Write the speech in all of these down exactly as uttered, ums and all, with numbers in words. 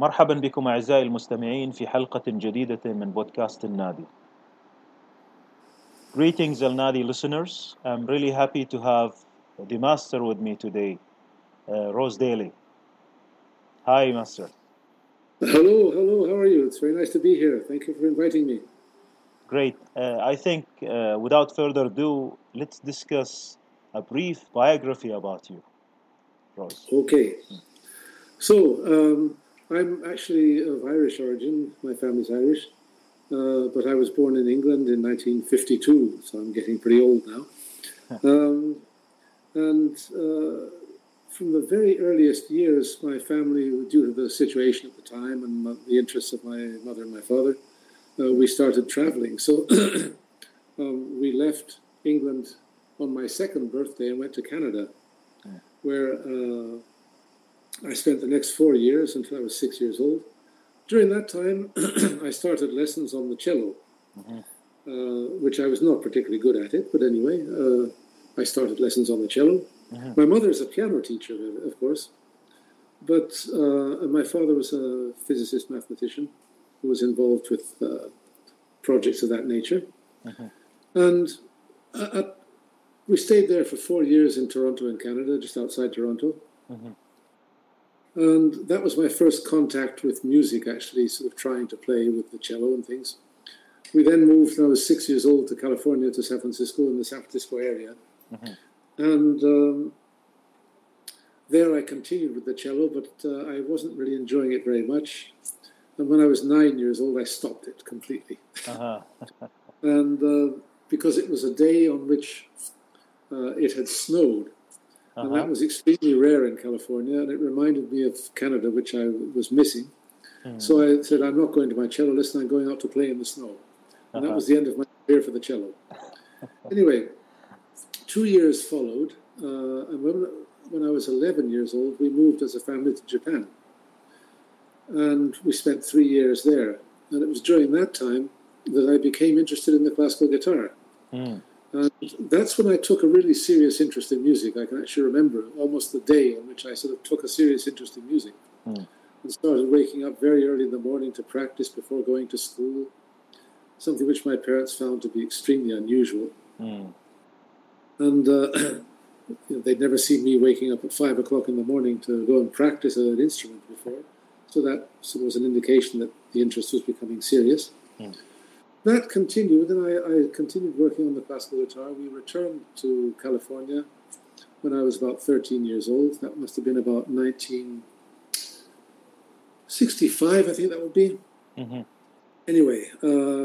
مرحبا بكم أعزائي المستمعين في حلقة جديدة من بودكاست النادي. Greetings Al Nadi listeners. I'm really happy to have the master with me today, uh, Rose Daly. Hi, master. Hello, hello, how are you? It's very nice to be here. Thank you for inviting me. Great. Uh, I think uh, without further ado, let's discuss a brief biography about you, Rose. Okay. So, um, I'm actually of Irish origin. My family's Irish. Uh, but I was born in England in nineteen fifty-two, so I'm getting pretty old now. um, and uh, from the very earliest years, my family, due to the situation at the time and the interests of my mother and my father, uh, we started traveling. So um, we left England on my second birthday and went to Canada, where uh, I spent the next four years until I was six years old. During that time, I started lessons on the cello, mm-hmm. uh, which I was not particularly good at it, but anyway, uh, I started lessons on the cello. Mm-hmm. My mother is a piano teacher, of course, but uh, my father was a physicist mathematician who was involved with uh, projects of that nature. Mm-hmm. And uh, we stayed there for four years in Toronto in Canada, just outside Toronto. Mm-hmm. And that was my first contact with music, actually, sort of trying to play with the cello and things. We then moved, when I was six years old, to California, to San Francisco, in the San Francisco area. Mm-hmm. And um, there I continued with the cello, but uh, I wasn't really enjoying it very much. And when I was nine years old, I stopped it completely. Uh-huh. and uh, because it was a day on which uh, it had snowed. And uh-huh. that was extremely rare in California, and it reminded me of Canada, which I was missing. Mm. So I said, I'm not going to my cello lesson, I'm going out to play in the snow. And uh-huh. that was the end of my career for the cello. Anyway, two years followed, uh, and when, when I was eleven years old, we moved as a family to Japan. And we spent three years there. And it was during that time that I became interested in the classical guitar. Mm. And that's when I took a really serious interest in music. I can actually remember almost the day on which I sort of took a serious interest in music. Mm. And started waking up very early in the morning to practice before going to school, something which my parents found to be extremely unusual. Mm. And uh, you know, they'd never seen me waking up at five o'clock in the morning to go and practice an instrument before. So that sort of was an indication that the interest was becoming serious. Mm. That continued, and I, I continued working on the classical guitar. We returned to California when I was about thirteen years old. That must have been about nineteen sixty-five, I think that would be. Mm-hmm. Anyway, uh,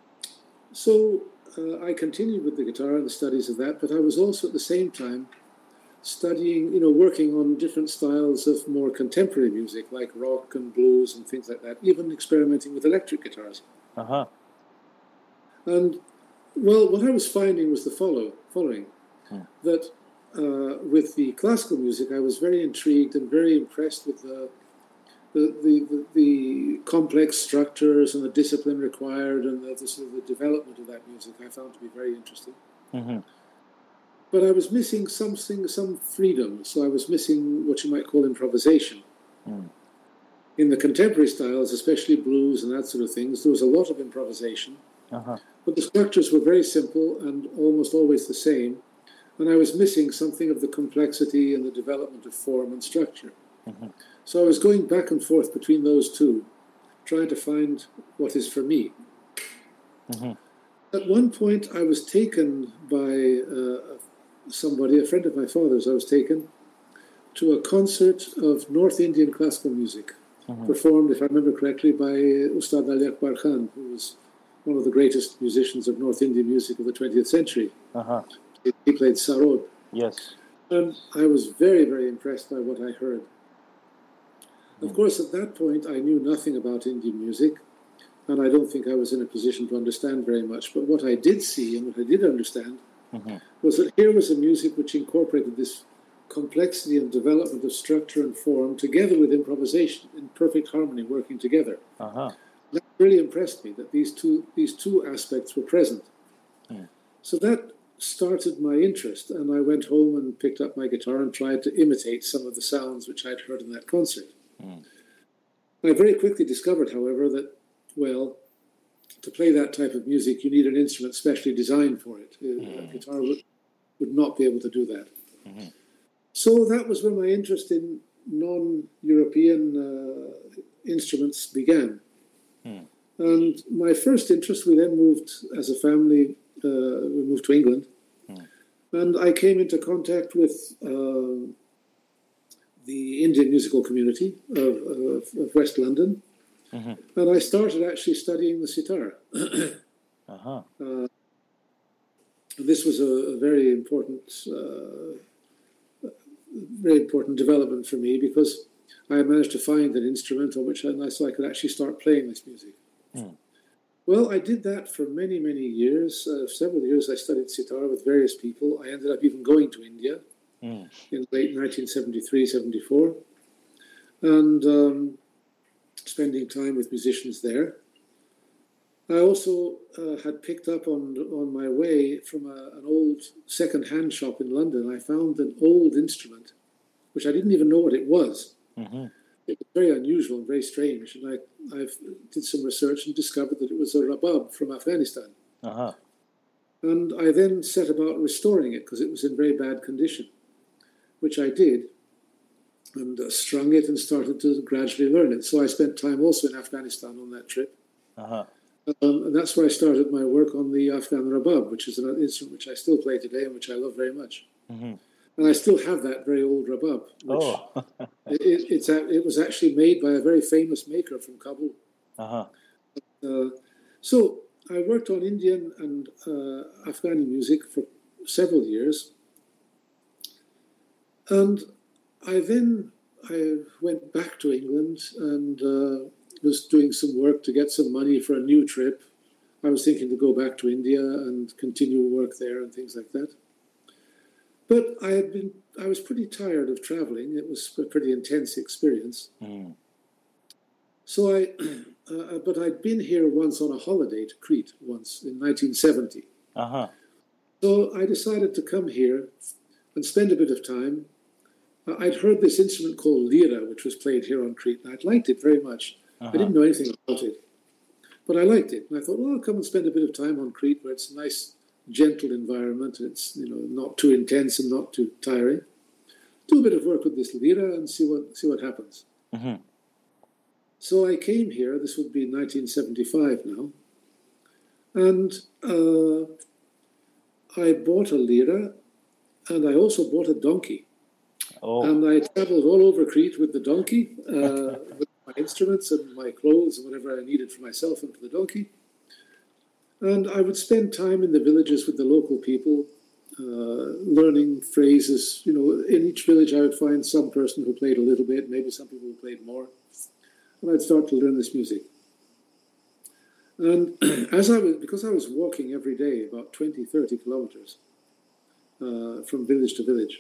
so uh, I continued with the guitar and the studies of that, but I was also at the same time studying, you know, working on different styles of more contemporary music, like rock and blues and things like that, even experimenting with electric guitars. Uh-huh. And, well, what I was finding was the follow, following, hmm. that uh, with the classical music, I was very intrigued and very impressed with the the, the, the, the complex structures and the discipline required and the, the sort of the development of that music I found to be very interesting. Mm-hmm. But I was missing something, some freedom, so I was missing what you might call improvisation. Mm. In the contemporary styles, especially blues and that sort of things, there was a lot of improvisation. Uh-huh. But the structures were very simple and almost always the same, and I was missing something of the complexity and the development of form and structure. Mm-hmm. So I was going back and forth between those two, trying to find what is for me. Mm-hmm. At one point, I was taken by uh, somebody, a friend of my father's, I was taken to a concert of North Indian classical music, mm-hmm. performed, if I remember correctly, by Ustad Ali Akbar Khan, who was one of the greatest musicians of North Indian music of the twentieth century. Uh-huh. He played sarod. Yes. And I was very, very impressed by what I heard. Mm. Of course, at that point, I knew nothing about Indian music, and I don't think I was in a position to understand very much. But what I did see and what I did understand mm-hmm. was that here was a music which incorporated this complexity and development of structure and form together with improvisation in perfect harmony, working together. Uh-huh. That really impressed me, that these two these two aspects were present. Mm. So that started my interest, and I went home and picked up my guitar and tried to imitate some of the sounds which I'd heard in that concert. Mm. I very quickly discovered, however, that, well, to play that type of music, you need an instrument specially designed for it. Mm-hmm. A guitar would, would not be able to do that. Mm-hmm. So that was when my interest in non-European uh, instruments began. Mm. And my first interest, we then moved as a family, uh, we moved to England. Mm. And I came into contact with uh, the Indian musical community of, of, of West London. Mm-hmm. And I started actually studying the sitar. uh-huh. uh, this was a, a very important, uh, very important development for me because I managed to find an instrument on which I, so I could actually start playing this music. Mm. Well, I did that for many, many years. Uh, several years I studied sitar with various people. I ended up even going to India mm. in late nineteen seventy-three, seventy-four. And um, spending time with musicians there. I also uh, had picked up on on my way from a, an old second-hand shop in London. I found an old instrument, which I didn't even know what it was. Mm-hmm. It was very unusual and very strange. And I I did some research and discovered that it was a rabab from Afghanistan. Uh-huh. And I then set about restoring it because it was in very bad condition, which I did. And uh, strung it and started to gradually learn it. So I spent time also in Afghanistan on that trip. Uh-huh. Um, and that's where I started my work on the Afghan rabab, which is an instrument which I still play today and which I love very much. Mm-hmm. And I still have that very old rabab. Which oh. it, it's a, it was actually made by a very famous maker from Kabul. Uh-huh. Uh, so I worked on Indian and uh, Afghani music for several years. And I then I went back to England and uh, was doing some work to get some money for a new trip. I was thinking to go back to India and continue work there and things like that. But I had been I was pretty tired of traveling. It was a pretty intense experience. Mm. So I, uh, but I'd been here once on a holiday to Crete once in nineteen seventy. Uh-huh. So I decided to come here and spend a bit of time. I'd heard this instrument called lira, which was played here on Crete, and I'd liked it very much. Uh-huh. I didn't know anything about it, but I liked it. And I thought, well, I'll come and spend a bit of time on Crete, where it's a nice, gentle environment. It's, you know, not too intense and not too tiring. Do a bit of work with this lira and see what see what happens. Mm-hmm. So I came here. This would be nineteen seventy-five now, and uh, I bought a lira, and I also bought a donkey. Oh. And I traveled all over Crete with the donkey, uh, with my instruments and my clothes and whatever I needed for myself and for the donkey. And I would spend time in the villages with the local people, uh, learning phrases. You know, in each village I would find some person who played a little bit, maybe some people who played more. And I'd start to learn this music. And as I was, because I was walking every day, about twenty, thirty kilometers uh, from village to village,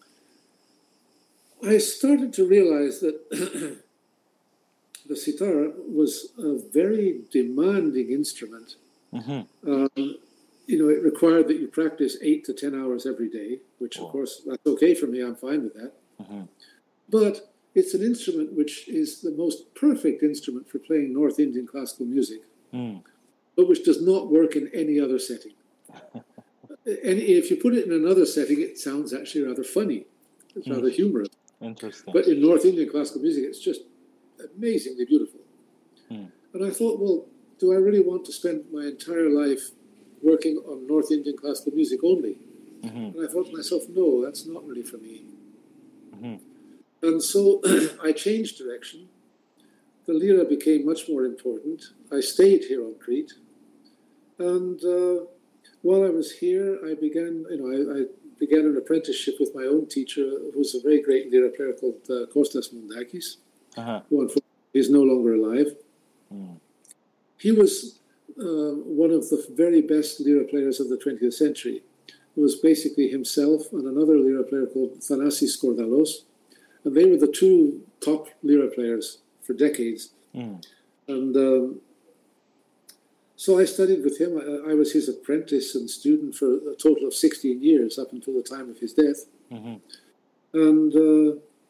I started to realize that the sitar was a very demanding instrument. Mm-hmm. Um, you know, it required that you practice eight to ten hours every day, which, oh. of course, that's okay for me. I'm fine with that. Mm-hmm. But it's an instrument which is the most perfect instrument for playing North Indian classical music, mm. but which does not work in any other setting. And if you put it in another setting, it sounds actually rather funny. It's mm. rather humorous. Interesting. But in North Indian classical music, it's just amazingly beautiful. Mm. And I thought, well, do I really want to spend my entire life working on North Indian classical music only? Mm-hmm. And I thought to myself, no, that's not really for me. Mm-hmm. And so I changed direction. The lira became much more important. I stayed here on Crete. And uh, while I was here, I began, you know, I, I began an apprenticeship with my own teacher, who was a very great lira player called uh, Kostas Moundakis, uh-huh. who unfortunately is no longer alive. Mm. He was uh, one of the very best lira players of the twentieth century. It was basically himself and another lira player called Thanasis Kordalos, and they were the two top lira players for decades. Mm. And um, so I studied with him. I, I was his apprentice and student for a total of sixteen years, up until the time of his death. Mm-hmm. And uh,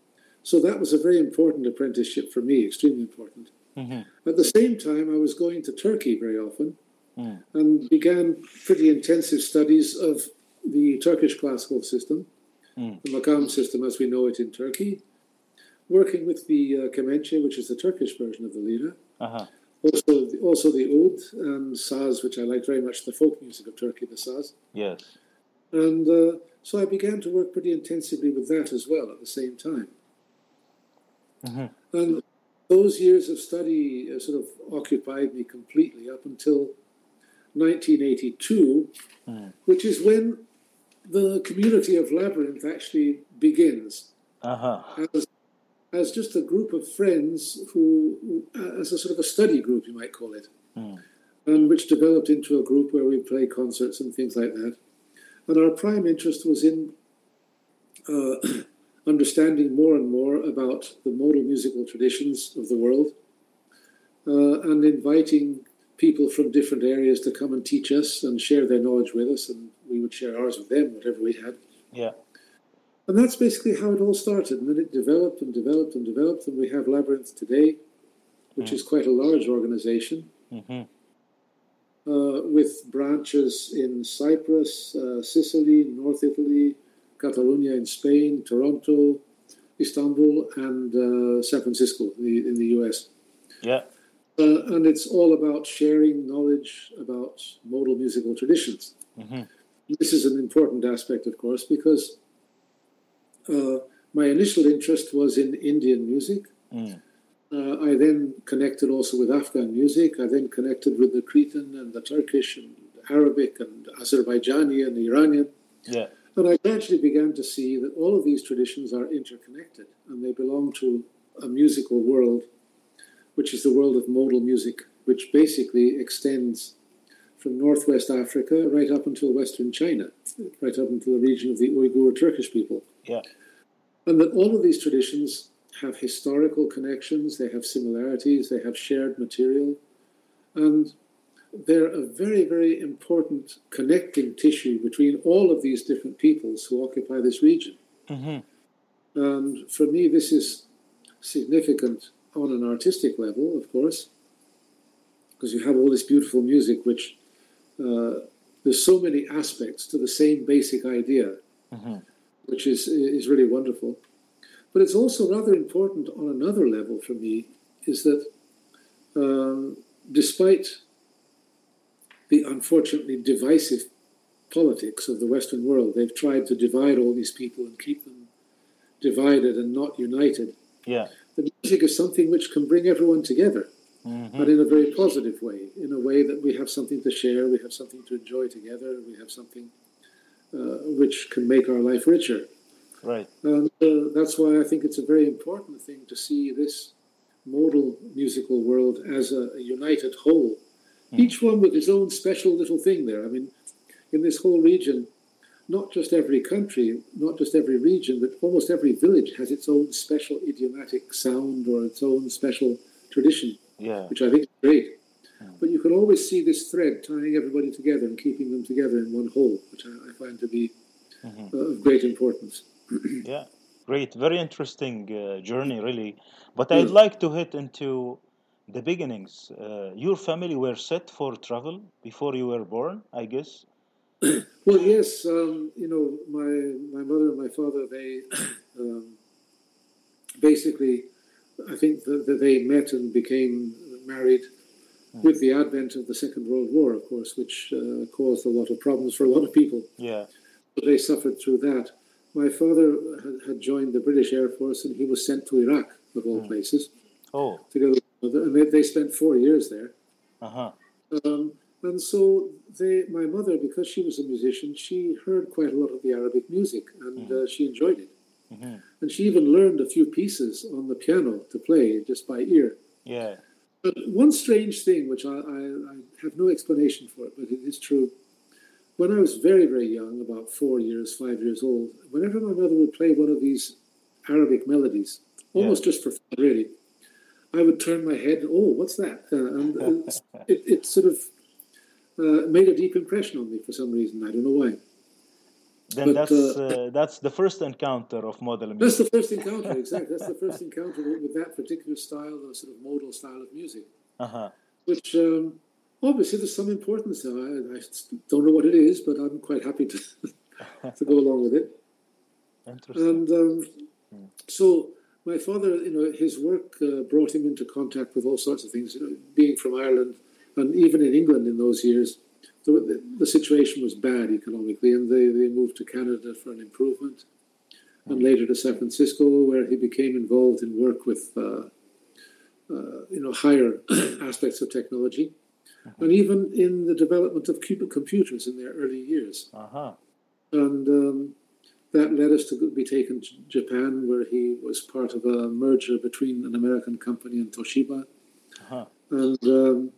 So that was a very important apprenticeship for me, extremely important. Mm-hmm. At the same time, I was going to Turkey very often Mm. and began pretty intensive studies of the Turkish classical system, Mm. the makam system as we know it in Turkey, working with the uh, kemençe, which is the Turkish version of the lira, Uh-huh. also, also the oud and saz, which I like very much, the folk music of Turkey, the saz. Yes. And uh, so I began to work pretty intensively with that as well at the same time. Mm-hmm. And those years of study uh, sort of occupied me completely up until nineteen eighty-two, Mm. which is when the community of Labyrinth actually begins. Uh-huh. As, as just a group of friends who, uh, as a sort of a study group, you might call it, Mm. and which developed into a group where we play concerts and things like that. And our prime interest was in uh, understanding more and more about the modal musical traditions of the world uh, and inviting people from different areas to come and teach us and share their knowledge with us, and we would share ours with them, whatever we had. Yeah. And that's basically how it all started. And then it developed and developed and developed, and we have Labyrinth today, which Mm. is quite a large organization, Mm-hmm. uh, with branches in Cyprus, uh, Sicily, North Italy, Catalonia in Spain, Toronto, Istanbul, and uh, San Francisco in the, in the U S. Yeah. Uh, and it's all about sharing knowledge about modal musical traditions. Mm-hmm. This is an important aspect, of course, because uh, my initial interest was in Indian music. Mm. Uh, I then connected also with Afghan music. I then connected with the Cretan and the Turkish and Arabic and Azerbaijani and Iranian. Yeah. And I gradually began to see that all of these traditions are interconnected and they belong to a musical world, which is the world of modal music, which basically extends from northwest Africa right up until western China, right up into the region of the Uyghur Turkish people. Yeah. And that all of these traditions have historical connections, they have similarities, they have shared material, and they're a very, very important connecting tissue between all of these different peoples who occupy this region. Mm-hmm. And for me, this is significant on an artistic level, of course, because you have all this beautiful music, which uh, there's so many aspects to the same basic idea, Mm-hmm. which is is really wonderful. But it's also rather important on another level for me, is that um, despite the unfortunately divisive politics of the Western world, they've tried to divide all these people and keep them divided and not united. Yeah. The music is something which can bring everyone together, Mm-hmm. but in a very positive way, in a way that we have something to share, we have something to enjoy together, we have something uh, which can make our life richer. Right. And uh, that's why I think it's a very important thing to see this modal musical world as a, a united whole, Mm. each one with its own special little thing there. I mean, in this whole region, not just every country, not just every region, but almost every village has its own special idiomatic sound or its own special tradition, Yeah. which I think is great. Mm. But you can always see this thread tying everybody together and keeping them together in one whole, which I, I find to be Mm-hmm. uh, of great importance. Yeah. Great. Very interesting uh, journey, really. But Yeah. I'd like to hit into the beginnings. Uh, your family were set for travel before you were born, I guess. Well, yes, um, you know, my my mother and my father, they um, basically, I think that, that they met and became married Mm. with the advent of the Second World War, of course, which uh, caused a lot of problems for a lot of people. Yeah. But they suffered through that. My father had, had joined the British Air Force, and he was sent to Iraq, of all Mm. places, Oh. together with my mother, and they, they spent four years there. Uh-huh. Um, and so they, my mother, because she was a musician, she heard quite a lot of the Arabic music, and uh, she enjoyed it. Mm-hmm. And she even learned a few pieces on the piano to play just by ear. Yeah. But one strange thing, which I, I, I have no explanation for it, but it is true. When I was very, very young, about four years, five years old, whenever my mother would play one of these Arabic melodies, almost just for fun, really, I would turn my head, oh, what's that? Uh, and it, it sort of uh, made a deep impression on me for some reason. I don't know why. Then But uh, that's uh, that's the first encounter of modal that's the music. first encounter, exactly. That's the first encounter with, with that particular style, the sort of modal style of music, Uh-huh. which um, obviously there's some importance there. I, I don't know what it is, but I'm quite happy to, to go along with it. Interesting. And um, Hmm. so my father, you know, his work uh, brought him into contact with all sorts of things. You know, being from Ireland, and even in England in those years, the, the situation was bad economically, and they, they moved to Canada for an improvement, and later to San Francisco, where he became involved in work with, uh, uh, you know, higher aspects of technology, Mhm. and even in the development of cubic computers in their early years. Uh-huh. And um, that led us to be taken to Japan, where he was part of a merger between an American company and Toshiba, Uh-huh. and um,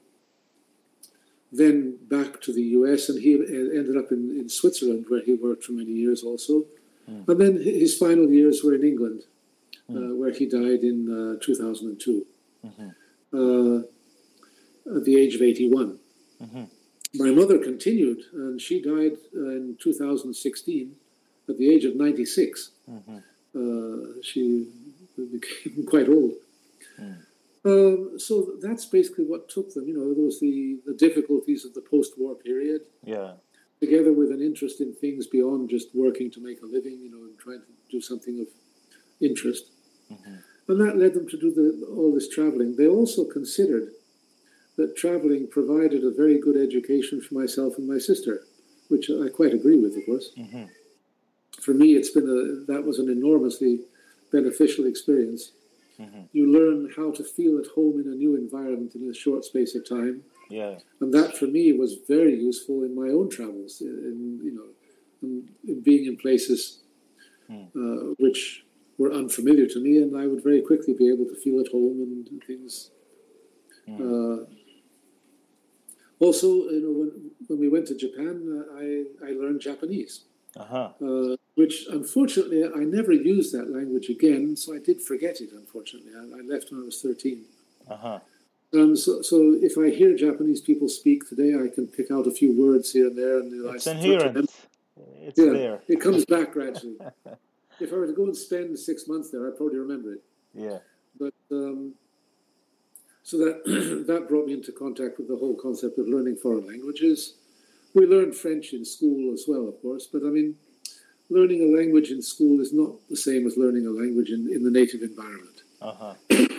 then back to the U S, and he ended up in, in Switzerland, where he worked for many years also. Mm. And then his final years were in England, Mm. uh, where he died in uh, two thousand two, Mhm. uh, at the age of eighty-one. Mhm. My mother continued, and she died uh, in two thousand sixteen at the age of ninety-six. Mhm. Uh, she became quite old. Mm. Um, so that's basically what took them. You know, there was the, the difficulties of the post-war period, Yeah. together with an interest in things beyond just working to make a living, you know, and trying to do something of interest. Mhm. And that led them to do the, all this traveling. They also considered that traveling provided a very good education for myself and my sister, which I quite agree with, of course. Mhm. For me, it's been a, that was an enormously beneficial experience. Mhm. You learn how to feel at home in a new environment in a short space of time. Yeah. And that, for me, was very useful in my own travels, in, you know, in, in being in places Mm. uh, which were unfamiliar to me, and I would very quickly be able to feel at home and things. Mm. Uh, also, you know, when, when we went to Japan, uh, I, I learned Japanese, Uh-huh. uh, which unfortunately I never used that language again, so I did forget it, unfortunately. I, I left when I was thirteen. Uh-huh. Um, so, so if I hear Japanese people speak today, I can pick out a few words here and there, and you know, I It's start to inherent. remember. It's Yeah, there. it comes back gradually. If I were to go and spend six months there, I'd probably remember it. Yeah. But um, so that that brought me into contact with the whole concept of learning foreign languages. We learned French in school as well, of course, but I mean, learning a language in school is not the same as learning a language in, in the native environment. Uh-huh.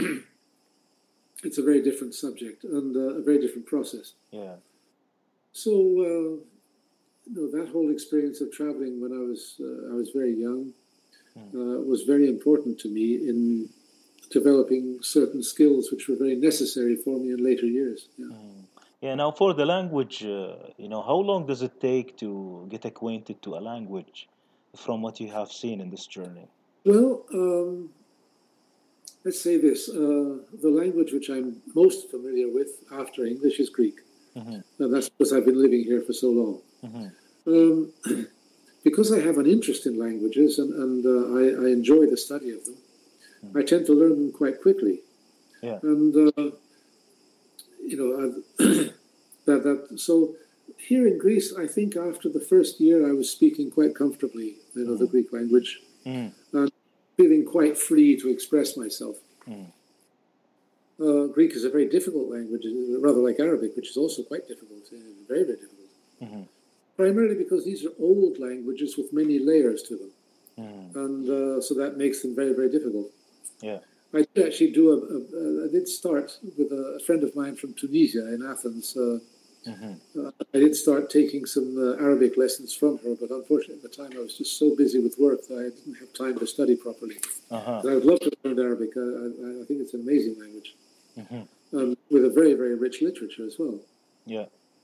It's a very different subject and uh, a very different process. Yeah. So, uh, you know, that whole experience of traveling when I was uh, I was very young uh, was very important to me in developing certain skills which were very necessary for me in later years. Yeah. Mm. Yeah. Now, for the language, uh, you know, how long does it take to get acquainted to a language from what you have seen in this journey? Well, um, let's say this. Uh, the language which I'm most familiar with after English is Greek. Mhm. And that's because I've been living here for so long. Mhm. Um, because I have an interest in languages and, and uh, I, I enjoy the study of them, Mm. I tend to learn them quite quickly. Yeah. And, uh, you know, I've that, that, so here in Greece, I think after the first year, I was speaking quite comfortably, you know, the Mm. Greek language, Mm. and feeling quite free to express myself. Mm. Uh, Greek is a very difficult language, rather like Arabic, which is also quite difficult, uh, very, very difficult. Mhm. Primarily because these are old languages with many layers to them, Mm. and uh, so that makes them very, very difficult. Yeah. I did actually do a, a, a I did start with a, a friend of mine from Tunisia in Athens. Uh, Mhm. uh, I did start taking some uh, Arabic lessons from her, but unfortunately at the time I was just so busy with work that I didn't have time to study properly. Uh-huh. But I would love to learn Arabic. I, I, I think it's an amazing language, Mhm. um, with a very, very rich literature as well. Yeah.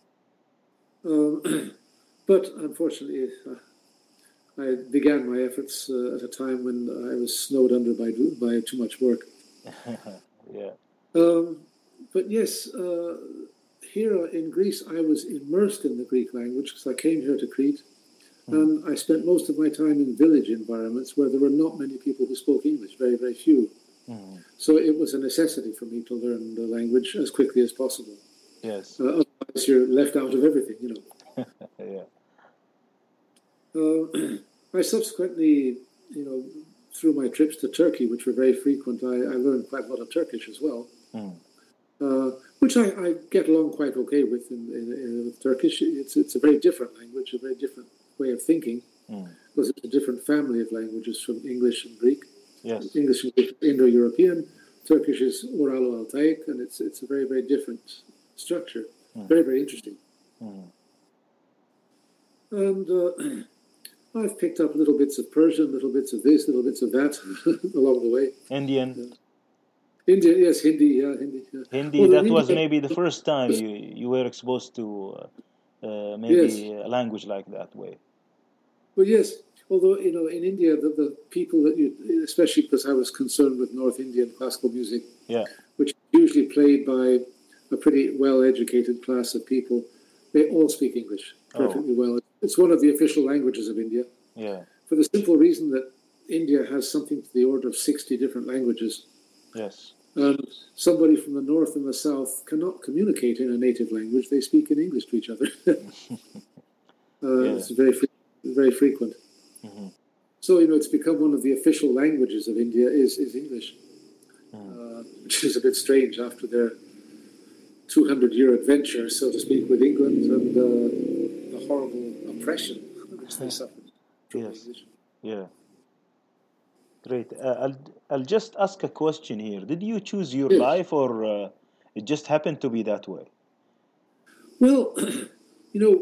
Um, but unfortunately, uh, I began my efforts uh, at a time when I was snowed under by by too much work. Yeah. Um, but yes, uh, here in Greece, I was immersed in the Greek language because I came here to Crete, Mm. and I spent most of my time in village environments where there were not many people who spoke English, very, very few. Mm. So it was a necessity for me to learn the language as quickly as possible. Yes. Uh, otherwise, you're left out of everything, you know. Yeah. Uh, I subsequently, you know, through my trips to Turkey, which were very frequent, I, I learned quite a lot of Turkish as well, Mm. uh, which I, I get along quite okay with in, in, in, with Turkish. It's, it's a very different language, a very different way of thinking, Mm. because it's a different family of languages from English and Greek. Yes. English is Indo-European, Turkish is Uralo-Altaic, and it's it's a very, very different structure. Mm. Very, very interesting. Mm. And uh, I've picked up little bits of Persian, little bits of this, little bits of that along the way. Indian. Yeah. India, yes, Hindi, yeah, Hindi. Yeah. Hindi, Although that in was India- maybe the first time you, you were exposed to uh, uh, maybe Yes. a language like that way. Well, yes. Although, you know, in India, the, the people that you, especially because I was concerned with North Indian classical music, Yeah. which is usually played by a pretty well-educated class of people, they all speak English perfectly Oh. well. It's one of the official languages of India, Yeah. for the simple reason that India has something to the order of sixty different languages. Yes. And somebody from the north and the south cannot communicate in a native language. They speak in English to each other. uh, Yeah. It's very, fre- very frequent. Mhm. So, you know, it's become one of the official languages of India is, is English, Mm. uh, which is a bit strange after their two hundred year adventure, so to speak, with England and uh, the horrible oppression which they suffered from Yes. English. Yeah. Great. Uh, I'll I'll just ask a question here. Did you choose your Yes. life, or uh, it just happened to be that way? Well, you know,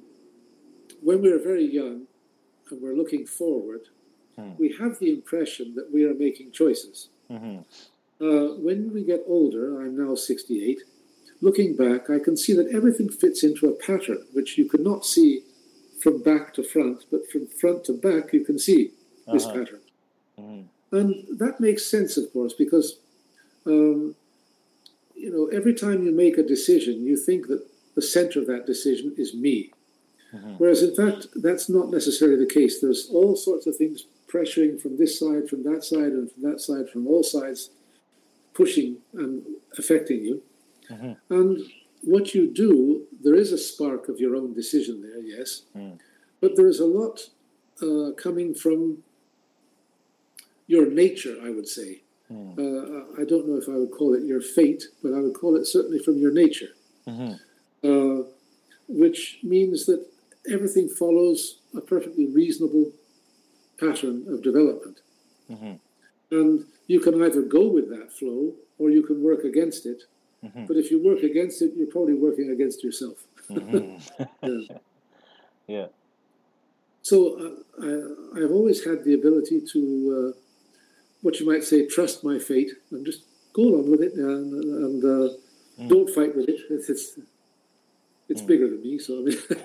when we're very young and we're looking forward, Hmm. we have the impression that we are making choices. Hmm. Uh, when we get older, I'm now sixty-eight, looking back, I can see that everything fits into a pattern which you could not see from back to front, but from front to back, you can see this Uh-huh. pattern. Hmm. And that makes sense, of course, because, um, you know, every time you make a decision, you think that the center of that decision is me. Mhm. Whereas, in fact, that's not necessarily the case. There's all sorts of things pressuring from this side, from that side, and from that side, from all sides, pushing and affecting you. Mhm. And what you do, there is a spark of your own decision there, yes, Mm. but there is a lot uh, coming from your nature, I would say. Mm. Uh, I don't know if I would call it your fate, but I would call it certainly from your nature, Mhm. uh, which means that everything follows a perfectly reasonable pattern of development. Mhm. And you can either go with that flow or you can work against it. Mhm. But if you work against it, you're probably working against yourself. Mhm. Yeah. Yeah. So uh, I, I've always had the ability to, uh, what you might say, trust my fate and just go along with it and, and uh, Mm. don't fight with it. It's it's, it's Mm. bigger than me. So I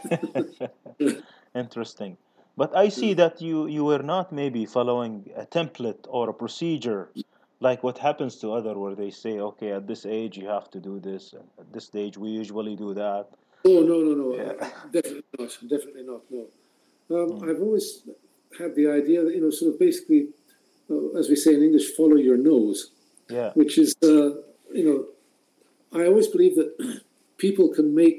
mean, Interesting. But I see that you, you were not maybe following a template or a procedure like what happens to other where they say, okay, at this age you have to do this, and at this stage we usually do that. oh no no no, Yeah. uh, definitely not, definitely not. No, um, Mm. I've always had the idea that you know, sort of basically, uh, as we say in English, follow your nose, Yeah. which is uh, you know, I always believe that people can make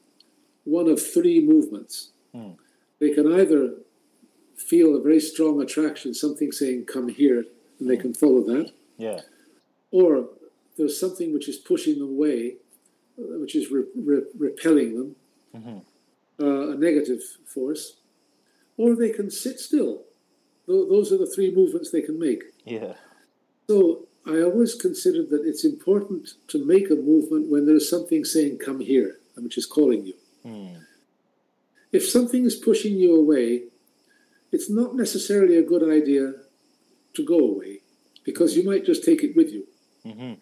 one of three movements. Mm. They can either feel a very strong attraction, something saying "come here," and they Mm. can follow that, Yeah. or there's something which is pushing them away, uh, which is re- re- repelling them, Mhm. uh, a negative force, or they can sit still. Th- those are the three movements they can make. Yeah. So I always considered that it's important to make a movement when there's something saying "come here," which is calling you. Mm. If something is pushing you away, it's not necessarily a good idea to go away, because you might just take it with you. Mhm.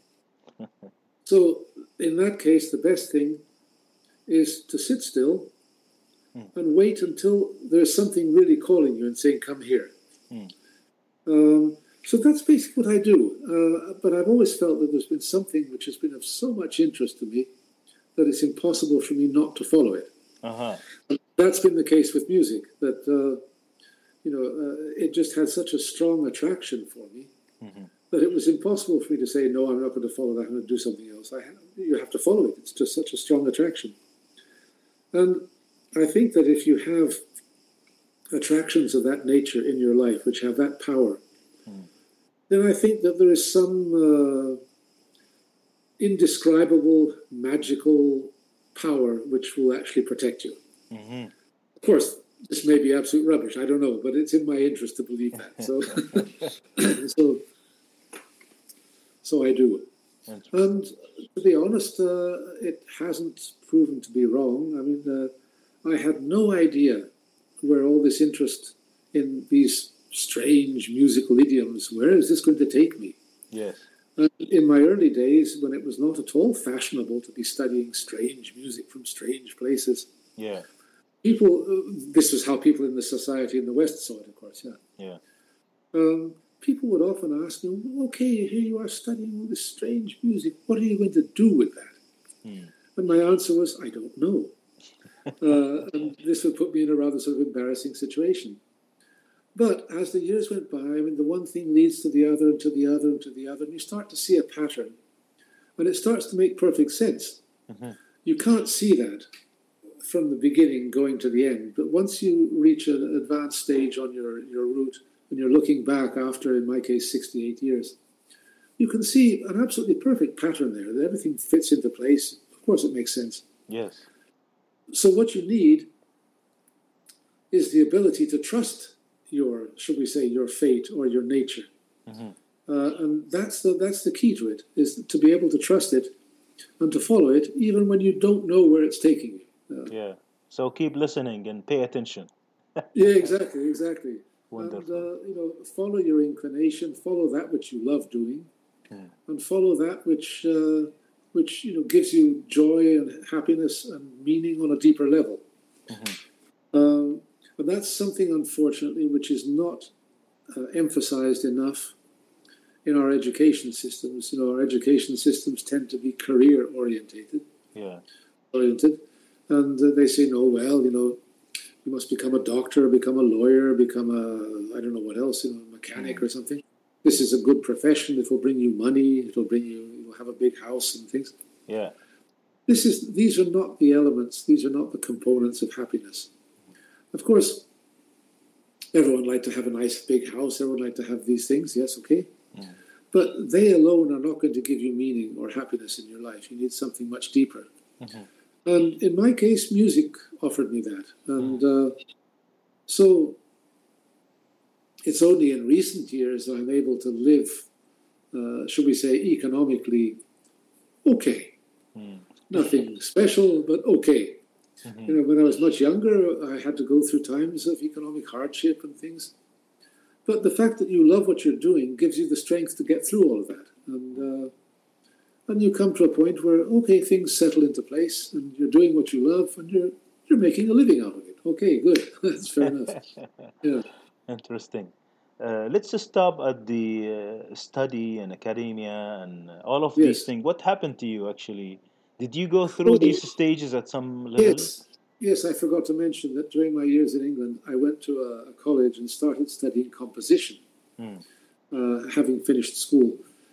So in that case, the best thing is to sit still Mm. and wait until there's something really calling you and saying, "come here." Mm. Um, so that's basically what I do. Uh, but I've always felt that there's been something which has been of so much interest to me that it's impossible for me not to follow it. Uh-huh. And that's been the case with music, that, uh, you know, uh, it just had such a strong attraction for me Mhm. that it was impossible for me to say, no, I'm not going to follow that, I'm going to do something else. I have, you have to follow it. It's just such a strong attraction. And I think that if you have attractions of that nature in your life, which have that power, mm. then I think that there is some uh, indescribable, magical power which will actually protect you. Mm-hmm. Of course, this may be absolute rubbish. I don't know, but it's in my interest to believe that. So, so, so I do. And to be honest, uh, it hasn't proven to be wrong. I mean, uh, I had no idea where all this interest in these strange musical idioms, where is this going to take me? Yes. And in my early days, when it was not at all fashionable to be studying strange music from strange places, yeah, people, uh, this was how people in the society in the West saw it, of course, yeah. Yeah. Um, people would often ask me, okay, here you are studying all this strange music, what are you going to do with that? Hmm. And my answer was, I don't know. uh, and this would put me in a rather sort of embarrassing situation. But as the years went by, I mean, the one thing leads to the other and to the other and to the other, and you start to see a pattern, and it starts to make perfect sense. Mm-hmm. You can't see that from the beginning going to the end, but once you reach an advanced stage on your, your route, and you're looking back after, in my case, sixty-eight years, you can see an absolutely perfect pattern there, that everything fits into place. Of course, it makes sense. Yes. So what you need is the ability to trust your, should we say, your fate or your nature. Mm-hmm. Uh, and that's the, that's the key to it, is to be able to trust it and to follow it, even when you don't know where it's taking you. Uh, yeah. So keep listening and pay attention. yeah, exactly, exactly. Wonderful. And, uh, you know, follow your inclination, follow that which you love doing, mm. and follow that which, uh, which, you know, gives you joy and happiness and meaning on a deeper level. Mm-hmm. Um, and that's something, unfortunately, which is not uh, emphasized enough in our education systems. You know, our education systems tend to be career orientated. Yeah. Oriented, and uh, they say, no, well, you know, you must become a doctor, become a lawyer, become a, I don't know what else, you know, a mechanic mm. or something. This is a good profession. It will bring you money. It will bring you, you will have a big house and things. Yeah. This is, these are not the elements. These are not the components of happiness. Of course, everyone like to have a nice big house. Everyone like to have these things. Yes, okay. Mm. But they alone are not going to give you meaning or happiness in your life. You need something much deeper. Mm-hmm. And in my case, music offered me that. And uh, so it's only in recent years that I'm able to live, uh, should we say, economically okay. Mm. Nothing special, but okay. Mm-hmm. You know, when I was much younger, I had to go through times of economic hardship and things. But the fact that you love what you're doing gives you the strength to get through all of that. And uh, And you come to a point where, okay, things settle into place and you're doing what you love and you're you're making a living out of it. Okay, good. That's fair enough. Yeah. Interesting. Uh, let's just stop at the uh, study and academia and all of Yes. these things. What happened to you, actually? Did you go through oh, these stages at some level? Yes. Yes, I forgot to mention that during my years in England, I went to a, a college and started studying composition, hmm. uh, having finished school.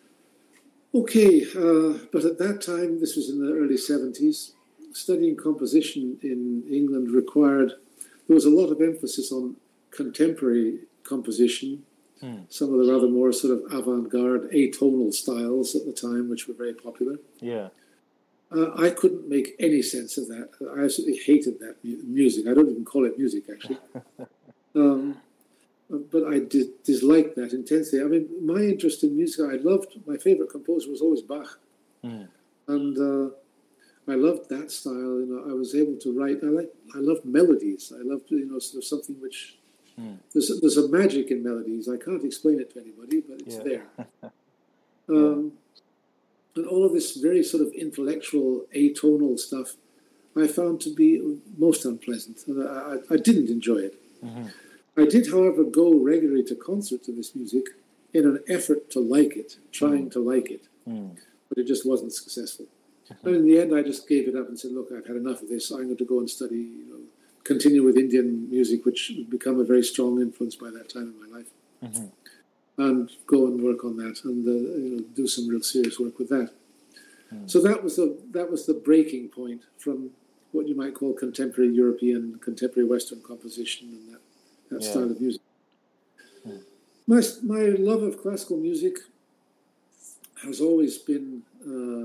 Okay, uh, but at that time, this was in the early seventies, studying composition in England required, there was a lot of emphasis on contemporary composition, hmm. some of the rather more sort of avant-garde atonal styles at the time, which were very popular. Yeah. Uh, I couldn't make any sense of that. I absolutely hated that mu- music. I don't even call it music, actually. um, But I did dislike that intensely. I mean, my interest in music, I loved, my favorite composer was always Bach. Mm. And uh, I loved that style. You know, I was able to write, I like, I loved melodies. I loved, you know, sort of something which, mm. there's, there's a magic in melodies. I can't explain it to anybody, but it's yeah. there. um, yeah. And all of this very sort of intellectual, atonal stuff, I found to be most unpleasant. And I, I, I didn't enjoy it. Mm-hmm. I did, however, go regularly to concerts of this music in an effort to like it, trying mm. to like it. Mm. But it just wasn't successful. Mm-hmm. And in the end, I just gave it up and said, look, I've had enough of this. I'm going to go and study, you know, continue with Indian music, which had become a very strong influence by that time in my life. Mm-hmm. And go and work on that and uh, you know, do some real serious work with that. Mm. So that was the that was the breaking point from what you might call contemporary European, contemporary Western composition and that that Yeah. style of music. Mm. My my love of classical music has always been uh,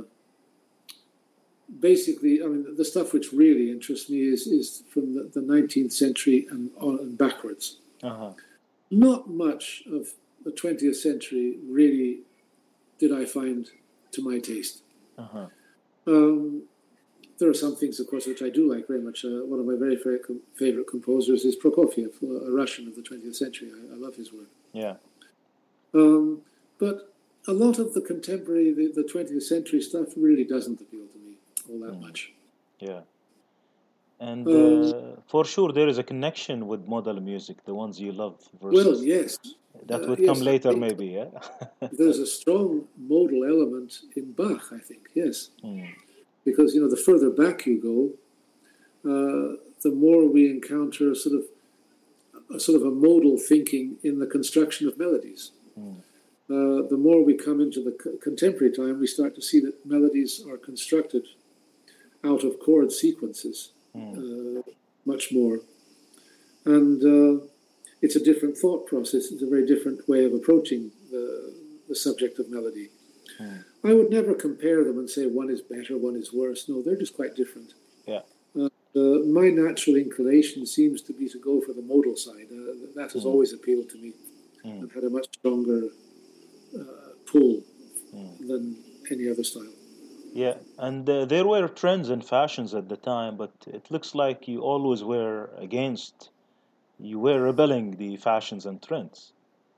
basically. I mean, the stuff which really interests me is is from the, the nineteenth century and on and backwards. Uh-huh. Not much of the twentieth century really did I find to my taste. Uh-huh. Um, there are some things, of course, which I do like very much. Uh, one of my very favorite, favorite composers is Prokofiev, a Russian of the twentieth century. I, I love his work. Yeah. Um, but a lot of the contemporary, the, the twentieth century stuff really doesn't appeal to me all that Mm. much. Yeah. And Um, uh, for sure, there is a connection with modal music, the ones you love well, versus yes. that Uh, would come yes, I later, think maybe. Yeah. there's a strong modal element in Bach, I think, yes. Mm. Because, you know, the further back you go, uh, the more we encounter a sort of a sort of a modal thinking in the construction of melodies. Mm. Uh, the more we come into the co- contemporary time, we start to see that melodies are constructed out of chord sequences Mm. uh, much more. And uh, it's a different thought process. It's a very different way of approaching the, the subject of melody. Mm. I would never compare them and say one is better, one is worse. No, they're just quite different. Yeah. Uh, uh, my natural inclination seems to be to go for the modal side. Uh, that has Mm. always appealed to me Mm. and had a much stronger uh, pull Mm. than any other style. Yeah, and uh, there were trends and fashions at the time, but it looks like you always were against, you were rebelling the fashions and trends.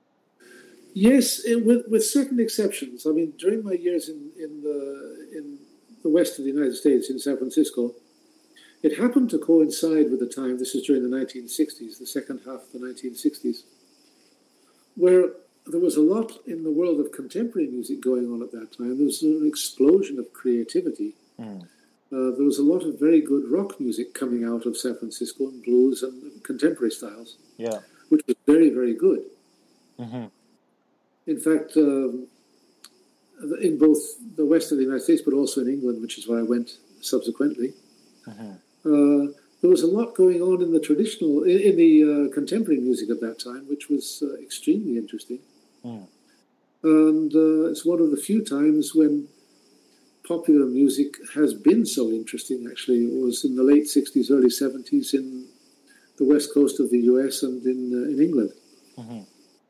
Yes, it, with with certain exceptions. I mean, during my years in in the in the west of the United States, in San Francisco, it happened to coincide with the time. This is during the nineteen sixties, the second half of the nineteen sixties, where there was a lot in the world of contemporary music going on at that time. There was an explosion of creativity. Mm. Uh, there was a lot of very good rock music coming out of San Francisco, and blues and contemporary styles, Yeah. which was very, very good. Mm-hmm. In fact, um, in both the west of the United States, but also in England, which is where I went subsequently, Mm-hmm. uh, there was a lot going on in the traditional, in, in the uh, contemporary music at that time, which was uh, extremely interesting. Mm. And uh, it's one of the few times when popular music has been so interesting, actually. It was in the late sixties, early seventies in the west coast of the U S and in, uh, in England. Mm-hmm.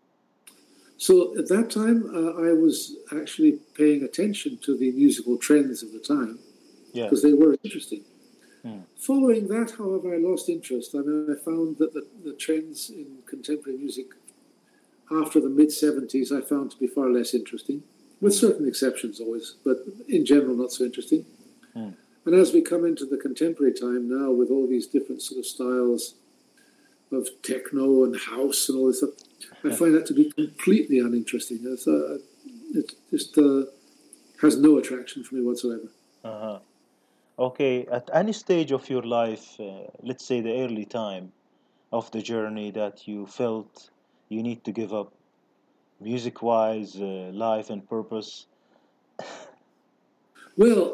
So at that time, uh, I was actually paying attention to the musical trends of the time Yeah. because they were interesting. Mm. Following that, however, I lost interest. I mean, I found that the, the trends in contemporary music after the mid-seventies I found to be far less interesting, with certain exceptions always, but in general not so interesting. Mm. And as we come into the contemporary time now with all these different sort of styles of techno and house and all this stuff, I find that to be completely uninteresting. It's, uh, it just uh, has no attraction for me whatsoever. Uh-huh. Okay, at any stage of your life, uh, let's say the early time of the journey that you felt you need to give up music-wise, uh, life and purpose. Well,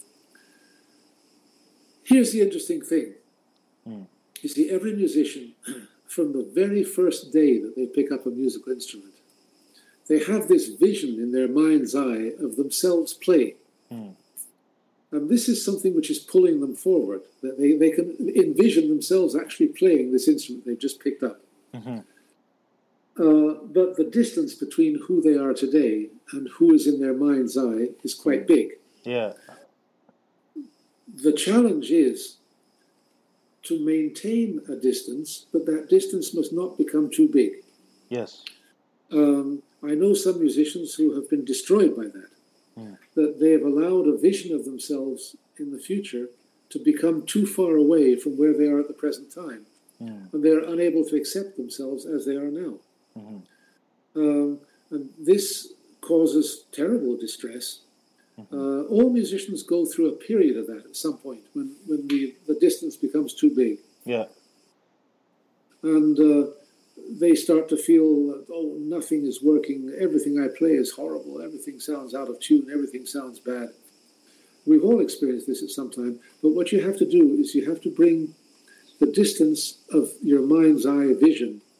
here's the interesting thing. Mm. You see, every musician, from the very first day that they pick up a musical instrument, they have this vision in their mind's eye of themselves playing. Mm. And this is something which is pulling them forward, that they, they can envision themselves actually playing this instrument they've just picked up. Mm-hmm. Uh, but the distance between who they are today and who is in their mind's eye is quite big. Yeah. The challenge is to maintain a distance, but that distance must not become too big. Yes. Um, I know some musicians who have been destroyed by that, Mm. that they have allowed a vision of themselves in the future to become too far away from where they are at the present time. Mm. And they're unable to accept themselves as they are now. Mm-hmm. Um, and this causes terrible distress. Mm-hmm. Uh, all musicians go through a period of that at some point when, when the, the distance becomes too big. Yeah. And uh, they start to feel that, oh, nothing is working, everything I play is horrible, everything sounds out of tune, everything sounds bad. We've all experienced this at some time, but what you have to do is you have to bring the distance of your mind's eye vision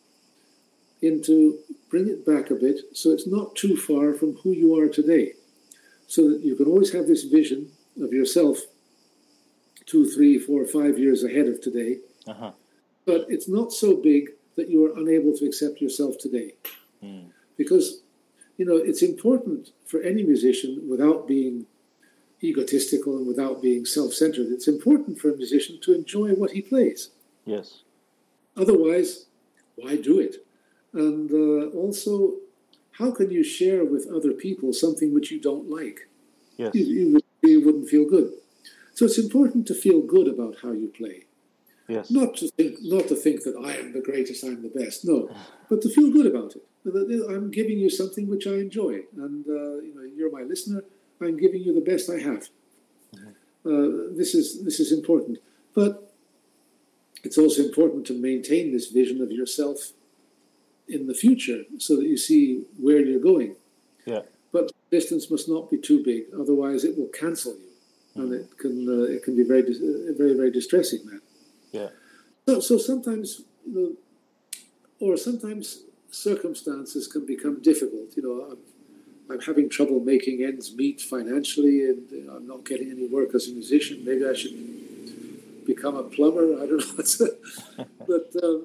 into bring it back a bit so it's not too far from who you are today. So that you can always have this vision of yourself two, three, four, five years ahead of today. Uh-huh. But it's not so big that you are unable to accept yourself today. Mm. Because, you know, it's important for any musician, without being egotistical and without being self-centered, it's important for a musician to enjoy what he plays. Yes. Otherwise, why do it? And uh, also, how can you share with other people something which you don't like? Yes. You, you, you wouldn't feel good. So it's important to feel good about how you play. Yes. Not to think, not to think that I am the greatest, I'm the best. No, but to feel good about it. I'm giving you something which I enjoy, and uh, you know, you're my listener. I'm giving you the best I have. Mm-hmm. Uh, this is this is important, but it's also important to maintain this vision of yourself in the future, so that you see where you're going. Yeah. But distance must not be too big, otherwise it will cancel you, mm-hmm. and it can uh, it can be very very very distressing. That. Yeah. So so sometimes you know, or sometimes circumstances can become difficult. You know, I'm, I'm having trouble making ends meet financially, and you know, I'm not getting any work as a musician. Maybe I should become a plumber. I don't know. But um,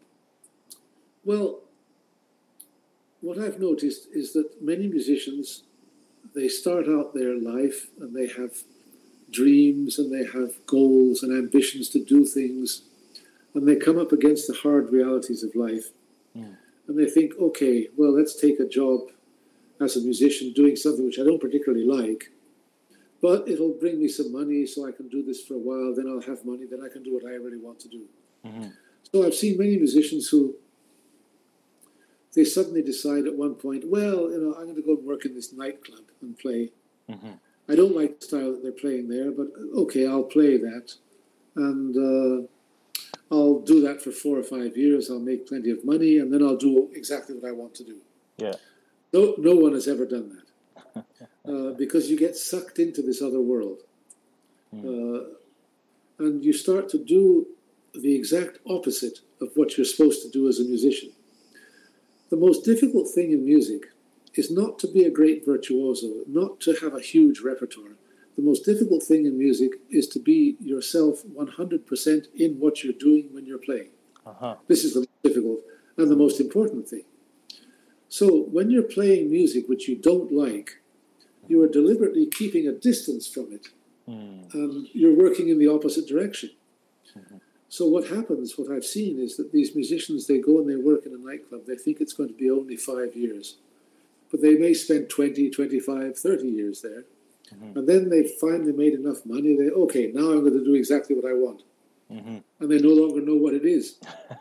well, what I've noticed is that many musicians, they start out their life and they have dreams and they have goals and ambitions to do things, and they come up against the hard realities of life. Mm. And they think, okay, well, let's take a job as a musician doing something which I don't particularly like, but it'll bring me some money so I can do this for a while, then I'll have money, then I can do what I really want to do. Mm-hmm. So I've seen many musicians who, they suddenly decide at one point, well, you know, I'm going to go and work in this nightclub and play. Mm-hmm. I don't like the style that they're playing there, but okay, I'll play that. And uh, I'll do that for four or five years. I'll make plenty of money, and then I'll do exactly what I want to do. Yeah. No, no one has ever done that. uh, because you get sucked into this other world. Mm. Uh, and you start to do the exact opposite of what you're supposed to do as a musician. The most difficult thing in music is not to be a great virtuoso, not to have a huge repertoire. The most difficult thing in music is to be yourself one hundred percent in what you're doing when you're playing. Uh-huh. This is the most difficult and the most important thing. So when you're playing music which you don't like, you are deliberately keeping a distance from it. Mm. And you're working in the opposite direction. Mm-hmm. So what happens, what I've seen, is that these musicians, they go and they work in a nightclub. They think it's going to be only five years. But they may spend twenty, twenty-five, thirty years there. Mm-hmm. And then they finally made enough money. They, okay, now I'm going to do exactly what I want. Mm-hmm. And they no longer know what it is.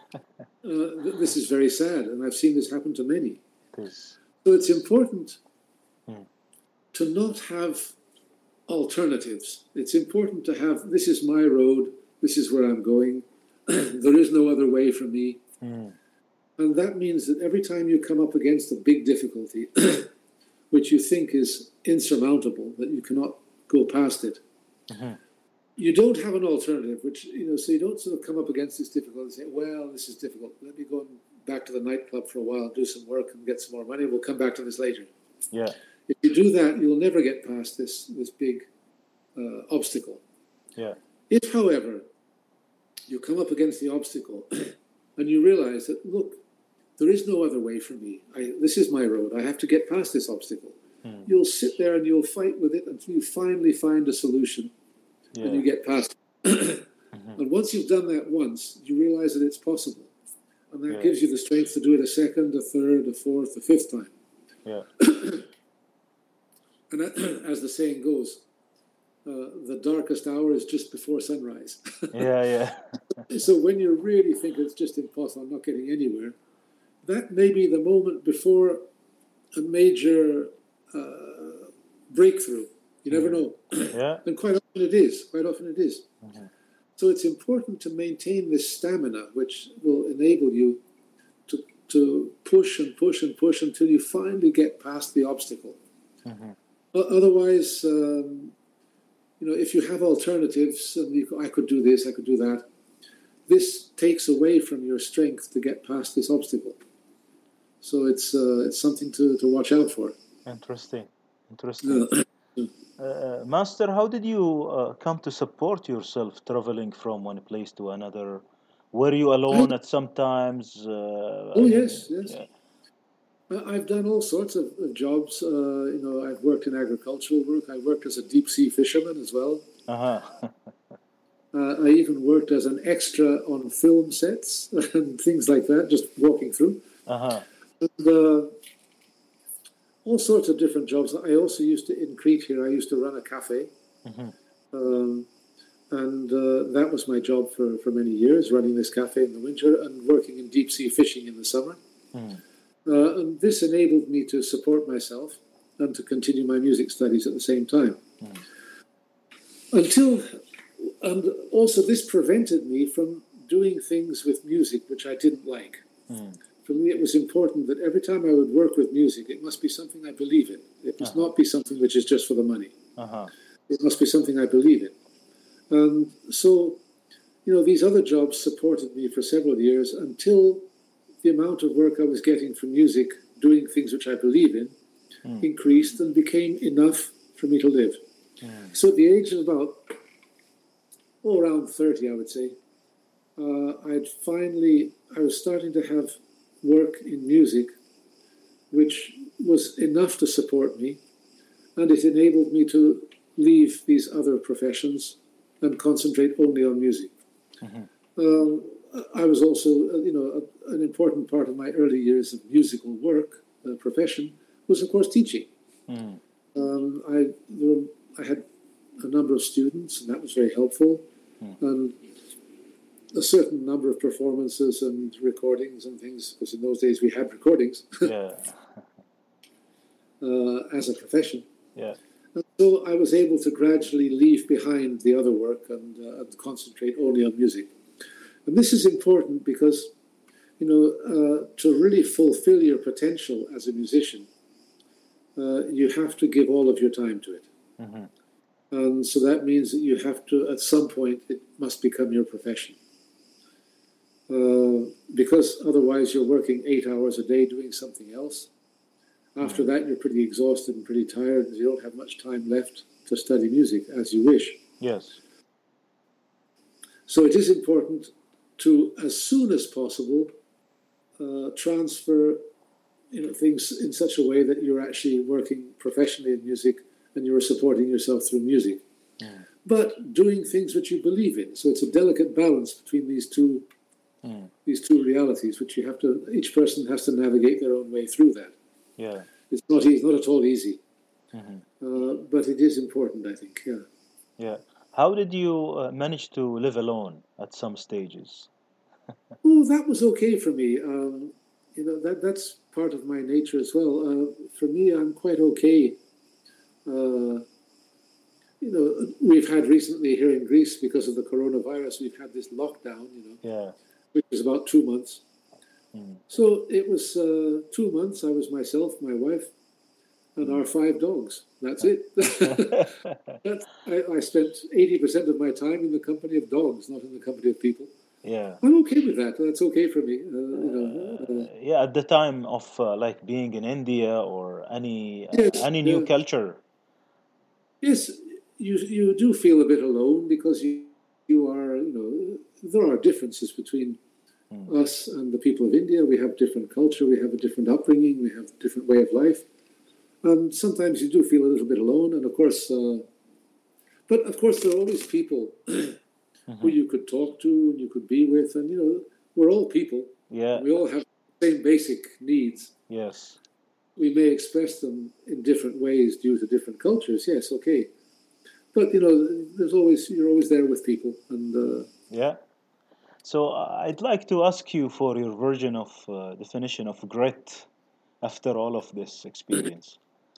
uh, this is very sad, and I've seen this happen to many. Yes. So it's important mm. to not have alternatives. It's important to have, this is my road, this is where I'm going, there is no other way for me. Mm. And that means that every time you come up against a big difficulty, which you think is insurmountable, that you cannot go past it, mm-hmm. you don't have an alternative, which, you know, so you don't sort of come up against this difficulty and say, well, this is difficult, let me go back to the nightclub for a while, do some work and get some more money, we'll come back to this later. Yeah. If you do that, you'll never get past this, this big uh, obstacle. Yeah. If, however, you come up against the obstacle and you realize that, look, there is no other way for me. I, this is my road. I have to get past this obstacle. Hmm. You'll sit there and you'll fight with it until you finally find a solution yeah. and you get past it. mm-hmm. And once you've done that once, you realize that it's possible. And that yeah. gives you the strength to do it a second, a third, a fourth, a fifth time. Yeah. And as the saying goes, uh, the darkest hour is just before sunrise. yeah, yeah. So when you really think it's just impossible, I'm not getting anywhere, that may be the moment before a major uh, breakthrough. You never know. Yeah. And quite often it is. Quite often it is. Mm-hmm. So it's important to maintain this stamina, which will enable you to to push and push and push until you finally get past the obstacle. Mm-hmm. Otherwise, um, you know, if you have alternatives, and you, I could do this, I could do that, this takes away from your strength to get past this obstacle. So it's uh, it's something to, to watch out for. Interesting. Interesting. Uh, Master, how did you uh, come to support yourself traveling from one place to another? Were you I, alone at some times? Uh, oh I mean, yes, yes. yeah. I- I've done all sorts of, of jobs. Uh, you know, I've worked in agricultural work. I worked as a deep sea fisherman as well. Uh-huh. Uh, I even worked as an extra on film sets and things like that, just walking through. Uh-huh. And, uh, all sorts of different jobs. I also used to, in Crete here, I used to run a cafe. Mm-hmm. Um, and uh, that was my job for, for many years, running this cafe in the winter and working in deep sea fishing in the summer. Mm. Uh, and this enabled me to support myself and to continue my music studies at the same time. Mm. Until, and also this prevented me from doing things with music which I didn't like. Mm. For me, it was important that every time I would work with music, it must be something I believe in. It must Uh-huh. not be something which is just for the money. Uh-huh. It must be something I believe in. And so, you know, these other jobs supported me for several years until the amount of work I was getting from music, doing things which I believe in, Mm. increased and became enough for me to live. Mm. So at the age of about, oh, around thirty, I would say, uh, I'd finally, I was starting to have work in music which was enough to support me, and it enabled me to leave these other professions and concentrate only on music. Mm-hmm. Um, I was also, uh, you know, a, an important part of my early years of musical work, uh, profession, was of course teaching. Mm. Um, I, there were, I had a number of students, and that was very helpful, Mm. and a certain number of performances and recordings and things, because in those days we had recordings Yeah. uh, as a profession. Yeah. And so I was able to gradually leave behind the other work and, uh, and concentrate only on music. And this is important because, you know, uh, to really fulfill your potential as a musician, uh, you have to give all of your time to it. Mm-hmm. And so that means that you have to, at some point, it must become your profession. Uh, because otherwise you're working eight hours a day doing something else. After that, you're pretty exhausted and pretty tired, and you don't have much time left to study music as you wish. Yes. So it is important to, as soon as possible, uh, transfer, you know, things in such a way that you're actually working professionally in music and you're supporting yourself through music. Mm. But doing things which you believe in. So it's a delicate balance between these two, Mm. these two realities, which you have to. Each person has to navigate their own way through that. Yeah. It's not easy, not at all easy, Mm-hmm. uh, but it is important, I think. Yeah. Yeah. How did you uh, manage to live alone at some stages? Oh, that was okay for me. Um, you know, that that's part of my nature as well. Uh, for me, I'm quite okay. Uh, you know, we've had recently here in Greece, because of the coronavirus, we've had this lockdown, you know, Yeah. which was about two months. Mm. So it was uh, two months. I was myself, my wife, and our five dogs. That's it. That's, I, I spent eighty percent of my time in the company of dogs, not in the company of people. Yeah. I'm okay with that. That's okay for me. Uh, you know, uh, Yeah. At the time of uh, like being in India or any uh, yes, any new yeah. culture. Yes, you you do feel a bit alone because you you are, you know, there are differences between Mm. us and the people of India. We have different culture, we have a different upbringing, we have a different way of life, and sometimes you do feel a little bit alone. And of course, uh, but of course, there are always people Mm-hmm. who you could talk to and you could be with, and you know, we're all people. Yeah. We all have the same basic needs. Yes. We may express them in different ways due to different cultures. Yes, okay. But, you know, there's always, you're always there with people. And uh, Yeah. So uh, I'd like to ask you for your version of uh, definition of grit after all of this experience.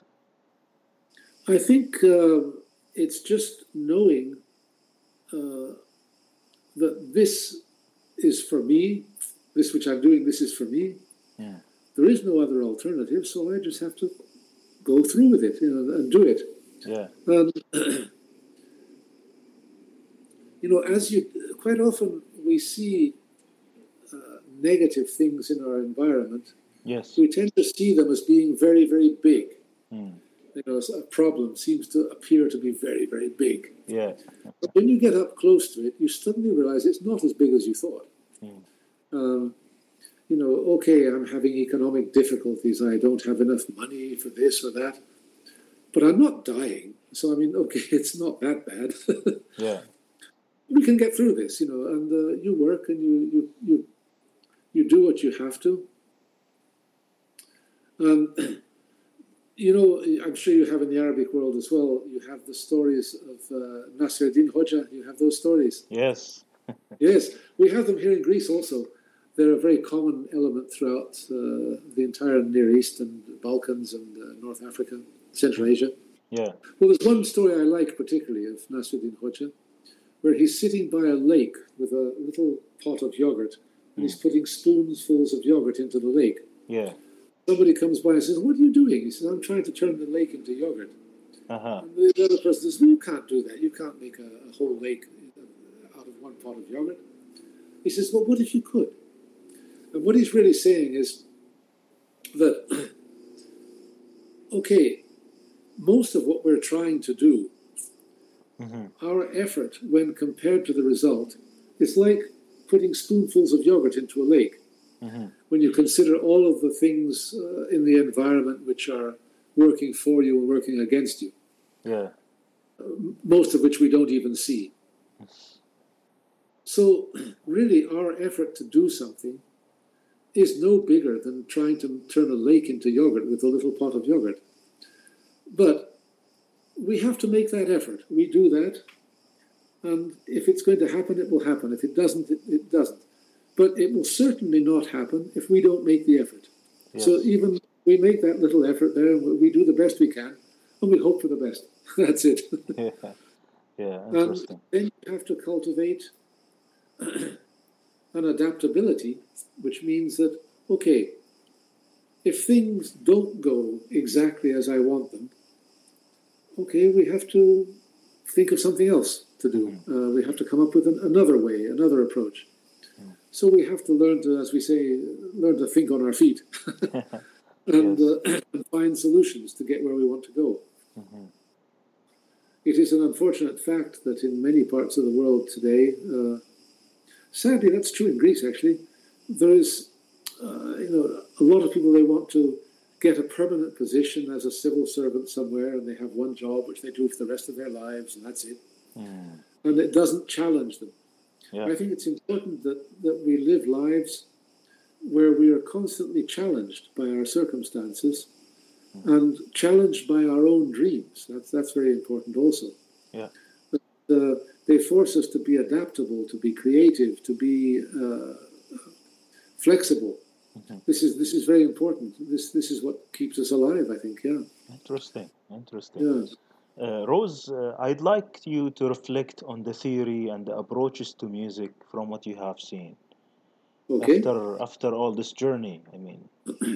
I think uh, it's just knowing uh, that this is for me, this which I'm doing, this is for me. Yeah. There is no other alternative, so I just have to go through with it, you know, and do it. Yeah. And, you know, as you, quite often we see uh, negative things in our environment, Yes. we tend to see them as being very, very big. Mm. You know, a problem seems to appear to be very, very big. Yeah. But when you get up close to it, you suddenly realize it's not as big as you thought. Mm. Um, you know, okay, I'm having economic difficulties. I don't have enough money for this or that. But I'm not dying. So, I mean, okay, it's not that bad. Yeah. We can get through this, you know, and uh, you work and you, you, you, you do what you have to. Um, you know, I'm sure you have in the Arabic world as well, you have the stories of uh, Nasruddin Hoxha. You have those stories. Yes. Yes, we have them here in Greece also. They're a very common element throughout uh, the entire Near East and Balkans and uh, North Africa, Central Asia. Yeah. Well, there's one story I like particularly of Nasruddin Hoxha, where he's sitting by a lake with a little pot of yogurt, and he's putting spoonfuls of yogurt into the lake. Yeah. Somebody comes by and says, "What are you doing?" He says, "I'm trying to turn the lake into yogurt." Uh-huh. And the other person says, "No, you can't do that. You can't make a, a whole lake out of one pot of yogurt." He says, "Well, what if you could?" And what he's really saying is that, okay, most of what we're trying to do, mm-hmm. our effort when compared to the result, is like putting spoonfuls of yogurt into a lake. Mm-hmm. When you consider all of the things uh, in the environment which are working for you and working against you. Yeah. Uh, most of which we don't even see. So really our effort to do something is no bigger than trying to turn a lake into yogurt with a little pot of yogurt. But we have to make that effort. We do that. And if it's going to happen, it will happen. If it doesn't, it, it doesn't. But it will certainly not happen if we don't make the effort. Yes. So even we make that little effort there, and we do the best we can, and we hope for the best. That's it. Yeah, yeah, interesting. And then you have to cultivate an adaptability, which means that, okay, if things don't go exactly as I want them, okay, we have to think of something else to do. Mm-hmm. Uh, we have to come up with an, another way, another approach. Mm-hmm. So we have to learn to, as we say, learn to think on our feet and, yes. uh, and find solutions to get where we want to go. Mm-hmm. It is an unfortunate fact that in many parts of the world today, uh, sadly, that's true in Greece, actually, there is, uh, you know, a lot of people, they want to get a permanent position as a civil servant somewhere, and they have one job which they do for the rest of their lives, and that's it. Mm. And it doesn't challenge them. Yeah. I think it's important that, that we live lives where we are constantly challenged by our circumstances mm. and challenged by our own dreams. That's, that's very important also. Yeah. But, uh, they force us to be adaptable, to be creative, to be uh, flexible. Mm-hmm. This is this is very important. This this is what keeps us alive, I think. Yeah. Interesting. Interesting. Yeah. Uh, Rose, uh, I'd like you to reflect on the theory and the approaches to music from what you have seen. Okay. After after all this journey, I mean.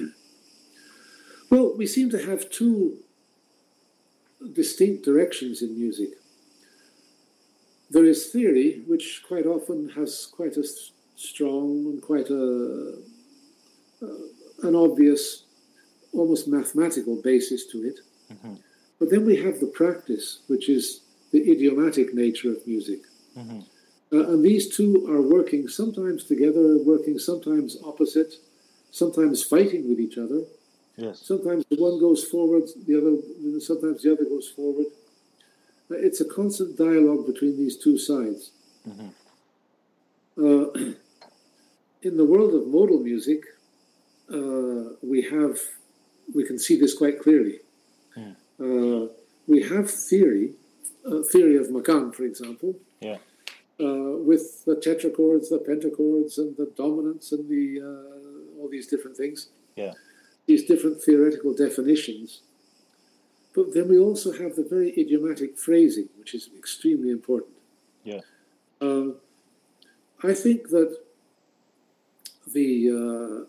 Well, we seem to have two distinct directions in music. There is theory, which quite often has quite a strong and quite a, uh, an obvious, almost mathematical basis to it. Mm-hmm. But then we have the practice, which is the idiomatic nature of music. Mm-hmm. Uh, and these two are working sometimes together, working sometimes opposite, sometimes fighting with each other. Yes. Sometimes the one goes forward, the other, sometimes the other goes forward. It's a constant dialogue between these two sides. Mm-hmm. Uh, in the world of modal music, uh, we have, we can see this quite clearly. Mm. Uh, we have theory, uh, theory of Makam, for example, yeah. uh, with the tetrachords, the pentachords, and the dominants, and the uh, all these different things. Yeah. These different theoretical definitions. But then we also have the very idiomatic phrasing, which is extremely important. Yeah. Uh, I think that the uh,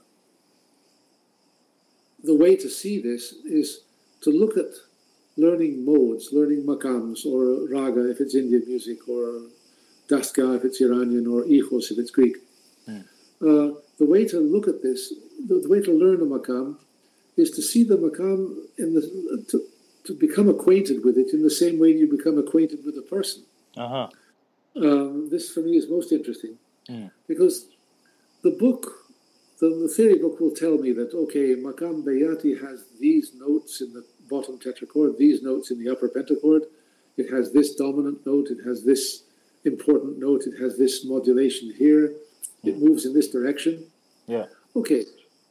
the way to see this is to look at learning modes, learning makams, or raga if it's Indian music, or dastgah if it's Iranian, or ichos if it's Greek. Mm. Uh, the way to look at this the, the way to learn a maqam is to see the maqam in the to, to become acquainted with it in the same way you become acquainted with a person. Uh-huh. Um, this for me is most interesting Mm. because the book, the, the theory book will tell me that, okay, Maqam Bayati has these notes in the bottom tetrachord, these notes in the upper pentachord, it has this dominant note, it has this important note, it has this modulation here, it Mm. moves in this direction. Yeah. Okay,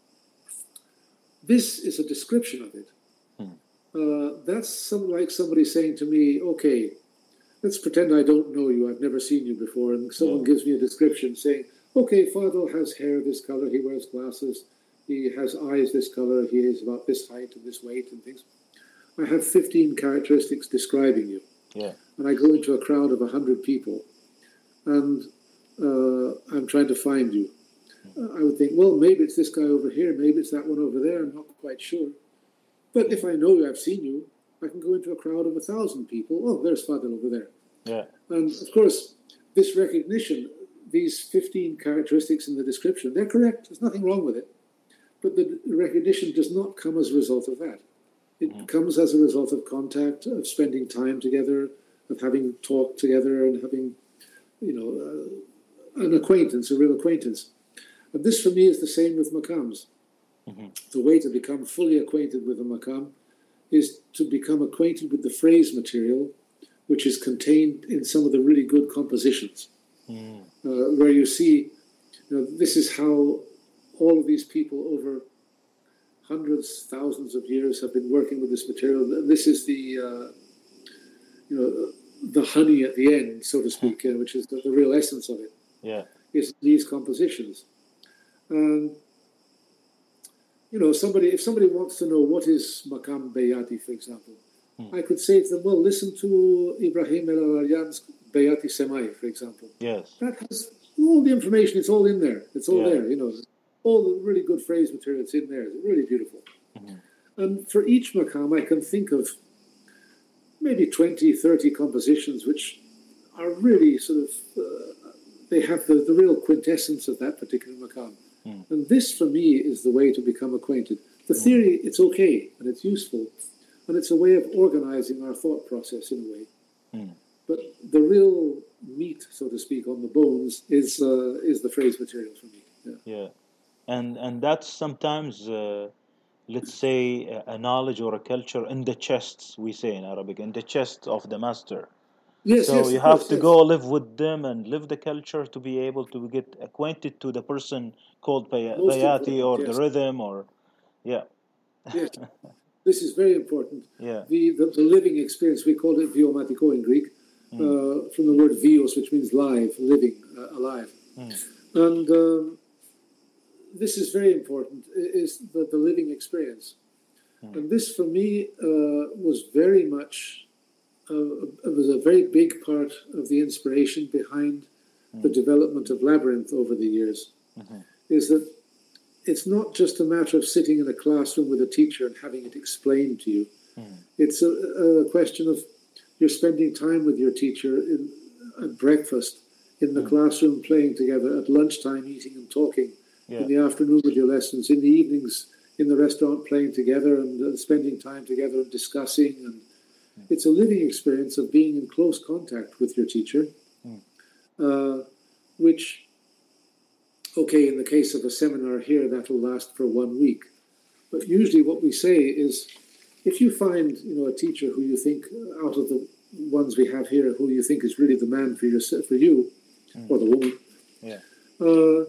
this is a description of it. Mm. Uh, that's some, like somebody saying to me, okay, let's pretend I don't know you, I've never seen you before, and someone Yeah. gives me a description saying, okay, Fadl has hair this color, he wears glasses, he has eyes this color, he is about this height and this weight and things. I have fifteen characteristics describing you. Yeah. And I go into a crowd of one hundred people, and uh, I'm trying to find you. Uh, I would think, well, maybe it's this guy over here, maybe it's that one over there, I'm not quite sure. But if I know I've seen you, I can go into a crowd of a thousand people. Oh, there's Fadl over there. Yeah. And of course, this recognition, these fifteen characteristics in the description, they're correct. There's nothing wrong with it. But the recognition does not come as a result of that. It Mhm. comes as a result of contact, of spending time together, of having talked together and having, you know, uh, an acquaintance, a real acquaintance. And this for me is the same with maqams. Mhm. The way to become fully acquainted with a maqam is to become acquainted with the phrase material, which is contained in some of the really good compositions, Mm. uh, where you see, you know, this is how all of these people over hundreds, thousands of years have been working with this material. This is the, uh, you know, the honey at the end, so to speak, uh, which is the, the real essence of it, Yeah. is these compositions. And you know, somebody if somebody wants to know what is Maqam Bayati, for example, Hmm. I could say to them, well, listen to Ibrahim El-Aryan's Bayati Semai, for example. Yes. That has all the information, it's all in there. It's all Yeah. there, you know. All the really good phrase material, it's in there. It's really beautiful. Mhm. And for each maqam, I can think of maybe twenty, thirty compositions which are really sort of, uh, they have the, the real quintessence of that particular maqam. Mm. And this, for me, is the way to become acquainted. The theory, it's okay, and it's useful, and it's a way of organizing our thought process in a way. Mm. But the real meat, so to speak, on the bones is uh, is the phrase material for me. Yeah. Yeah. And and that's sometimes, uh, let's say, a, a knowledge or a culture in the chests, we say in Arabic, in the chest of the master. Yes, So yes, you of have course, to yes. go live with them and live the culture to be able to get acquainted to the person called Bay- Most Bayati important, or the yes. rhythm or yeah. Yes, this is very important. Yeah. The, the, the living experience, we call it viomatiko in Greek, Mm. uh, from the word vios, which means live, living, uh, alive. Mm. And um, this is very important, i- is the, the living experience. Mm. And this, for me, uh, was very much, uh, it was a very big part of the inspiration behind the development of Labyrinth over the years, Mhm. is that it's not just a matter of sitting in a classroom with a teacher and having it explained to you. Mm. It's a, a question of you're spending time with your teacher in, at breakfast, in the Mm. classroom playing together, at lunchtime eating and talking, Yeah. in the afternoon with your lessons, in the evenings in the restaurant playing together and uh, spending time together and discussing. And it's a living experience of being in close contact with your teacher, Mm. uh, which, okay, in the case of a seminar here, that'll last for one week. But usually what we say is, if you find, you know, a teacher who you think, uh, out of the ones we have here, who you think is really the man for your, for you, Mm. or the woman, Yeah. uh,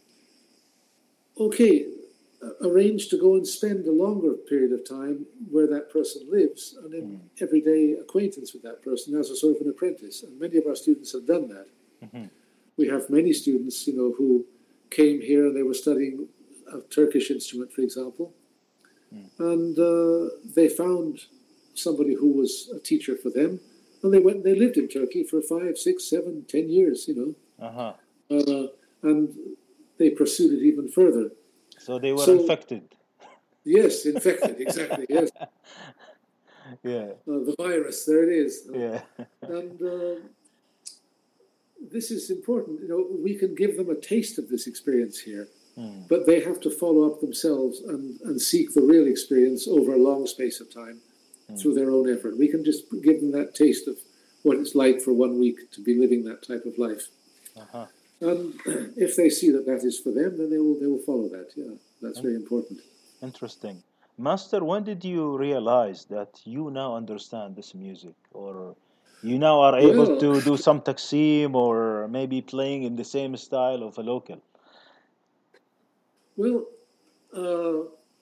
okay, uh, arrange to go and spend a longer period of time where that person lives, and in Mm. everyday acquaintance with that person as a sort of an apprentice. And many of our students have done that. Mhm. We have many students, you know, who came here and they were studying a Turkish instrument, for example, Mm. and uh, they found somebody who was a teacher for them, and they went. They lived in Turkey for five, six, seven, ten years, you know, Uh-huh. uh, and they pursued it even further. So they were So- infected. Yes, infected, exactly. Yes, Yeah. uh, the virus. There it is. Yeah. And uh, this is important. You know, we can give them a taste of this experience here. Mm. but they have to follow up themselves and, and seek the real experience over a long space of time mm. through their own effort. We can just give them that taste of what it's like for one week to be living that type of life. Uh-huh. And if they see that that is for them, then they will they will follow that. Yeah, that's very important. Interesting. Master, when did you realize that you now understand this music, or you now are able Well, to do some taksim or maybe playing in the same style of a local? Well, uh,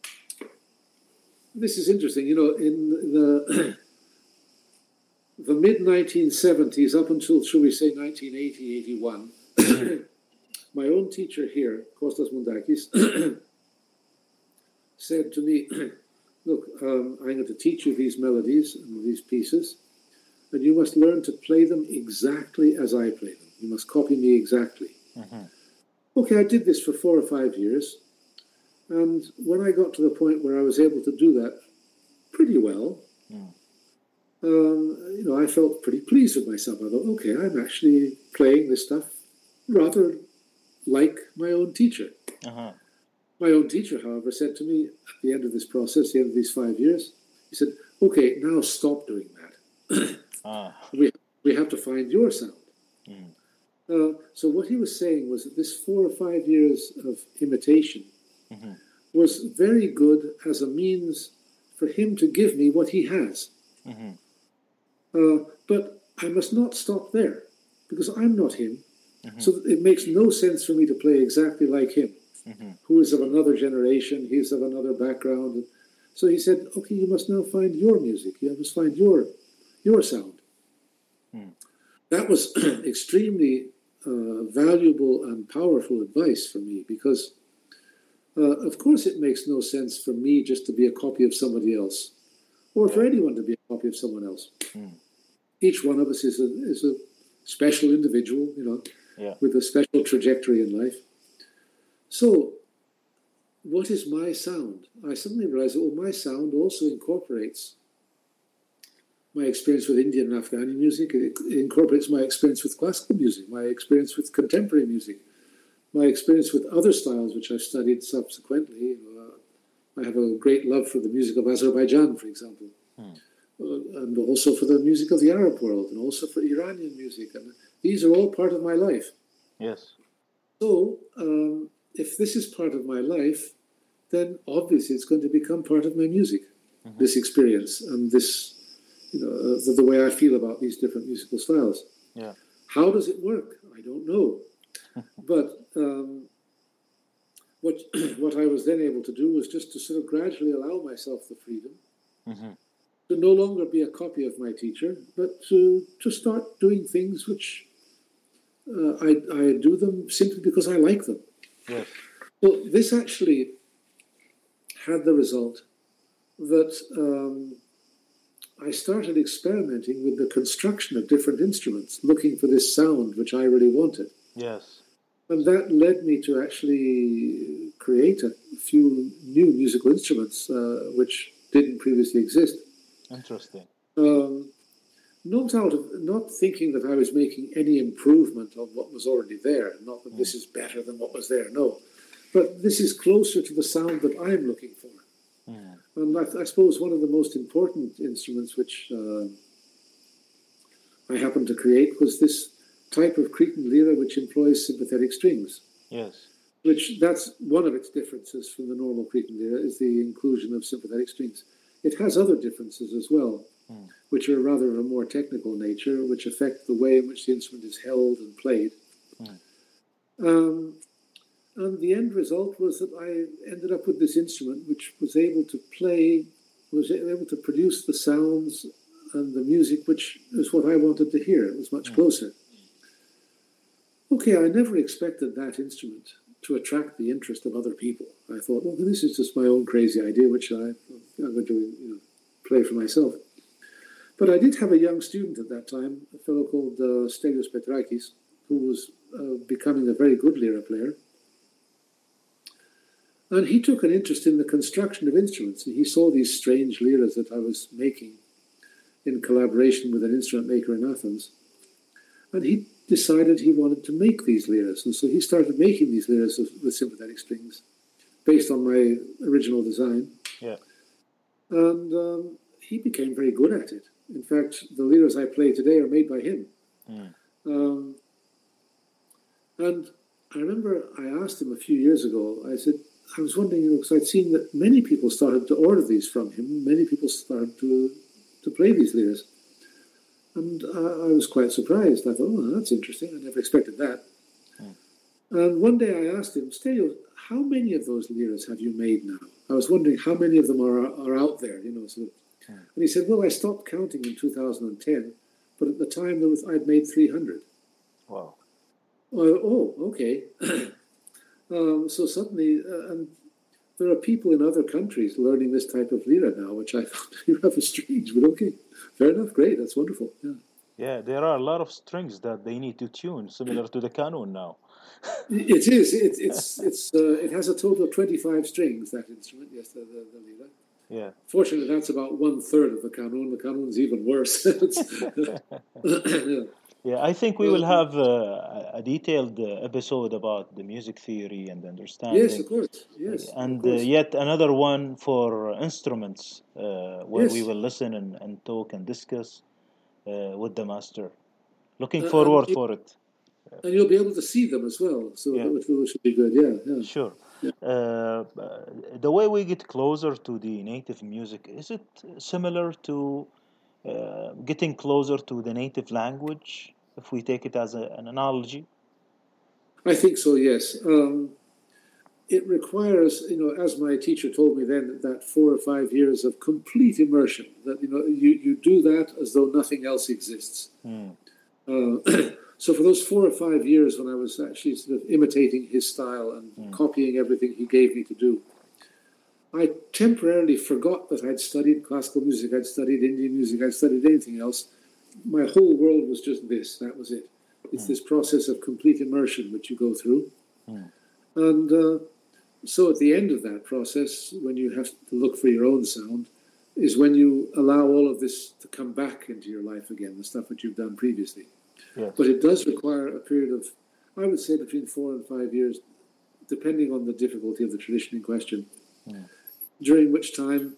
this is interesting. You know, in the the mid nineteen seventies, up until, shall we say, nineteen eighty, eighty-one, my own teacher here, Kostas Mundakis, said to me, look, um, I'm going to teach you these melodies and these pieces, and you must learn to play them exactly as I play them. You must copy me exactly. Mm-hmm. Okay, I did this for four or five years, and when I got to the point where I was able to do that pretty well, mm. um, you know, I felt pretty pleased with myself. I thought, okay, I'm actually playing this stuff rather like my own teacher. Uh-huh. My own teacher, however, said to me at the end of this process, the end of these five years, he said, okay, now stop doing that. ah. we, we have to find your sound. Mm. Uh, so what he was saying was that this four or five years of imitation mm-hmm. was very good as a means for him to give me what he has. Mm-hmm. Uh, but I must not stop there, because I'm not him. Mm-hmm. So it makes no sense for me to play exactly like him, mm-hmm. who is of another generation, he's of another background. So he said, okay, you must now find your music. You must find your your sound. Mm. That was extremely uh, valuable and powerful advice for me, because, uh, of course, it makes no sense for me just to be a copy of somebody else, or for anyone to be a copy of someone else. Mm. Each one of us is a, is a special individual, you know, yeah. with a special trajectory in life. So, what is my sound? I suddenly realized that, well, my sound also incorporates my experience with Indian and Afghani music. It incorporates my experience with classical music, my experience with contemporary music, my experience with other styles which I've studied subsequently. Uh, I have a great love for the music of Azerbaijan, for example, hmm. uh, and also for the music of the Arab world, and also for Iranian music. And these are all part of my life. Yes. So, um, if this is part of my life, then obviously it's going to become part of my music, mm-hmm. this experience and this, you know, uh, the, the way I feel about these different musical styles. Yeah. How does it work? I don't know. But um, what what I was then able to do was just to sort of gradually allow myself the freedom mm-hmm. to no longer be a copy of my teacher, but to, to start doing things which uh, I, I do them simply because I like them. Yes. So this actually had the result that um, I started experimenting with the construction of different instruments, looking for this sound which I really wanted. Yes. And that led me to actually create a few new musical instruments uh, which didn't previously exist. Interesting. Um, not out of not thinking that I was making any improvement on what was already there, not that mm. this is better than what was there, no. But this is closer to the sound that I'm looking for. Mm. And I, I suppose one of the most important instruments which uh, I happened to create was this type of Cretan lira which employs sympathetic strings. Yes. Which, that's one of its differences from the normal Cretan lira, is the inclusion of sympathetic strings. It has other differences as well, mm. which are rather of a more technical nature, which affect the way in which the instrument is held and played. Mm. Um, and the end result was that I ended up with this instrument which was able to play, was able to produce the sounds and the music which is what I wanted to hear. It was much mm. closer. Okay, I never expected that instrument to attract the interest of other people. I thought, well, this is just my own crazy idea, which I, I'm going to you know, play for myself. But I did have a young student at that time, a fellow called uh, Stelios Petrakis, who was uh, becoming a very good lira player. And he took an interest in the construction of instruments, and he saw these strange liras that I was making in collaboration with an instrument maker in Athens. And he decided he wanted to make these liras. And so he started making these liras with, with sympathetic strings based on my original design. Yeah. And um, he became very good at it. In fact, the liras I play today are made by him. Mm. Um, and I remember I asked him a few years ago, I said, I was wondering, you know, because I'd seen that many people started to order these from him. Many people started to, to play these liras. And uh, I was quite surprised. I thought, oh, that's interesting. I never expected that. Mm. And one day I asked him, Stelio, how many of those liras have you made now? I was wondering how many of them are are out there, you know. So, mm. And he said, well, I stopped counting in two thousand ten, but at the time there was I'd made three hundred. Wow. Uh, oh, okay. um, so suddenly, uh, and there are people in other countries learning this type of lira now, which I found rather strange, but okay. Fair enough, great, that's wonderful. Yeah. Yeah, there are a lot of strings that they need to tune, similar to the qanun now. It is. It, it's. It's. Uh, it has a total of twenty-five strings. That instrument, yes, the, the, the lira. Yeah. Fortunately, that's about one third of the qanun. The qanun's even worse. yeah. yeah, I think we will have uh, a detailed uh, episode about the music theory and understanding. Yes, of course. Yes, and of course. Uh, yet another one for instruments, uh, where yes. we will listen and, and talk and discuss uh, with the master. Looking uh, forward you, for it. And you'll be able to see them as well, so yeah. which should be good. Yeah, yeah. Sure. Yeah. Uh, the way we get closer to the native music, is it similar to uh, getting closer to the native language, if we take it as a, an analogy? I think so, yes. Um, it requires, you know, as my teacher told me then, that four or five years of complete immersion, that, you know, you, you do that as though nothing else exists. Mm. Uh, so for those four or five years when I was actually sort of imitating his style and mm. copying everything he gave me to do, I temporarily forgot that I'd studied classical music, I'd studied Indian music, I'd studied anything else. My whole world was just this, that was it. It's mm. this process of complete immersion which you go through. Mm. And uh, so at the end of that process, when you have to look for your own sound, is when you allow all of this to come back into your life again, the stuff that you've done previously. Yes. But it does require a period of, I would say, between four and five years, depending on the difficulty of the tradition in question, mm. during which time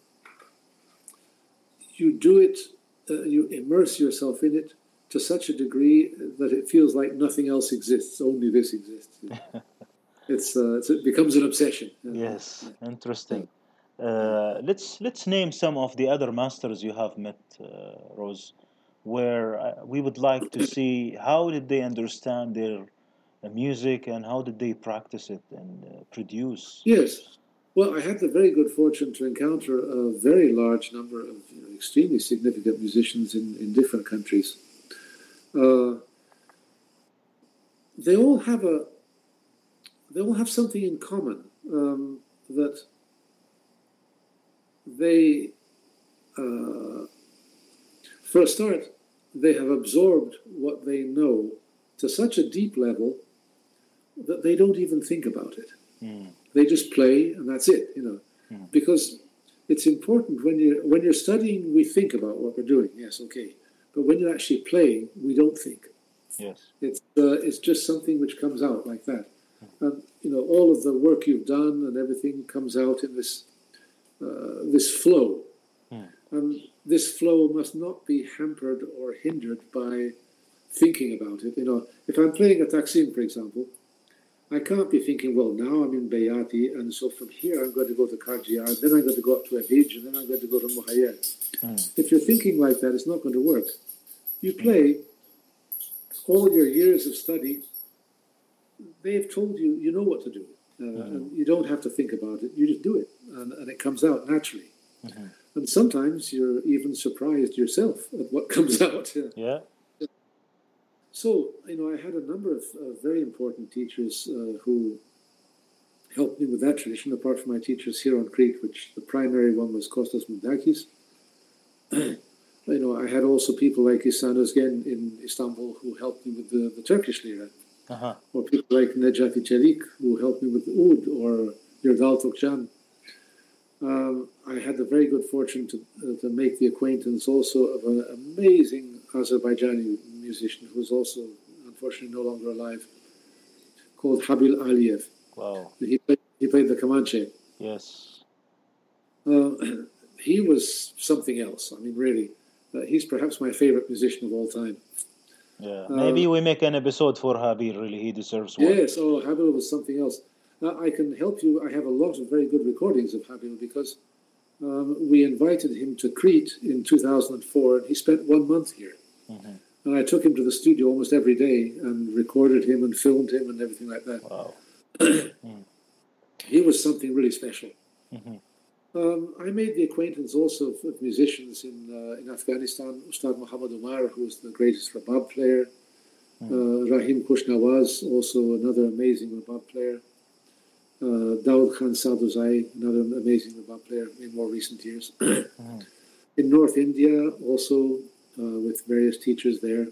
you do it, uh, you immerse yourself in it to such a degree that it feels like nothing else exists, only this exists. It's, uh, it's it becomes an obsession. Yes, interesting. Uh, let's let's name some of the other masters you have met, uh, Rose, where uh, we would like to see how did they understand their uh, music and how did they practice it and uh, produce. Yes. Well, I had the very good fortune to encounter a very large number of you know, extremely significant musicians in, in different countries. Uh, they all have a they all have something in common, um, that they, uh, for a start, they have absorbed what they know to such a deep level that they don't even think about it. Mm. They just play, and that's it, you know. Mm. Because it's important when you're when you're studying, we think about what we're doing. Yes, okay. But when you're actually playing, we don't think. Yes, it's uh, it's just something which comes out like that. And you know, all of the work you've done and everything comes out in this uh, this flow. Mm. And this flow must not be hampered or hindered by thinking about it. You know, if I'm playing a taksim, for example, I can't be thinking, well, now I'm in Bayati, and so from here I'm going to go to Karjiyar, then I'm going to go up to Abij, and then I'm going to go to Muhayyad. Mm. If you're thinking like that, it's not going to work. You play, all your years of study, they've told you, you know what to do. Uh, mm-hmm. And you don't have to think about it, you just do it, and, and it comes out naturally. Mm-hmm. And sometimes you're even surprised yourself at what comes out. Yeah. So, you know, I had a number of uh, very important teachers uh, who helped me with that tradition, apart from my teachers here on Crete, which the primary one was Kostas Moudakis. You know, I had also people like Ihsan Özgen in Istanbul who helped me with the, the Turkish lira. Uh-huh. Or people like Necati Çelik who helped me with the oud, or Yerdal Tokcan. Um, I had the very good fortune to uh, to make the acquaintance also of an amazing Azerbaijani musician who's also unfortunately no longer alive, called Habil Aliyev. Wow. He played, he played the Comanche. Yes. Uh, he was something else. I mean, really. Uh, he's perhaps my favorite musician of all time. Yeah. Maybe Uh, we make an episode for Habil. Really, he deserves one. Yes, oh, Habil was something else. Uh, I can help you. I have a lot of very good recordings of Habil because um, we invited him to Crete in two thousand four, and he spent one month here. Mm-hmm. And I took him to the studio almost every day and recorded him and filmed him and everything like that. Wow. mm. He was something really special. Mm-hmm. Um, I made the acquaintance also of, of musicians in uh, in Afghanistan. Ustad Muhammad Umar, who was the greatest rabab player. Mm. Uh, Rahim Kushnawaz, also another amazing rabab player. Uh, Daud Khan Saduzai, another amazing rabab player in more recent years. mm. In North India, also uh, with various teachers there.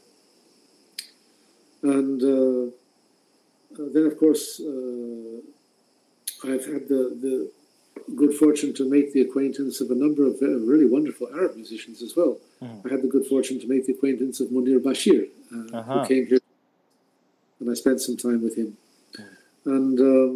And uh, uh, then, of course, uh, I've had the, the good fortune to make the acquaintance of a number of uh, really wonderful Arab musicians as well. Mm. I had the good fortune to make the acquaintance of Munir Bashir, uh, Uh-huh. who came here, and I spent some time with him. Mm. And um,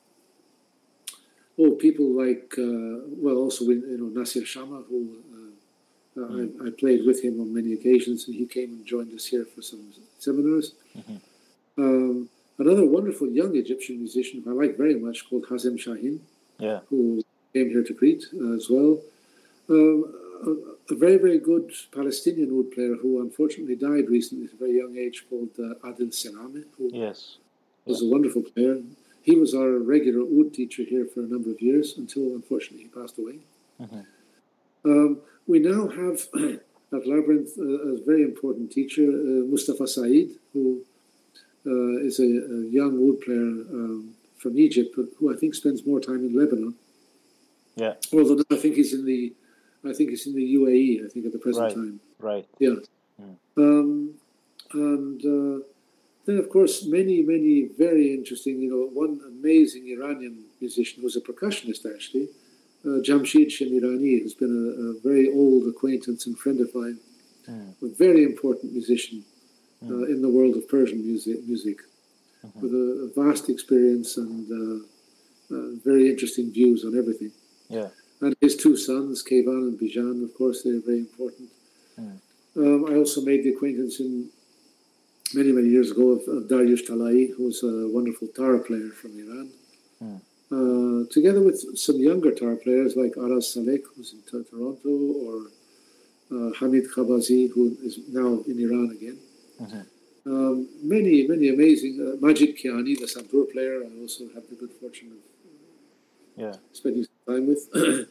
oh, people like uh, well, also you know Nasir Shama, who uh, uh, Mm. I, I played with him on many occasions, and he came and joined us here for some seminars. Mhm. Um, another wonderful young Egyptian musician who I like very much, called Hazem Shahin, Yeah. who came here to Crete uh, as well. Um, a, a very, very good Palestinian oud player who unfortunately died recently at a very young age, called uh, Adil Serame, who Yes. was a wonderful player. He was our regular oud teacher here for a number of years until, unfortunately, he passed away. Mhm. Um, we now have at Labyrinth uh, a very important teacher, uh, Mustafa Saeed, who uh, is a, a young oud player um, from Egypt, but who I think spends more time in Lebanon. Yeah. Although I think he's in the, I think he's in the U A E. I think at the present Right. time. Right. Yeah. Mm. Um, and uh, then, of course, many, many very interesting. You know, one amazing Iranian musician who was a percussionist actually, uh, Jamshid Shemirani, who's been a, a very old acquaintance and friend of mine, Mm. a very important musician uh, Mm. in the world of Persian music. Music. Mhm. With a, a vast experience and uh, uh, very interesting views on everything. Yeah. And his two sons, Kayvan and Bijan, of course, they're very important. Mm. Um, I also made the acquaintance in many, many years ago of, of Dariush Talai, who's a wonderful tar player from Iran. Mm. Uh, together with some younger tar players like Aras Salek, who's in T- Toronto, or uh, Hamid Khabazi, who is now in Iran again. Mhm. Um, many, many amazing. Uh, Majid Kiani, the santur player, I also have the good fortune of Yeah. spending some time with.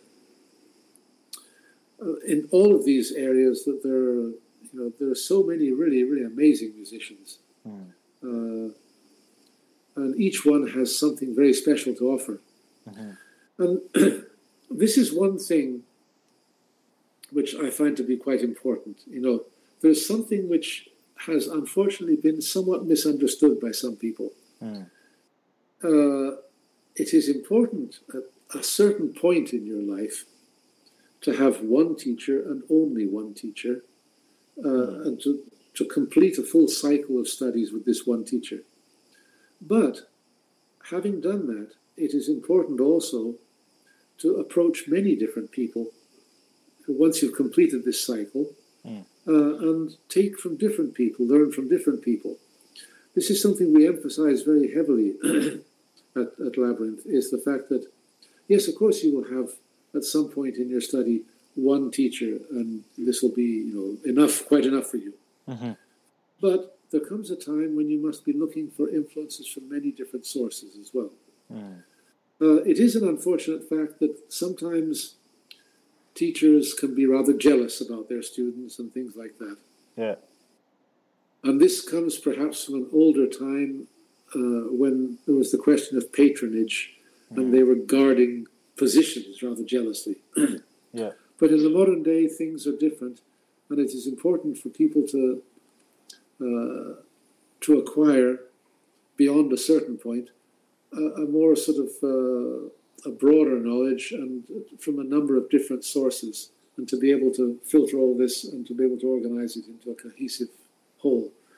uh, in all of these areas, that there, are, you know, there are so many really, really amazing musicians, Mm. uh, and each one has something very special to offer. Mhm. And this is one thing which I find to be quite important. You know, there's something which has unfortunately been somewhat misunderstood by some people. Mm. Uh, it is important at a certain point in your life to have one teacher and only one teacher, uh, Mm. and to, to complete a full cycle of studies with this one teacher. But having done that, it is important also to approach many different people once you've completed this cycle, Mm. uh, and take from different people, learn from different people. This is something we emphasize very heavily at, at Labyrinth, is the fact that, yes, of course, you will have at some point in your study one teacher, and this will be, you know, enough, quite enough for you. Mhm. But there comes a time when you must be looking for influences from many different sources as well. Mm. Uh, it is an unfortunate fact that sometimes teachers can be rather jealous about their students and things like that. Yeah. And this comes perhaps from an older time uh, when there was the question of patronage, Mm. and they were guarding positions rather jealously. Yeah. But in the modern day, things are different, and it is important for people to uh, to acquire, beyond a certain point, a, a more sort of uh, a broader knowledge, and from a number of different sources, and to be able to filter all this and to be able to organize it into a cohesive whole.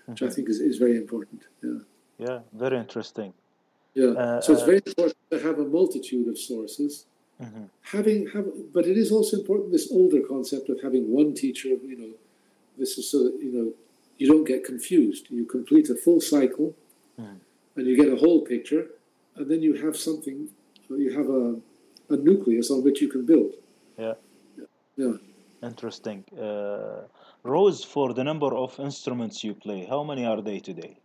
which I think is, is very important. Yeah. Yeah, very interesting. Yeah. Uh, So it's uh, very important to have a multitude of sources. mhm. Having have, but it is also important, this older concept of having one teacher. You know, this is so that you know you don't get confused. You complete a full cycle, Mhm. and you get a whole picture, and then you have something. You have a a nucleus on which you can build. Yeah, Yeah. interesting. Uh, Rose, for the number of instruments you play, how many are they today?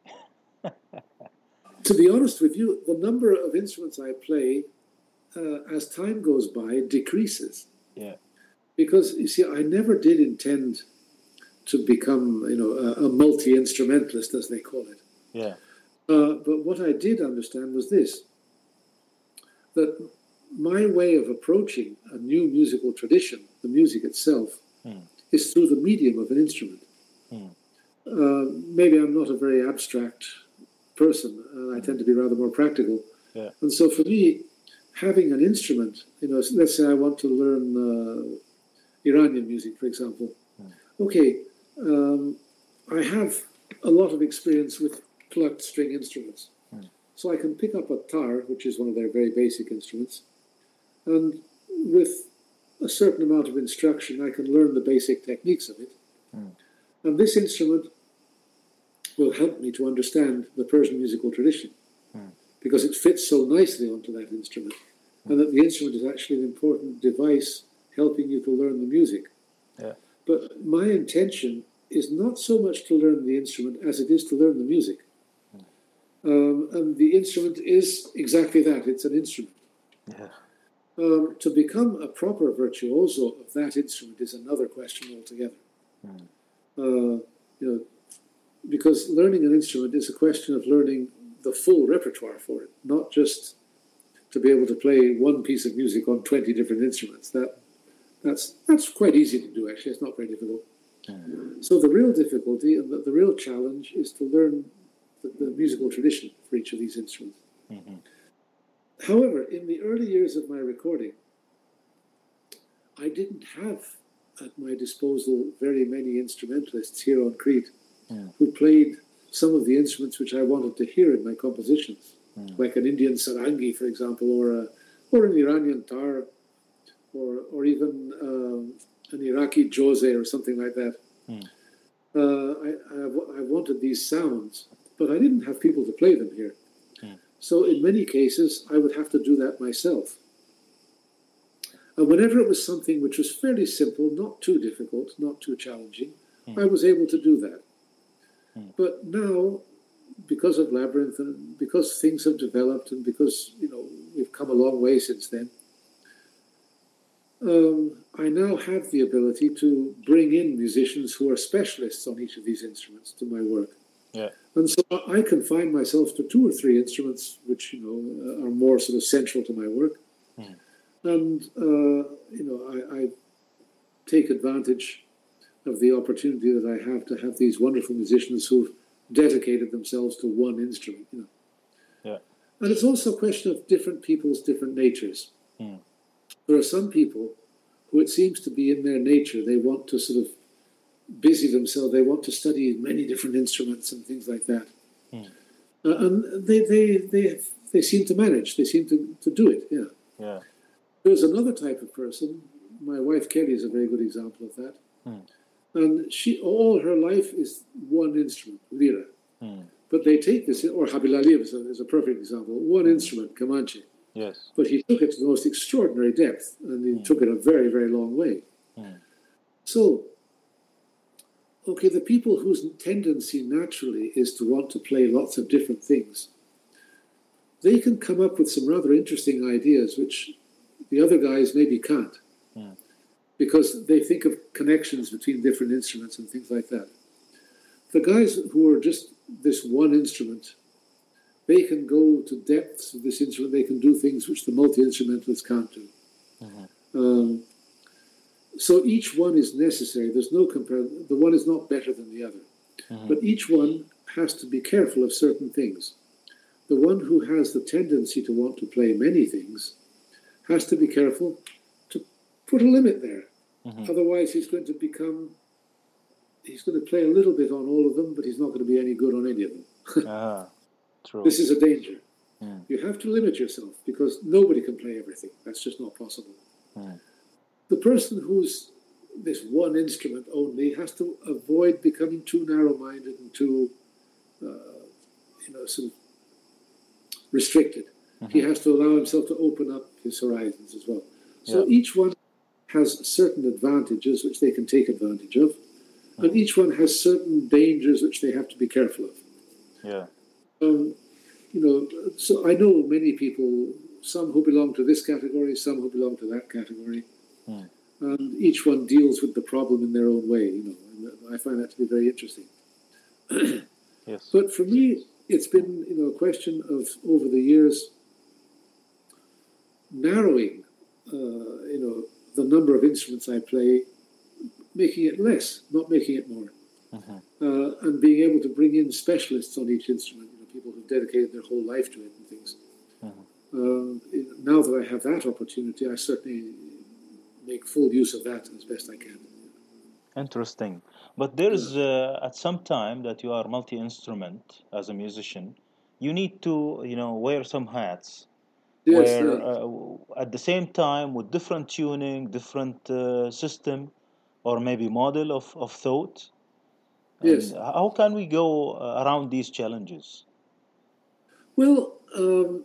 To be honest with you, the number of instruments I play uh, as time goes by decreases. Yeah, Because you see, I never did intend to become, you know, a, a multi-instrumentalist, as they call it. yeah, Uh, but what I did understand was this: that my way of approaching a new musical tradition, the music itself, mm. is through the medium of an instrument. Mm. Uh, maybe I'm not a very abstract person. Uh, I tend to be rather more practical. Yeah. And so for me, having an instrument, you know, let's say I want to learn uh, Iranian music, for example. Mm. Okay, um, I have a lot of experience with plucked string instruments. Mm. So I can pick up a tar, which is one of their very basic instruments, and with a certain amount of instruction, I can learn the basic techniques of it. Mm. And this instrument will help me to understand the Persian musical tradition, Mm. because it fits so nicely onto that instrument, and that the instrument is actually an important device helping you to learn the music. Yeah. But my intention is not so much to learn the instrument as it is to learn the music. Mm. Um, and the instrument is exactly that, it's an instrument. Yeah. Um, to become a proper virtuoso of that instrument is another question altogether. Mm. Uh, you know, because learning an instrument is a question of learning the full repertoire for it, not just to be able to play one piece of music on twenty different instruments. That that's that's quite easy to do, actually. It's not very difficult. Mm. So the real difficulty and the, the real challenge is to learn the, the musical tradition for each of these instruments. Mm-hmm. However, in the early years of my recording, I didn't have at my disposal very many instrumentalists here on Crete Mm. who played some of the instruments which I wanted to hear in my compositions, Mm. like an Indian sarangi, for example, or a, or an Iranian tar, or or even um, an Iraqi jose or something like that. Mm. Uh, I, I, I wanted these sounds, but I didn't have people to play them here. Mm. So in many cases, I would have to do that myself. And whenever it was something which was fairly simple, not too difficult, not too challenging, Mm. I was able to do that. Mm. But now, because of Labyrinth and because things have developed and because, you know, we've come a long way since then, um, I now have the ability to bring in musicians who are specialists on each of these instruments to my work. Yeah. And so I confine myself to two or three instruments which, you know, are more sort of central to my work. Mm. And, uh, you know, I, I take advantage of the opportunity that I have to have these wonderful musicians who've dedicated themselves to one instrument, you know. Yeah. And it's also a question of different people's different natures. Mm. There are some people who it seems to be in their nature, they want to sort of busy themselves, they want to study many different instruments and things like that. Mm. Uh, and they, they, they, they seem to manage, they seem to, to do it, yeah. Yeah. There's another type of person, my wife Kelly is a very good example of that. Mm. And she, all her life is one instrument, lira. Mm. But they take this, or Habilali is a, is a perfect example, one instrument, Comanche. Yes. But he took it to the most extraordinary depth, and he Mm. took it a very, very long way. Mm. So, okay, the people whose tendency naturally is to want to play lots of different things, they can come up with some rather interesting ideas which the other guys maybe can't. Mm. Because they think of connections between different instruments and things like that. The guys who are just this one instrument, they can go to depths of this instrument, they can do things which the multi-instrumentalists can't do. Mm-hmm. Um, so each one is necessary. There's no comparison. The one is not better than the other. Mm-hmm. But each one has to be careful of certain things. The one who has the tendency to want to play many things has to be careful to put a limit there. Mm-hmm. Otherwise, he's going to become he's going to play a little bit on all of them, but he's not going to be any good on any of them. Ah, true. This is a danger. Mm. You have to limit yourself because nobody can play everything. That's just not possible. Mm. The person who's this one instrument only has to avoid becoming too narrow-minded and too, uh, you know, sort of restricted. Mm-hmm. He has to allow himself to open up his horizons as well. So yeah. Each one has certain advantages which they can take advantage of, mm-hmm. and each one has certain dangers which they have to be careful of. Yeah. Um, you know, so I know many people, some who belong to this category, some who belong to that category, mm. and each one deals with the problem in their own way. You know, and I find that to be very interesting. Yes. But for me, it's been, you know, a question of over the years narrowing, uh, you know, the number of instruments I play, making it less, not making it more, mm-hmm. uh, and being able to bring in specialists on each instrument. You know, people who've dedicated their whole life to it and things. Mm-hmm. Um, now that I have that opportunity, I certainly make full use of that as best I can. Interesting. But there's, uh, at some time that you are multi-instrument as a musician, you need to, you know, wear some hats. Yes, where yeah. uh, at the same time with different tuning, different uh, system, or maybe model of, of thought. And yes. How can we go uh, around these challenges? Well, um,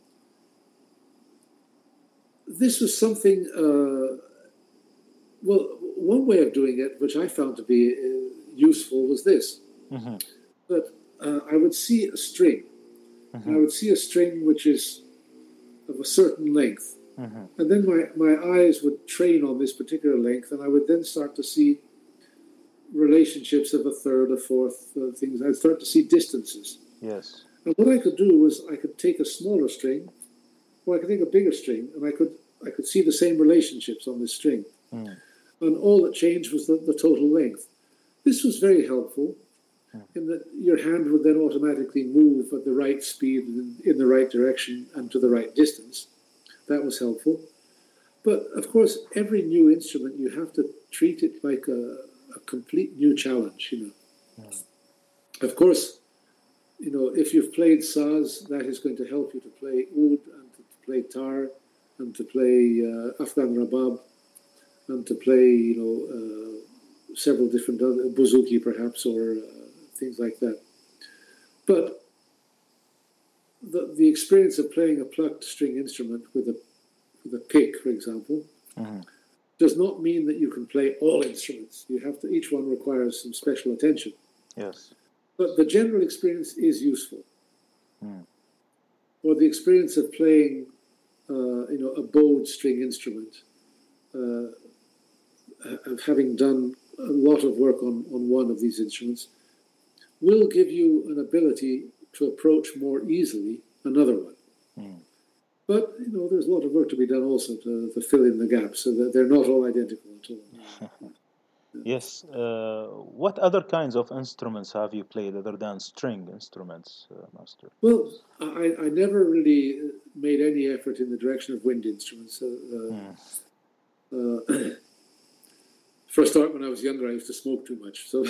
this was something, uh, well, one way of doing it, which I found to be uh, useful, was this. Mm-hmm. That uh, I would see a string. Mm-hmm. And I would see a string which is of a certain length. Mm-hmm. And then my, my eyes would train on this particular length, and I would then start to see relationships of a third, a fourth, uh, things. I'd start to see distances. Yes. And what I could do was I could take a smaller string, or I could take a bigger string, and I could I could see the same relationships on this string. Mm. And all that changed was the, the total length. This was very helpful mm. in that your hand would then automatically move at the right speed and in the right direction and to the right distance. That was helpful. But, of course, every new instrument, you have to treat it like a, a complete new challenge, you know. Mm. Of course, you know, if you've played saz, that is going to help you to play oud and to play tar and to play uh, Afghan rabab and to play, you know, uh, several different other, bouzouki perhaps, or uh, things like that. But the the experience of playing a plucked string instrument with a with a pick, for example, mm-hmm. does not mean that you can play all instruments. You have to. Each one requires some special attention. Yes. But the general experience is useful. Mm. Or the experience of playing, uh, you know, a bowed string instrument, uh, of having done a lot of work on, on one of these instruments, will give you an ability to approach more easily another one. Mm. But, you know, there's a lot of work to be done also to, to fill in the gaps, so that they're not all identical at all. Yes. Uh, what other kinds of instruments have you played other than string instruments, uh, Master? Well, I, I never really made any effort in the direction of wind instruments. Uh, mm. uh, for a start, when I was younger, I used to smoke too much. So,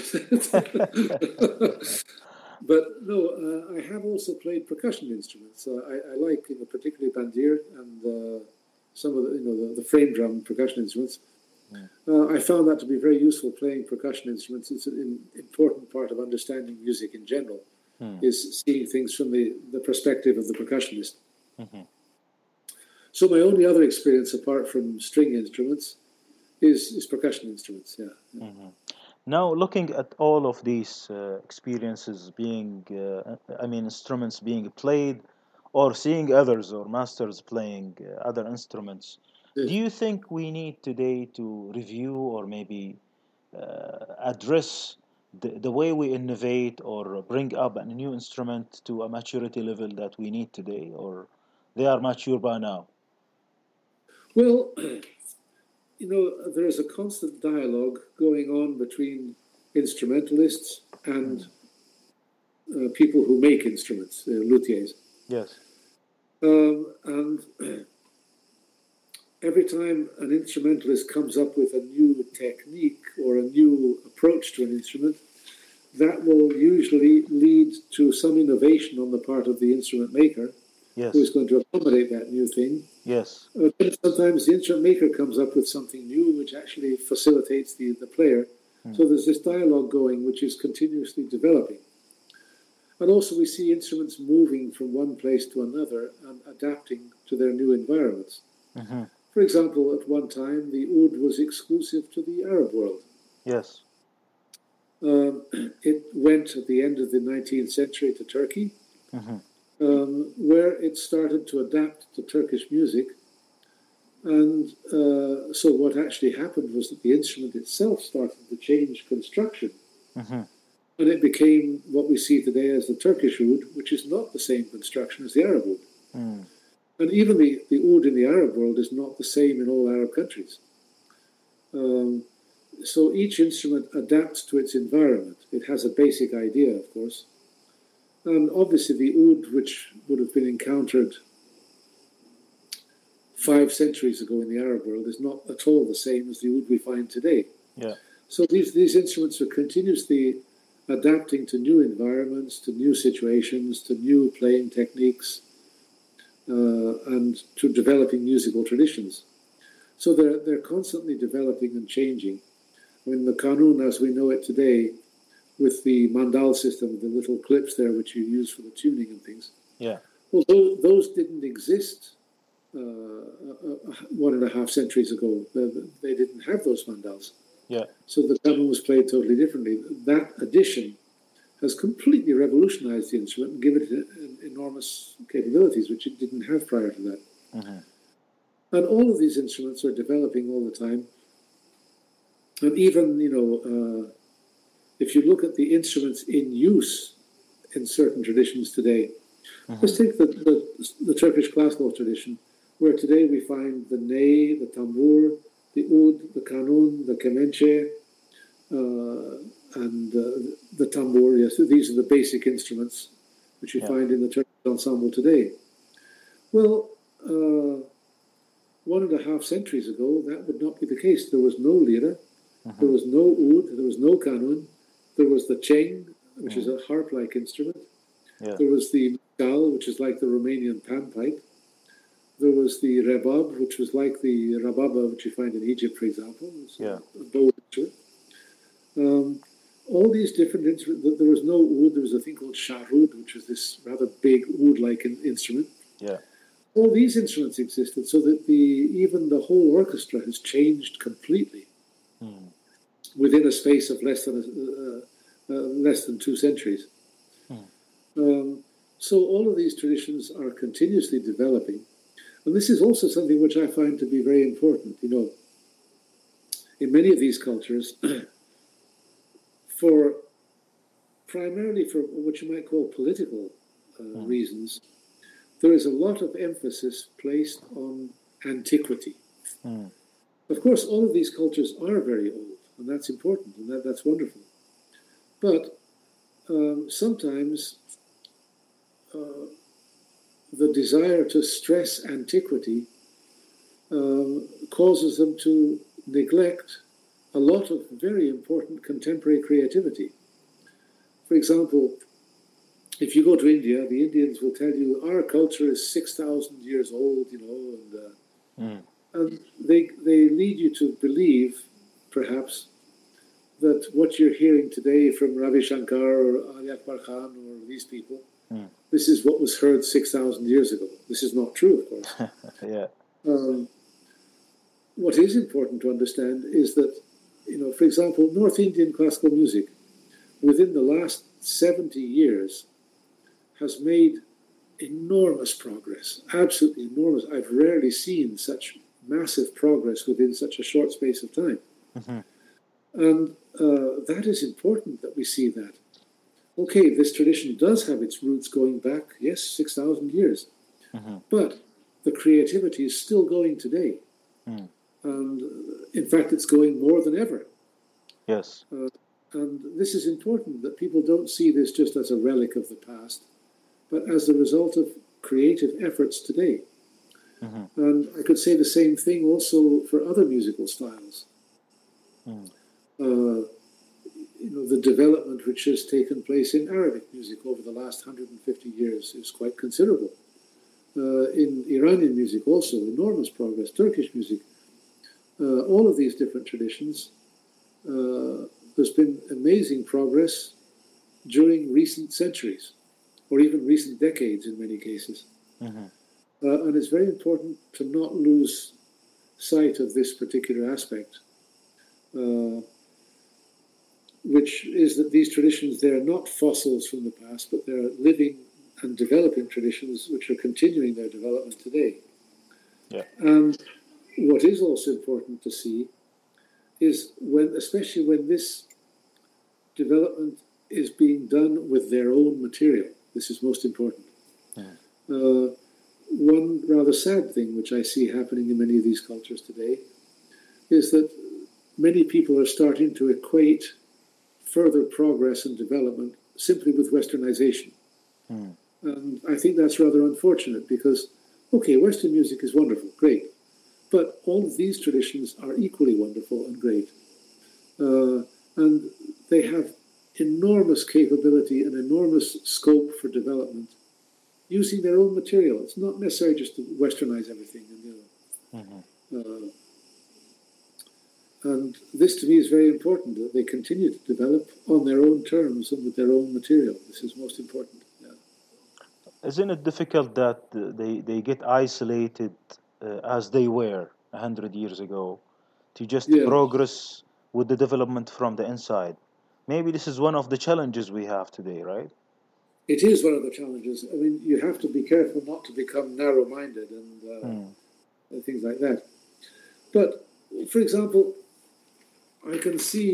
but no, uh, I have also played percussion instruments. Uh, I, I like, you know, particularly bandir and uh, some of the, you know, the, the frame drum percussion instruments. Uh, I found that to be very useful playing percussion instruments. It's an important part of understanding music in general, mm. is seeing things from the, the perspective of the percussionist. Mm-hmm. So my only other experience apart from string instruments is, is percussion instruments, yeah. Mm-hmm. Now, looking at all of these uh, experiences being, uh, I mean, instruments being played, or seeing others or masters playing uh, other instruments, do you think we need today to review or maybe uh, address the, the way we innovate or bring up a new instrument to a maturity level that we need today, or they are mature by now? Well, you know, there's a constant dialogue going on between instrumentalists and uh, people who make instruments, uh, luthiers. Yes. Um, and every time an instrumentalist comes up with a new technique or a new approach approach to an instrument, that will usually lead to some innovation on the part of the instrument maker, Yes. who is going to accommodate that new thing. Yes. Uh, sometimes the instrument maker comes up with something new which actually facilitates the, the player. Mm. So there's this dialogue going which is continuously developing. And also we see instruments moving from one place to another and adapting to their new environments. Mm-hmm. For example, at one time, the oud was exclusive to the Arab world. Yes. Um, it went at the end of the nineteenth century to Turkey, mm-hmm. um, where it started to adapt to Turkish music. And uh, so what actually happened was that the instrument itself started to change construction. Mm-hmm. And it became what we see today as the Turkish oud, which is not the same construction as the Arab oud. Mm. And even the, the oud in the Arab world is not the same in all Arab countries. Um, so each instrument adapts to its environment. It has a basic idea, of course. And obviously the oud, which would have been encountered five centuries ago in the Arab world, is not at all the same as the oud we find today. Yeah. So these, these instruments are continuously adapting to new environments, to new situations, to new playing techniques, uh, and to developing musical traditions. So they're, they're constantly developing and changing. I mean, the kanun, as we know it today, with the mandal system, the little clips there which you use for the tuning and things, yeah. well, those, those didn't exist uh, one and a half centuries ago. They, they didn't have those mandals. Yeah. So the kanun was played totally differently. That addition has completely revolutionized the instrument and given it enormous capabilities, which it didn't have prior to that. Mm-hmm. And all of these instruments are developing all the time. And even, you know, uh, if you look at the instruments in use in certain traditions today, mm-hmm. let's take the, the, the Turkish classical tradition, where today we find the ney, the tambur, the oud, the kanun, the kemençe, uh, and uh, the tambur. Yes, these are the basic instruments which you yeah. find in the Turkish ensemble today. Well, uh, one and a half centuries ago, that would not be the case. There was no lira, mm-hmm. there was no oud, there was no kanun, there was the çeng, which mm. is a harp-like instrument. Yeah. There was the mgal, which is like the Romanian panpipe. There was the rebab, which was like the rababa, which you find in Egypt, for example. It's yeah. a, a bow instrument. Um, all these different instruments. There was no oud. There was a thing called sharud, which was this rather big oud-like in, instrument. Yeah. All these instruments existed, so that the even the whole orchestra has changed completely mm. within a space of less than a, uh, uh, less than two centuries. Mm. Um, so all of these traditions are continuously developing. And this is also something which I find to be very important. You know, in many of these cultures, for primarily for what you might call political uh, mm. reasons, there is a lot of emphasis placed on antiquity. Mm. Of course, all of these cultures are very old, and that's important, and that, that's wonderful. But um, sometimes uh, the desire to stress antiquity um, causes them to neglect a lot of very important contemporary creativity. For example, if you go to India, the Indians will tell you our culture is six thousand years old, you know, and, uh, mm. and they, they lead you to believe, perhaps, that what you're hearing today from Ravi Shankar or Ali Akbar Khan or these people, mm. this is what was heard six thousand years ago. This is not true, of course. yeah. Um, what is important to understand is that, you know, for example, North Indian classical music, within the last seventy years, has made enormous progress, absolutely enormous. I've rarely seen such massive progress within such a short space of time. Mm-hmm. And uh, that is important that we see that. Okay, this tradition does have its roots going back, yes, six thousand years. Mm-hmm. But the creativity is still going today. Mm. And uh, in fact, it's going more than ever. Yes. Uh, and this is important, that people don't see this just as a relic of the past, but as the result of creative efforts today. Mm-hmm. And I could say the same thing also for other musical styles. Mm. Uh, the development which has taken place in Arabic music over the last one hundred fifty years is quite considerable. Uh, in Iranian music also, enormous progress, Turkish music, uh, all of these different traditions. Uh, there's been amazing progress during recent centuries, or even recent decades in many cases. Mm-hmm. Uh, and it's very important to not lose sight of this particular aspect, uh, which is that these traditions, they're not fossils from the past, but they're living and developing traditions which are continuing their development today. Yeah. And what is also important to see is when, especially when this development is being done with their own material. This is most important. Mm. Uh, one rather sad thing which I see happening in many of these cultures today is that many people are starting to equate further progress and development simply with westernization. Mm. And I think that's rather unfortunate because, okay, Western music is wonderful, great, but all of these traditions are equally wonderful and great. Uh, and they have enormous capability and enormous scope for development using their own material. It's not necessary just to westernize everything. And, you know, Mm-hmm. uh, and this to me is very important, that they continue to develop on their own terms and with their own material. This is most important. Yeah. Isn't it difficult that uh, they, they get isolated uh, as they were a hundred years ago to just Yeah. progress with the development from the inside? Maybe this is one of the challenges we have today, right? It is one of the challenges. I mean, you have to be careful not to become narrow-minded and, uh, Mm. and things like that. But, for example, I can see,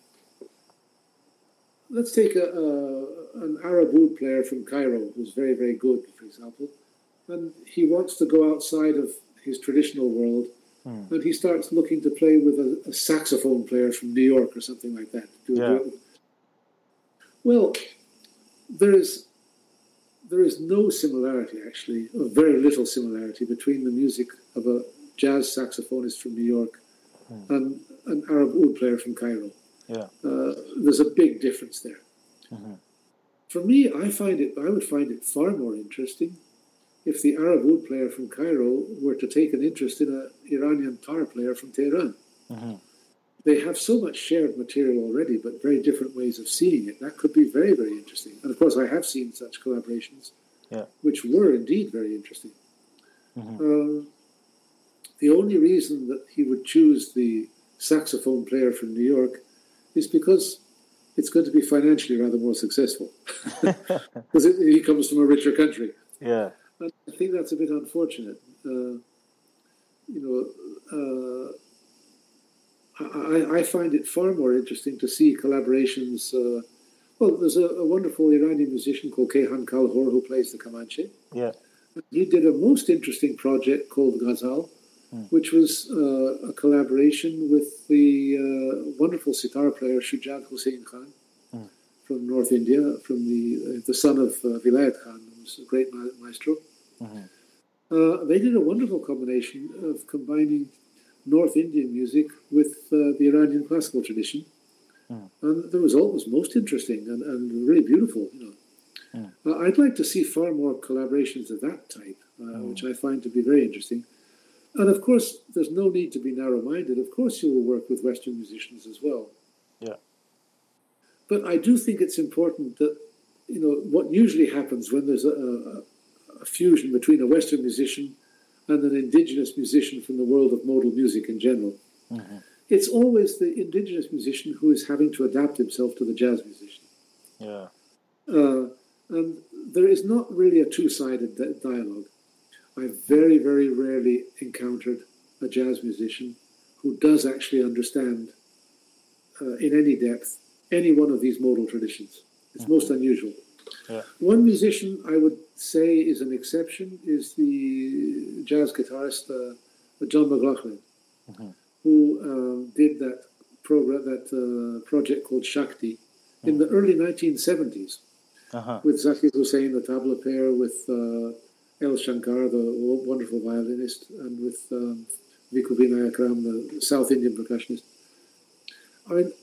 let's take a, a, an Arab oud player from Cairo who's very, very good, for example, and he wants to go outside of his traditional world, Mm. and he starts looking to play with a, a saxophone player from New York or something like that. Do, Yeah. do, well, there is there is no similarity, actually, or very little similarity between the music of a jazz saxophonist from New York Mm. and an Arab oud player from Cairo. Yeah. Uh, there's a big difference there. Mm-hmm. For me, I find it. I would find it far more interesting if the Arab oud player from Cairo were to take an interest in an Iranian tar player from Tehran. Mm-hmm. They have so much shared material already, but very different ways of seeing it. That could be very, very interesting. And of course, I have seen such collaborations, Yeah. which were indeed very interesting. Mm-hmm. Uh, the only reason that he would choose the saxophone player from New York is because it's going to be financially rather more successful. Because he comes from a richer country. Yeah. And I think that's a bit unfortunate. Uh, you know, uh, I, I find it far more interesting to see collaborations. Uh, well, there's a, a wonderful Iranian musician called Kayhan Kalhor who plays the Kamanche. Yeah. He did a most interesting project called Ghazal, Hmm. which was uh, a collaboration with the uh, wonderful sitar player Shujat Hussain Khan Hmm. from North India, from the uh, the son of uh, Vilayat Khan, who's a great ma- maestro. Mm-hmm. Uh, they did a wonderful combination of combining North Indian music with uh, the Iranian classical tradition. Mm. And the result was most interesting and, and really beautiful. You know, Mm. uh, I'd like to see far more collaborations of that type, uh, Mm. which I find to be very interesting. And of course, there's no need to be narrow-minded. Of course, you will work with Western musicians as well. Yeah. But I do think it's important that, you know, what usually happens when there's a, a, a fusion between a Western musician and an indigenous musician from the world of modal music in general, Mm-hmm. it's always the indigenous musician who is having to adapt himself to the jazz musician. Yeah. Uh, and there is not really a two-sided di- dialogue. I've very, very rarely encountered a jazz musician who does actually understand uh, in any depth any one of these modal traditions. It's Mhm. most unusual. Yeah. One musician I would say is an exception is the jazz guitarist uh, John McLaughlin, Mhm. who um, did that program, that uh, project called Shakti in the early nineteen seventies Uh-huh. with Zakir Hussain, the tabla player, with uh, El Shankar, the w- wonderful violinist, and with um, Viku Vinay Akram, the South Indian percussionist. I mean,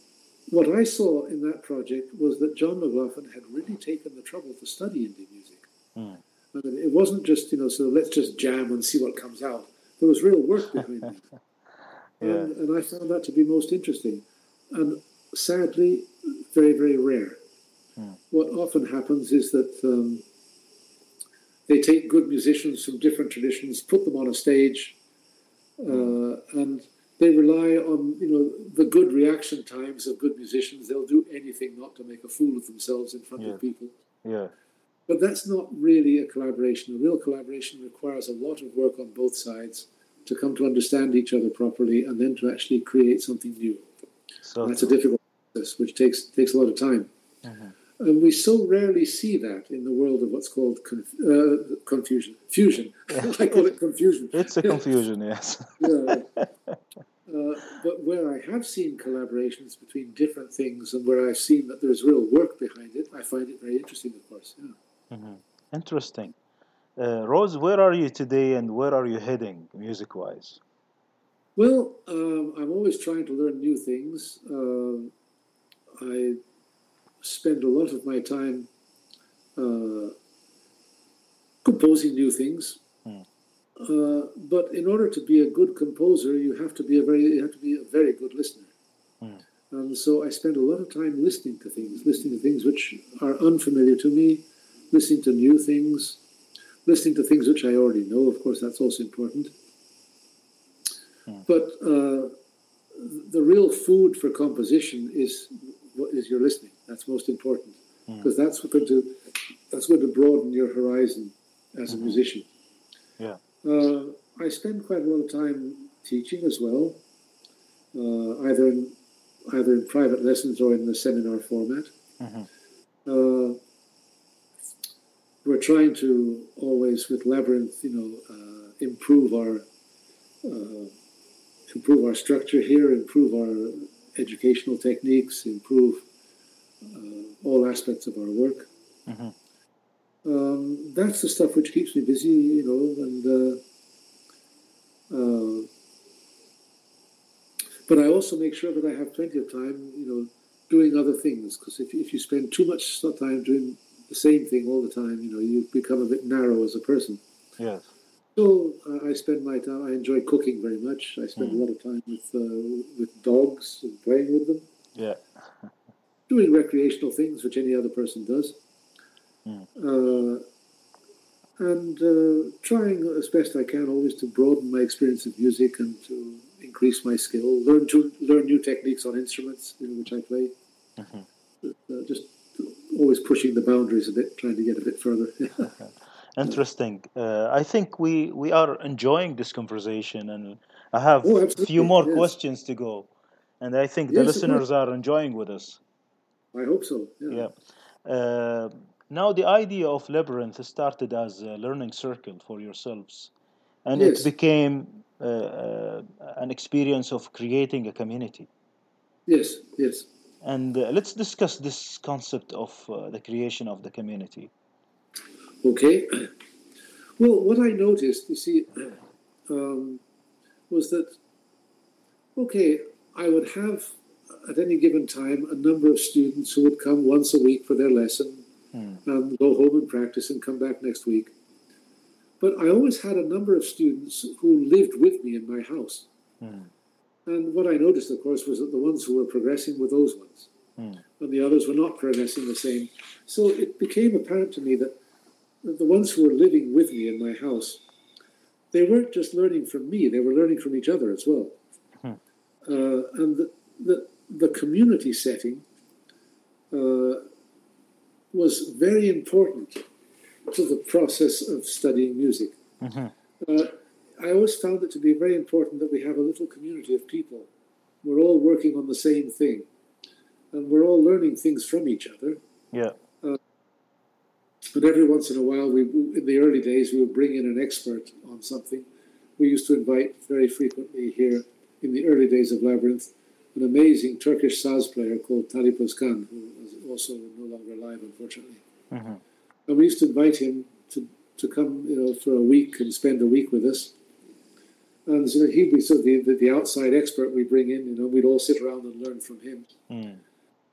what I saw in that project was that John McLaughlin had really taken the trouble to study Indian music. Mm. And it wasn't just, you know, so let's just jam and see what comes out. There was real work behind it. Yeah. And, and I found that to be most interesting. And sadly, very, very rare. Mm. What often happens is that um, they take good musicians from different traditions, put them on a stage, uh, and they rely on, you know, the good reaction times of good musicians. They'll do anything not to make a fool of themselves in front Yeah. of people. Yeah. But that's not really a collaboration. A real collaboration requires a lot of work on both sides to come to understand each other properly and then to actually create something new. So that's a difficult process, which takes takes a lot of time. Mm-hmm. And we so rarely see that in the world of what's called conf- uh, confusion. Fusion. I call it confusion. It's a confusion, yes. Yeah. Uh, but where I have seen collaborations between different things and where I've seen that there's real work behind it, I find it very interesting, of course. Yeah. Mm-hmm. Interesting. Uh, Rose, where are you today and where are you heading music-wise? Well, um, I'm always trying to learn new things. Uh, I spend a lot of my time uh, composing new things. Mm. Uh, but in order to be a good composer, you have to be a very you have to be a very good listener. Mm. And so I spend a lot of time listening to things, listening to things which are unfamiliar to me, listening to new things, listening to things which I already know. Of course, that's also important. Mm. But uh, the real food for composition is what is your listening. That's most important because mm. that's going to that's going to broaden your horizon as mm-hmm. a musician. Yeah. Uh, I spend quite a lot of time teaching as well, uh, either in either in private lessons or in the seminar format. Mm-hmm. Uh, we're trying to always, with Labyrinth, you know, uh, improve our uh, improve our structure here, improve our educational techniques, improve uh, all aspects of our work. Mm-hmm. Um, that's the stuff which keeps me busy, you know, and uh, uh, but I also make sure that I have plenty of time, you know, doing other things, because if, if you spend too much time doing the same thing all the time, you know, you become a bit narrow as a person. Yes. So uh, I spend my time, I enjoy cooking very much. I spend mm. a lot of time with uh, with dogs and playing with them. Yeah. Doing recreational things, which any other person does. Mm. Uh, and uh, trying as best I can always to broaden my experience of music and to increase my skill, learn to learn new techniques on instruments, you know, which I play. Mm-hmm. Uh, just always pushing the boundaries a bit, trying to get a bit further. Interesting. Uh, I think we, we are enjoying this conversation, and I have oh, a few more yes. questions to go, and I think yes, the listeners are enjoying with us. I hope so. Yeah. yeah. Uh, now, the idea of Labyrinth started as a learning circle for yourselves, and yes. it became uh, uh, an experience of creating a community. Yes, yes. And uh, let's discuss this concept of uh, the creation of the community. Okay. Well, what I noticed, you see, um, was that, okay, I would have at any given time a number of students who would come once a week for their lesson mm. and go home and practice and come back next week. But I always had a number of students who lived with me in my house. Mm. And what I noticed, of course, was that the ones who were progressing were those ones. Mm. And the others were not progressing the same. So it became apparent to me that the ones who were living with me in my house, they weren't just learning from me, they were learning from each other as well. Hmm. Uh, and the, the, the community setting uh, was very important to the process of studying music. Mm-hmm. Uh, I always found it to be very important that we have a little community of people. We're all working on the same thing, and we're all learning things from each other. Yeah. But every once in a while, we, in the early days, we would bring in an expert on something. We used to invite very frequently here, in the early days of Labyrinth, an amazing Turkish saz player called Talip Özkan, who is also no longer alive, unfortunately. Mm-hmm. And we used to invite him to, to come, you know, for a week and spend a week with us. And so he'd be sort of the, the, the outside expert we bring in, you know, we'd all sit around and learn from him. Mm.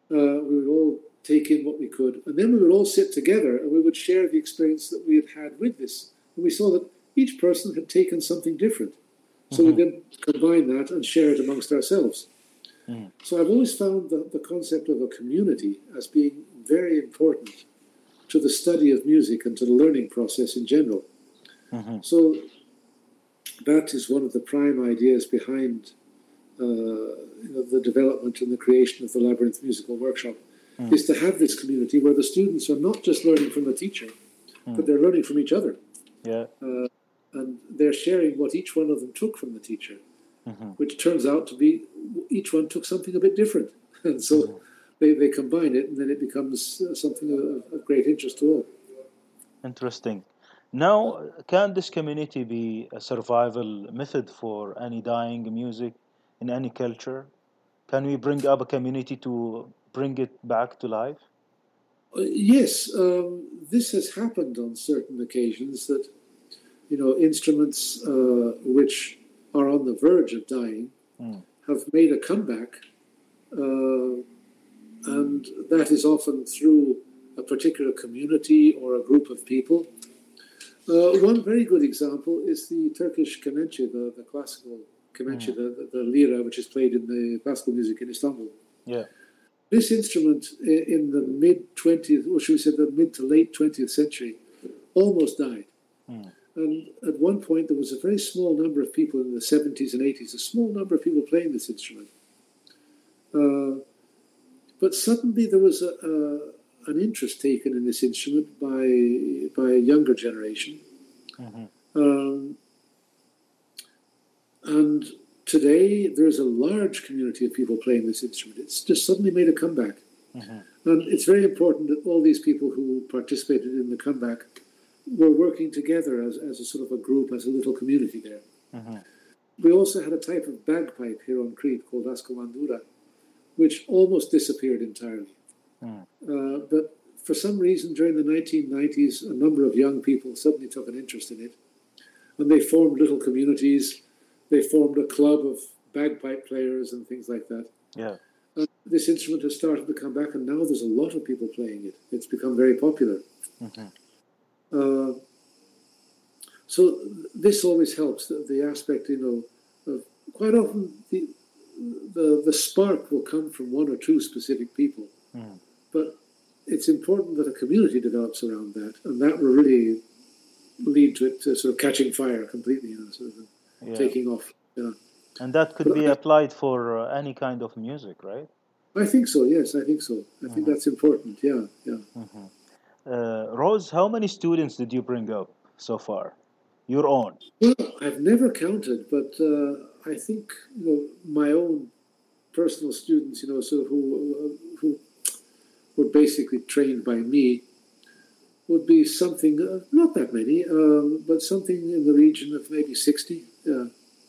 Uh, we would all take in what we could, and then we would all sit together and we would share the experience that we had had with this. And we saw that each person had taken something different. So mm-hmm. we then combine that and share it amongst ourselves. Mm. So I've always found the, the concept of a community as being very important to the study of music and to the learning process in general. Mm-hmm. So that is one of the prime ideas behind uh, you know, the development and the creation of the Labyrinth Musical Workshop, mm. is to have this community where the students are not just learning from the teacher, mm. but they're learning from each other. Yeah. Uh, and they're sharing what each one of them took from the teacher, mm-hmm. which turns out to be, each one took something a bit different. And so mm-hmm. they, they combine it, and then it becomes uh, something of, of great interest to all. Interesting. Now, can this community be a survival method for any dying music in any culture? Can we bring up a community to bring it back to life? Uh, yes, um, this has happened on certain occasions that, you know, instruments uh, which are on the verge of dying mm. have made a comeback, uh, and that is often through a particular community or a group of people. Uh, one very good example is the Turkish kemençe, the, the classical kemençe, mm. the, the, the lira, which is played in the classical music in Istanbul. Yeah. This instrument in the mid-twentieth, or should we say the mid to late twentieth century, almost died. Mm. And at one point, there was a very small number of people in the seventies and eighties, a small number of people playing this instrument. Uh, but suddenly there was a, a, an interest taken in this instrument by, by a younger generation. Mm-hmm. Um, and today, there's a large community of people playing this instrument. It's just suddenly made a comeback. Mm-hmm. And it's very important that all these people who participated in the comeback were working together as, as a sort of a group, as a little community there. Mm-hmm. We also had a type of bagpipe here on Crete called ascollandura, which almost disappeared entirely. Mm. Uh, but for some reason, during the nineteen nineties, a number of young people suddenly took an interest in it. And they formed little communities. They formed a club of bagpipe players and things like that. Yeah. And this instrument has started to come back, and now there's a lot of people playing it. It's become very popular. Mm-hmm. Uh, so this always helps, the, the aspect, you know, of quite often the, the the spark will come from one or two specific people. Mm. But it's important that a community develops around that, and that will really lead to it to sort of catching fire completely, you know, sort of yeah. taking off. You know. And that could but be I, applied for uh, any kind of music, right? I think so, yes, I think so. I mm-hmm. think that's important, yeah, yeah. Mm-hmm. Uh, Rose, how many students did you bring up so far? Your own? Well, I've never counted, but uh, I think, you know, my own personal students, you know, sort of who who were basically trained by me, would be something, uh, not that many, um, but something in the region of maybe sixty. Yeah.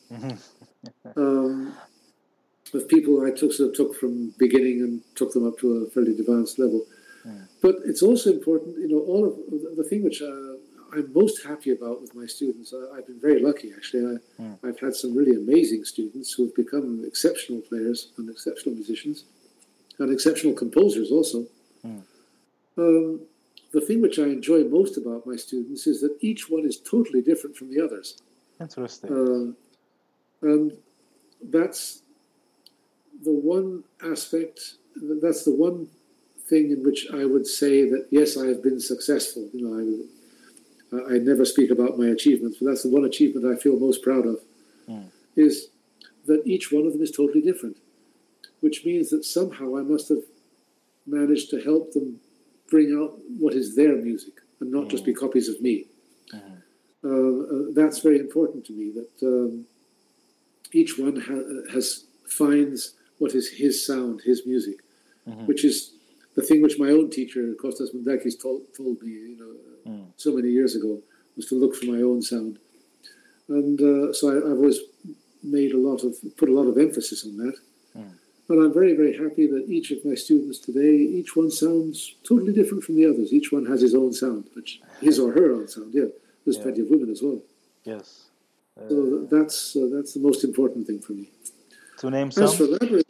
um, of people I took sort of took from beginning and took them up to a fairly advanced level. Mm. But it's also important, you know, all of the, the thing which uh, I'm most happy about with my students. Uh, I've been very lucky, actually. I, mm. I've had some really amazing students who have become exceptional players and exceptional musicians and exceptional composers also. Mm. Um, the thing which I enjoy most about my students is that each one is totally different from the others. Interesting. Uh, and that's the one aspect, that's the one thing in which I would say that, yes, I have been successful. You know, I, I never speak about my achievements, but that's the one achievement I feel most proud of, mm. is that each one of them is totally different, which means that somehow I must have managed to help them bring out what is their music and not mm. just be copies of me. Mm. Uh, uh, that's very important to me, that um, each one ha- has finds what is his sound, his music, mm-hmm. which is the thing which my own teacher, Kostas Mundakis, told, told me, you know, mm. so many years ago, was to look for my own sound. And uh, so I, I've always made a lot of, put a lot of emphasis on that. Mm. And I'm very, very happy that each of my students today, each one sounds totally different from the others. Each one has his own sound, which his or her own sound, yeah. There's yeah. plenty of women as well. Yes. Uh, so that's uh, that's the most important thing for me. To name some? As for Labyrinth,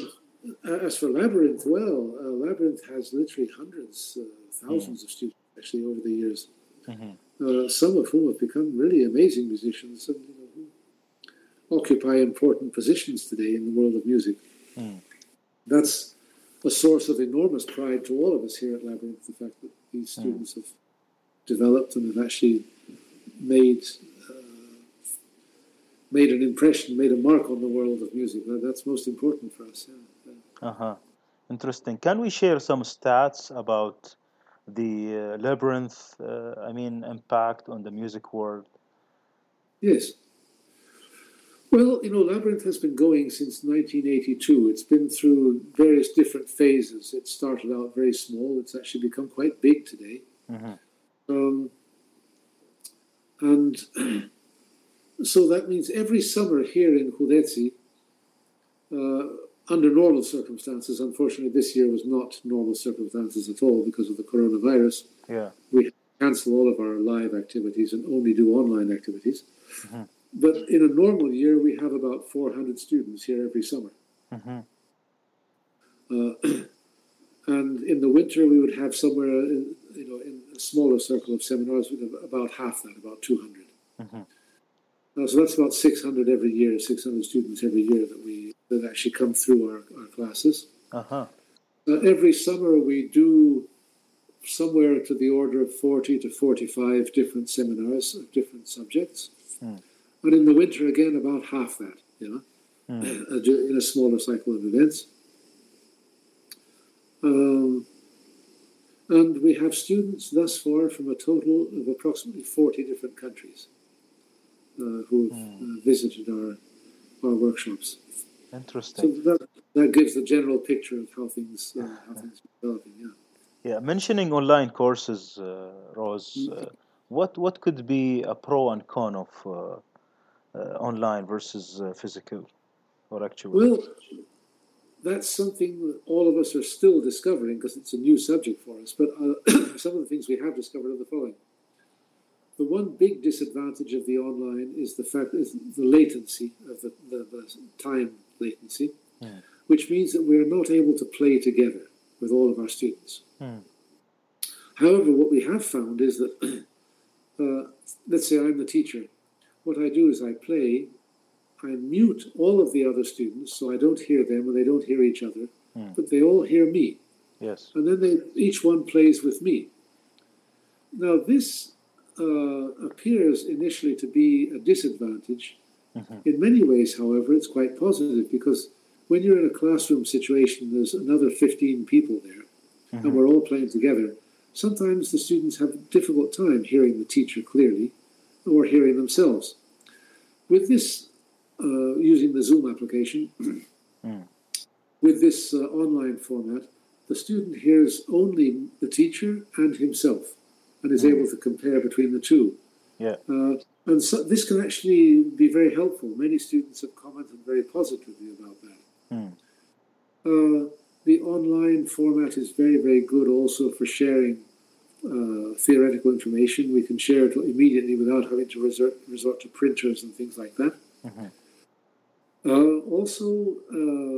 Uh, as for Labyrinth, well, uh, Labyrinth has literally hundreds, uh, thousands Mm. of students actually over the years, Mm-hmm. uh, some of whom have become really amazing musicians and you know, who occupy important positions today in the world of music. Mm. That's a source of enormous pride to all of us here at Labyrinth, the fact that these Mm. students have developed and have actually made uh, made an impression, made a mark on the world of music. That, that's most important for us. Yeah. Yeah. Uh-huh. Interesting. Can we share some stats about the uh, Labyrinth, uh, I mean, impact on the music world? Yes. Well, you know, Labyrinth has been going since nineteen eighty-two. It's been through various different phases. It started out very small. It's actually become quite big today. Mm-hmm. Um, and so that means every summer here in Hudetsi, uh, under normal circumstances, unfortunately this year was not normal circumstances at all because of the coronavirus, Yeah. we cancel all of our live activities and only do online activities. Mm-hmm. But in a normal year, we have about four hundred students here every summer. Mm-hmm. Uh, and in the winter, we would have somewhere, in, you know, in a smaller circle of seminars, we'd have about half that, about two hundred. Mm-hmm. Uh, so that's about six hundred every year, six hundred students every year that we that actually come through our, our classes. Uh-huh. Uh, every summer, we do somewhere to the order of forty to forty-five different seminars of different subjects. Mm. And in the winter, again, about half that, you know, Mm. in a smaller cycle of events. Um, and we have students thus far from a total of approximately forty different countries uh, who have Mm. uh, visited our, our workshops. So Interesting. that, that gives the general picture of how things, uh, how things are developing, yeah. Yeah. Mentioning online courses, uh, Rose, Mm. uh, what what could be a pro and con of uh, uh, online versus uh, physical or actual? Well, that's something that all of us are still discovering because it's a new subject for us. But uh, some of the things we have discovered are the following. The one big disadvantage of the online is the fact is the latency of the, the, the time latency, Mm. which means that we're not able to play together with all of our students. Mm. However, what we have found is that, uh, let's say I'm the teacher. What I do is I play, I mute all of the other students so I don't hear them and they don't hear each other, Mm. but they all hear me. Yes. And then they, each one plays with me. Now, this uh, appears initially to be a disadvantage. Mm-hmm. In many ways, however, it's quite positive because when you're in a classroom situation, there's another fifteen people there, Mm-hmm. and we're all playing together. Sometimes the students have a difficult time hearing the teacher clearly or hearing themselves. With this, uh, using the Zoom application, Mm. with this uh, online format, the student hears only the teacher and himself and is Mm. able to compare between the two. Yeah. Uh, and so this can actually be very helpful. Many students have commented very positively about that. Mm. Uh, the online format is very, very good also for sharing uh, theoretical information. We can share it immediately without having to resort, resort to printers and things like that. Mm-hmm. Uh, also, uh,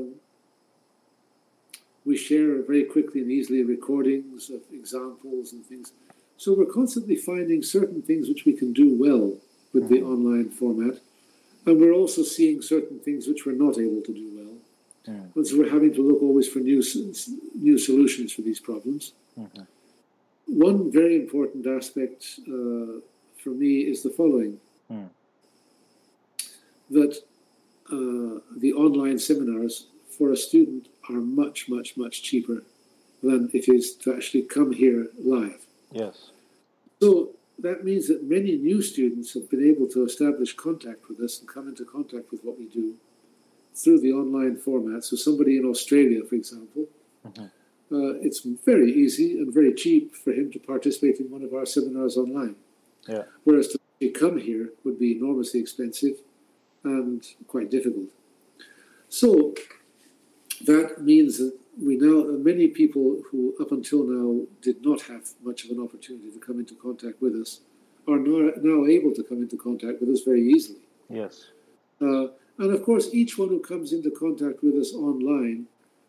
we share very quickly and easily recordings of examples and things. So we're constantly finding certain things which we can do well with the online format. And we're also seeing certain things which we're not able to do well. Mm. And so we're having to look always for new, new solutions for these problems. Mm-hmm. One very important aspect uh, for me is the following. Mm. That uh, the online seminars for a student are much, much, much cheaper than it is to actually come here live. Yes. So that means that many new students have been able to establish contact with us and come into contact with what we do through the online format. So somebody in Australia, for example, Mm-hmm. uh, it's very easy and very cheap for him to participate in one of our seminars online. Yeah. Whereas to come here would be enormously expensive and quite difficult. So that means that we now, many people who up until now did not have much of an opportunity to come into contact with us are now, now able to come into contact with us very easily. Yes. Uh, and of course, each one who comes into contact with us online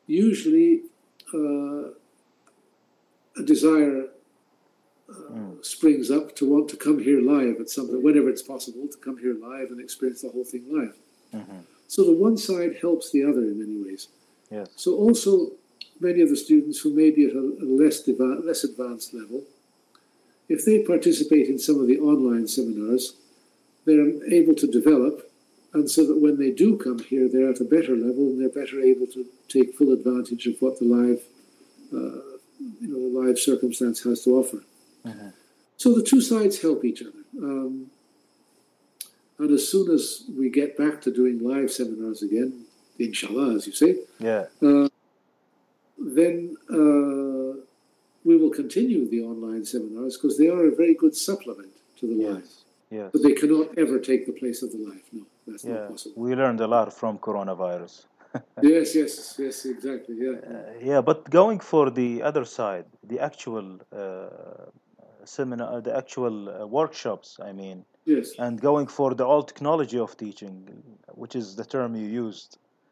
usually uh, a desire uh, mm. springs up to want to come here live at some point, whenever it's possible, to come here live and experience the whole thing live. Mm-hmm. So the one side helps the other in many ways. Yes. So also many of the students who may be at a, a less, deva- less advanced level, if they participate in some of the online seminars, they're able to develop, and so that when they do come here, they're at a better level and they're better able to take full advantage of what the live, uh, you know, the live circumstance has to offer. Mm-hmm. So the two sides help each other. Um, and as soon as we get back to doing live seminars again, inshallah, as you say, yeah, uh, then uh, we will continue the online seminars because they are a very good supplement to the yes. live. Yes. But they cannot ever take the place of the live. No, that's yeah. not possible. We learned a lot from coronavirus. yes, yes, yes, exactly. Yeah. Uh, yeah, but going for the other side, the actual uh, seminar, the actual uh, workshops, I mean, yes, and going for the old technology of teaching, which is the term you used.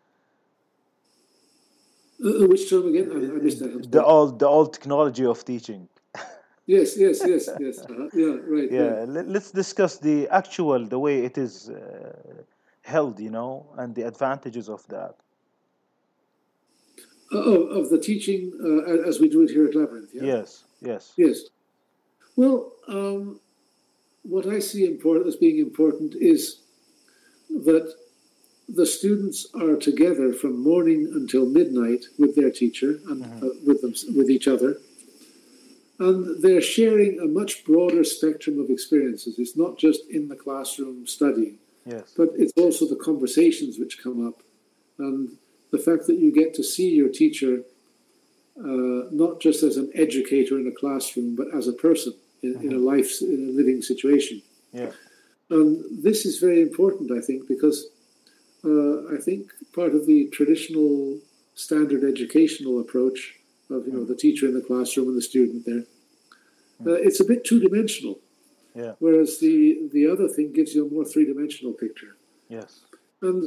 Uh, which term again? I, I missed that. The old, the old technology of teaching. yes, yes, yes, yes. Uh-huh. Yeah, right. Yeah, right. let's discuss the actual, the way it is uh, held, you know, and the advantages of that. Uh, of, of the teaching uh, as we do it here at Labyrinth, yeah? Yes, yes. Yes. Well, um, what I see important as being important is that the students are together from morning until midnight with their teacher and mm-hmm. uh, with them, with each other. And they're sharing a much broader spectrum of experiences. It's not just in the classroom studying, yes. but it's also the conversations which come up. And the fact that you get to see your teacher uh, not just as an educator in a classroom, but as a person in, mm-hmm. in a life, in a living situation. Yeah. And this is very important, I think, because uh, I think part of the traditional standard educational approach of, you know, the teacher in the classroom and the student there, uh, it's a bit two-dimensional. Yeah. Whereas the, the other thing gives you a more three-dimensional picture. Yes. And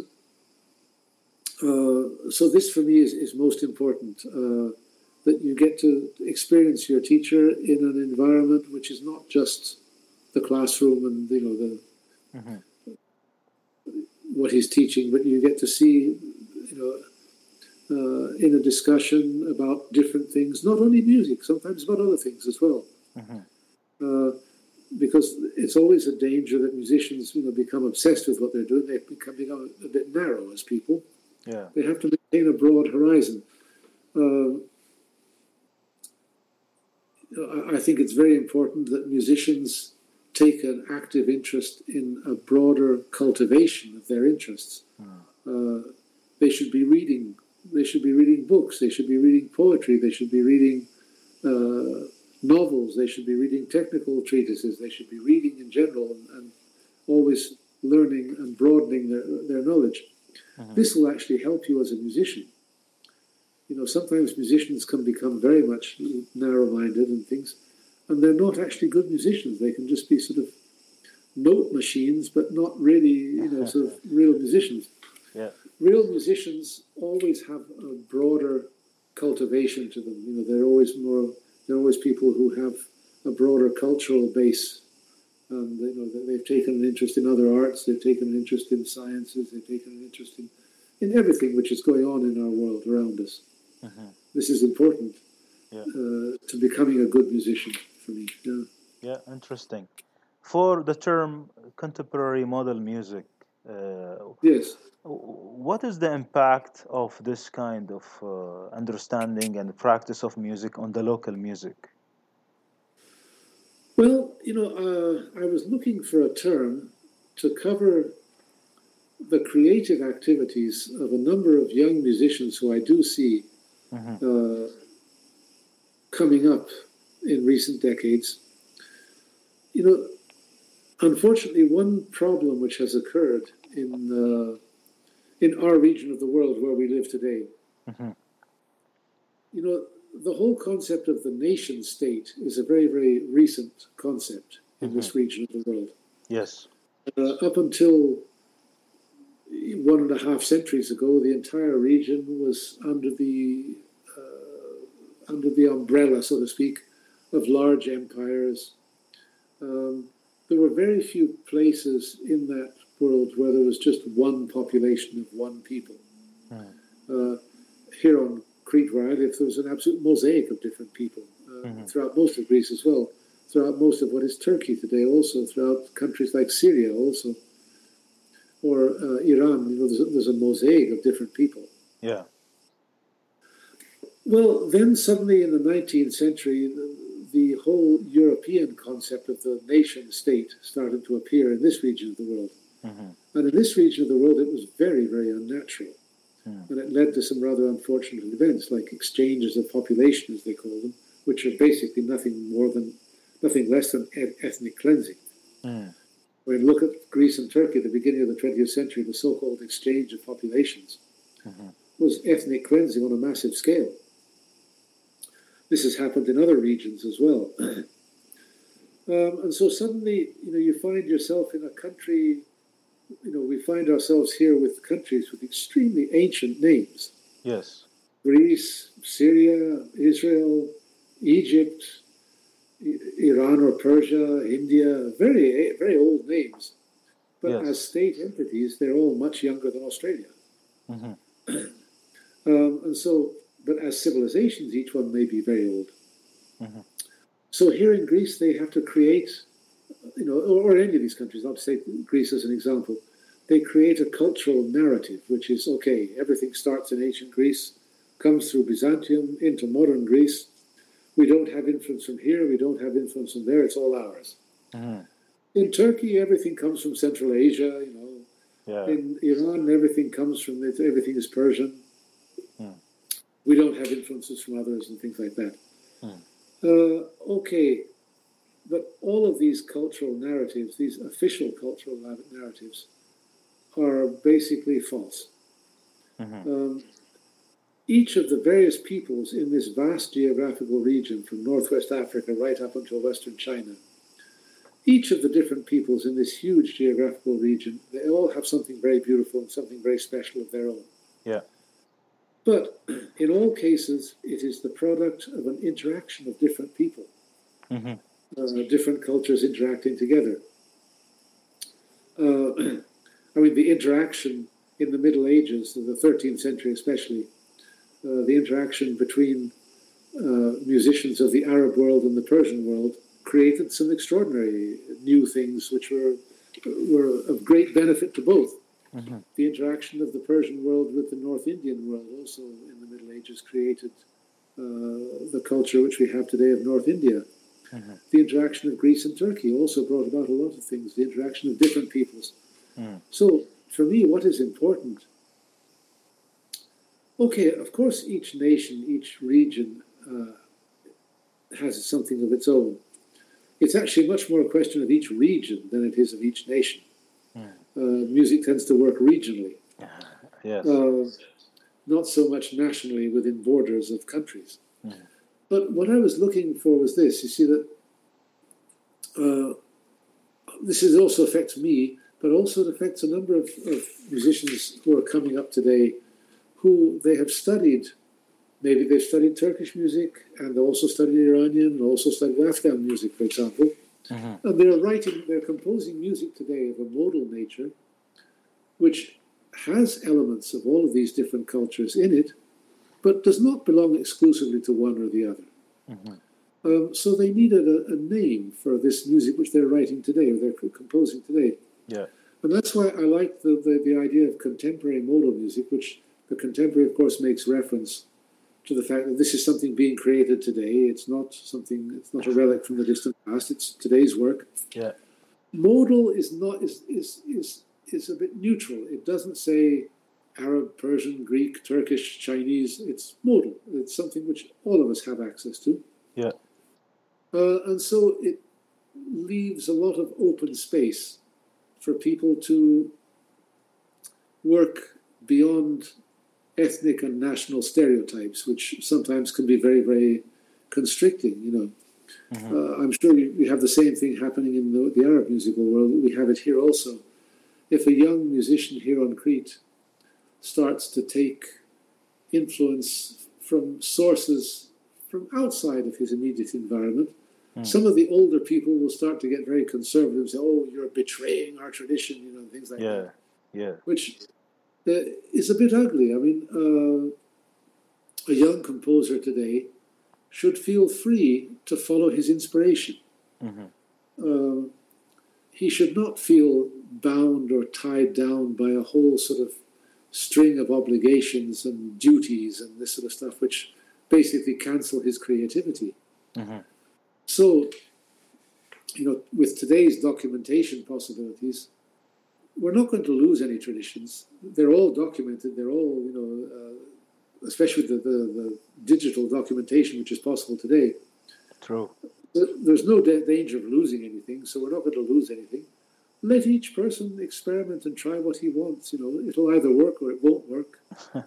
uh, so this for me is, is most important, uh, that you get to experience your teacher in an environment which is not just the classroom and, you know, the mm-hmm. what he's teaching, but you get to see, you know, Uh, in a discussion about different things, not only music, sometimes about other things as well. Mm-hmm. Uh, because it's always a danger that musicians, you know, become obsessed with what they're doing. They become, become a bit narrow as people. Yeah. They have to maintain a broad horizon. Uh, I think it's very important that musicians take an active interest in a broader cultivation of their interests. Mm. Uh, they should be reading They should be reading books. They should be reading poetry. They should be reading uh, novels. They should be reading technical treatises. They should be reading in general and, and always learning and broadening their, their knowledge. Mm-hmm. This will actually help you as a musician. You know, sometimes musicians can become very much narrow-minded and things, and they're not actually good musicians. They can just be sort of note machines, but not really, you know, sort of real musicians. Yeah. Real musicians always have a broader cultivation to them. You know, they're always more. They're always people who have a broader cultural base, and you know they've taken an interest in other arts. They've taken an interest in sciences. They've taken an interest in, in everything which is going on in our world around us. Mm-hmm. This is important yeah. uh, to becoming a good musician for me. Yeah. Yeah, interesting. For the term contemporary model music. Uh, yes. What is the impact of this kind of uh, understanding and practice of music on the local music? Well, you know, uh, I was looking for a term to cover the creative activities of a number of young musicians who I do see mm-hmm. uh, coming up in recent decades. You know, unfortunately, one problem which has occurred in uh, in our region of the world where we live today, mm-hmm. you know, the whole concept of the nation state is a very, very recent concept in mm-hmm. this region of the world. Yes. Uh, up until one and a half centuries ago, the entire region was under the uh, under the umbrella, so to speak, of large empires. Um, there were very few places in that world where there was just one population of one people. Mm. Uh, here on Crete, where I live, there was an absolute mosaic of different people uh, mm-hmm. throughout most of Greece as well, throughout most of what is Turkey today, also throughout countries like Syria, also, or uh, Iran. You know, there's a, there's a mosaic of different people. Yeah. Well, then suddenly in the nineteenth century, the, the whole European concept of the nation-state started to appear in this region of the world. Mm-hmm. And in this region of the world, it was very, very unnatural. Mm. And it led to some rather unfortunate events, like exchanges of population, as they call them, which are basically nothing more than, nothing less than ethnic cleansing. Mm. When you look at Greece and Turkey at the beginning of the twentieth century, the so-called exchange of populations mm-hmm. was ethnic cleansing on a massive scale. This has happened in other regions as well. um, and so suddenly, you know, you find yourself in a country, you know, we find ourselves here with countries with extremely ancient names. Yes. Greece, Syria, Israel, Egypt, Iran or Persia, India, very, very old names. But yes. as state entities, they're all much younger than Australia. Mm-hmm. um, and so... But as civilizations, each one may be very old. Mm-hmm. So here in Greece, they have to create, you know, or, or any of these countries, I'll take Greece as an example, they create a cultural narrative, which is, okay, everything starts in ancient Greece, comes through Byzantium into modern Greece. We don't have influence from here, we don't have influence from there, it's all ours. Mm-hmm. In Turkey, everything comes from Central Asia, you know. Yeah. In Iran, everything comes from, everything is Persian. Mm. We don't have influences from others and things like that. Hmm. Uh, okay, but all of these cultural narratives, these official cultural narratives, are basically false. Mm-hmm. Um, each of the various peoples in this vast geographical region, from Northwest Africa right up until Western China, each of the different peoples in this huge geographical region, they all have something very beautiful and something very special of their own. Yeah. But in all cases, it is the product of an interaction of different people, mm-hmm. uh, different cultures interacting together. Uh, I mean, the interaction in the Middle Ages, in the thirteenth century especially, uh, the interaction between uh, musicians of the Arab world and the Persian world created some extraordinary new things which were, were of great benefit to both. Mm-hmm. The interaction of the Persian world with the North Indian world also in the Middle Ages created uh, the culture which we have today of North India. Mm-hmm. The interaction of Greece and Turkey also brought about a lot of things, the interaction of different peoples. Mm. So, for me, what is important? Okay, of course, each nation, each region uh, has something of its own. It's actually much more a question of each region than it is of each nation. Mm. Uh, music tends to work regionally. Yes. Uh, not so much nationally within borders of countries. Mm. But what I was looking for was this. You see that uh, this is also affects me, but also it affects a number of, of musicians who are coming up today who they have studied. Maybe they've studied Turkish music and they also studied Iranian and also studied Afghan music, for example. Mm-hmm. And they're writing, they're composing music today of a modal nature, which has elements of all of these different cultures in it, but does not belong exclusively to one or the other. Mm-hmm. Um, so they needed a, a name for this music which they're writing today, or they're composing today. Yeah. And that's why I like the, the, the idea of contemporary modal music, which the contemporary, of course, makes reference to the fact that this is something being created today. It's not something, it's not a relic from the distant past, it's today's work. Yeah. Modal is not is is is is a bit neutral. It doesn't say Arab, Persian, Greek, Turkish, Chinese. It's modal. It's something which all of us have access to. Yeah. Uh, and so it leaves a lot of open space for people to work beyond ethnic and national stereotypes, which sometimes can be very, very constricting, you know. Mm-hmm. Uh, I'm sure we have the same thing happening in the, the Arab musical world. We have it here also. if a young musician here on Crete starts to take influence from sources from outside of his immediate environment, mm. some of the older people will start to get very conservative and say, oh, you're betraying our tradition, you know, things like yeah. that. Yeah. Which uh, is a bit ugly. I mean, uh, a young composer today should feel free to follow his inspiration. Mm-hmm. Uh, he should not feel bound or tied down by a whole sort of string of obligations and duties and this sort of stuff, which basically cancel his creativity. Mm-hmm. So, you know, with today's documentation possibilities, we're not going to lose any traditions. They're all documented. They're all, you know, uh, especially the, the, the digital documentation, which is possible today. True. There's no da- danger of losing anything, so we're not going to lose anything. Let each person experiment and try what he wants. You know, it'll either work or it won't work.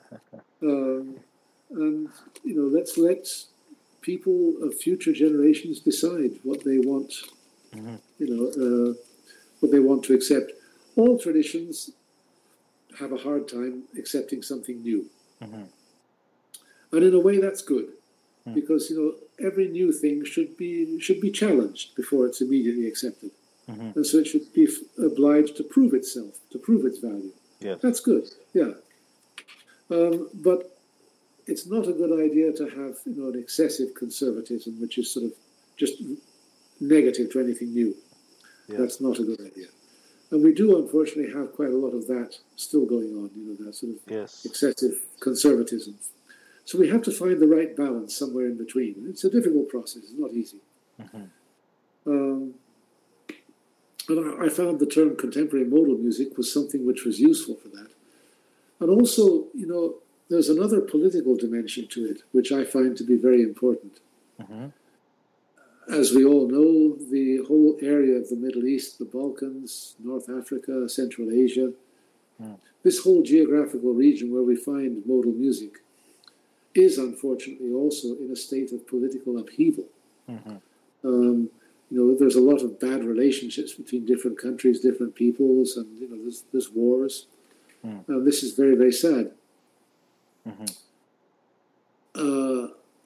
um, and, you know, let's let people of future generations decide what they want, mm-hmm. you know, uh, what they want to accept. All traditions have a hard time accepting something new. Mm-hmm. And in a way, that's good. Mm. Because, you know, every new thing should be should be challenged before it's immediately accepted. Mm-hmm. And so it should be f- obliged to prove itself, to prove its value. Yes. That's good, yeah. Um, but it's not a good idea to have, you know, an excessive conservatism, which is sort of just negative to anything new. Yes. That's not a good idea. And we do, unfortunately, have quite a lot of that still going on, you know, that sort of yes. excessive conservatism. So we have to find the right balance somewhere in between. It's a difficult process. It's not easy. Mm-hmm. Um, and I, I found the term contemporary modal music was something which was useful for that. And also, you know, there's another political dimension to it, which I find to be very important. Mm-hmm. As we all know, the whole area of the Middle East, the Balkans, North Africa, Central Asia, mm. this whole geographical region where we find modal music is unfortunately also in a state of political upheaval. Mm-hmm. Um, you know, there's a lot of bad relationships between different countries, different peoples, and, you know, there's, there's wars. Mm. And this is very, very sad. Mm-hmm. Uh,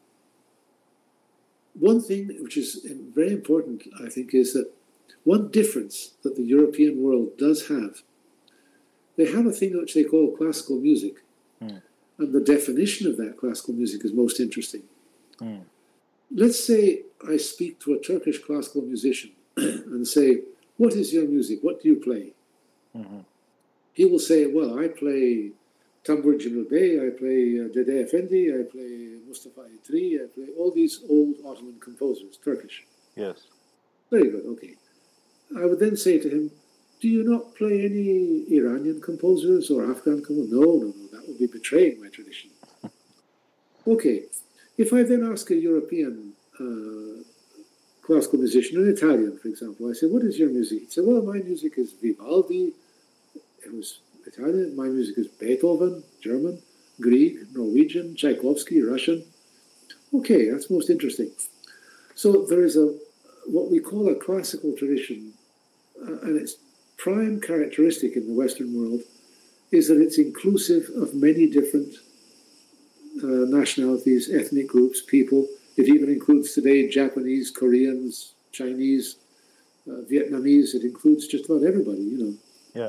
one thing which is very important, I think, is that one difference that the European world does have, they have a thing which they call classical music. Mm. And the definition of that classical music is most interesting. Mm. Let's say I speak to a Turkish classical musician and say, what is your music? What do you play? Mm-hmm. He will say, well, I play Tambur Cemil Bey, I play uh, Dede Efendi, I play Mustafa Itri, I play all these old Ottoman composers, Turkish. Yes. Very good, okay. I would then say to him, do you not play any Iranian composers or Afghan composers? No, no, no, that would be betraying my tradition. Okay, if I then ask a European uh, classical musician, an Italian, for example, I say, what is your music? He'd say, well, my music is Vivaldi, it was Italian, my music is Beethoven, German, Grieg, Norwegian, Tchaikovsky, Russian. Okay, that's most interesting. So there is a what we call a classical tradition, uh, and its prime characteristic in the Western world is that it's inclusive of many different uh, nationalities, ethnic groups, people. It even includes today Japanese, Koreans, Chinese, uh, Vietnamese. It includes just about everybody, you know. Yeah.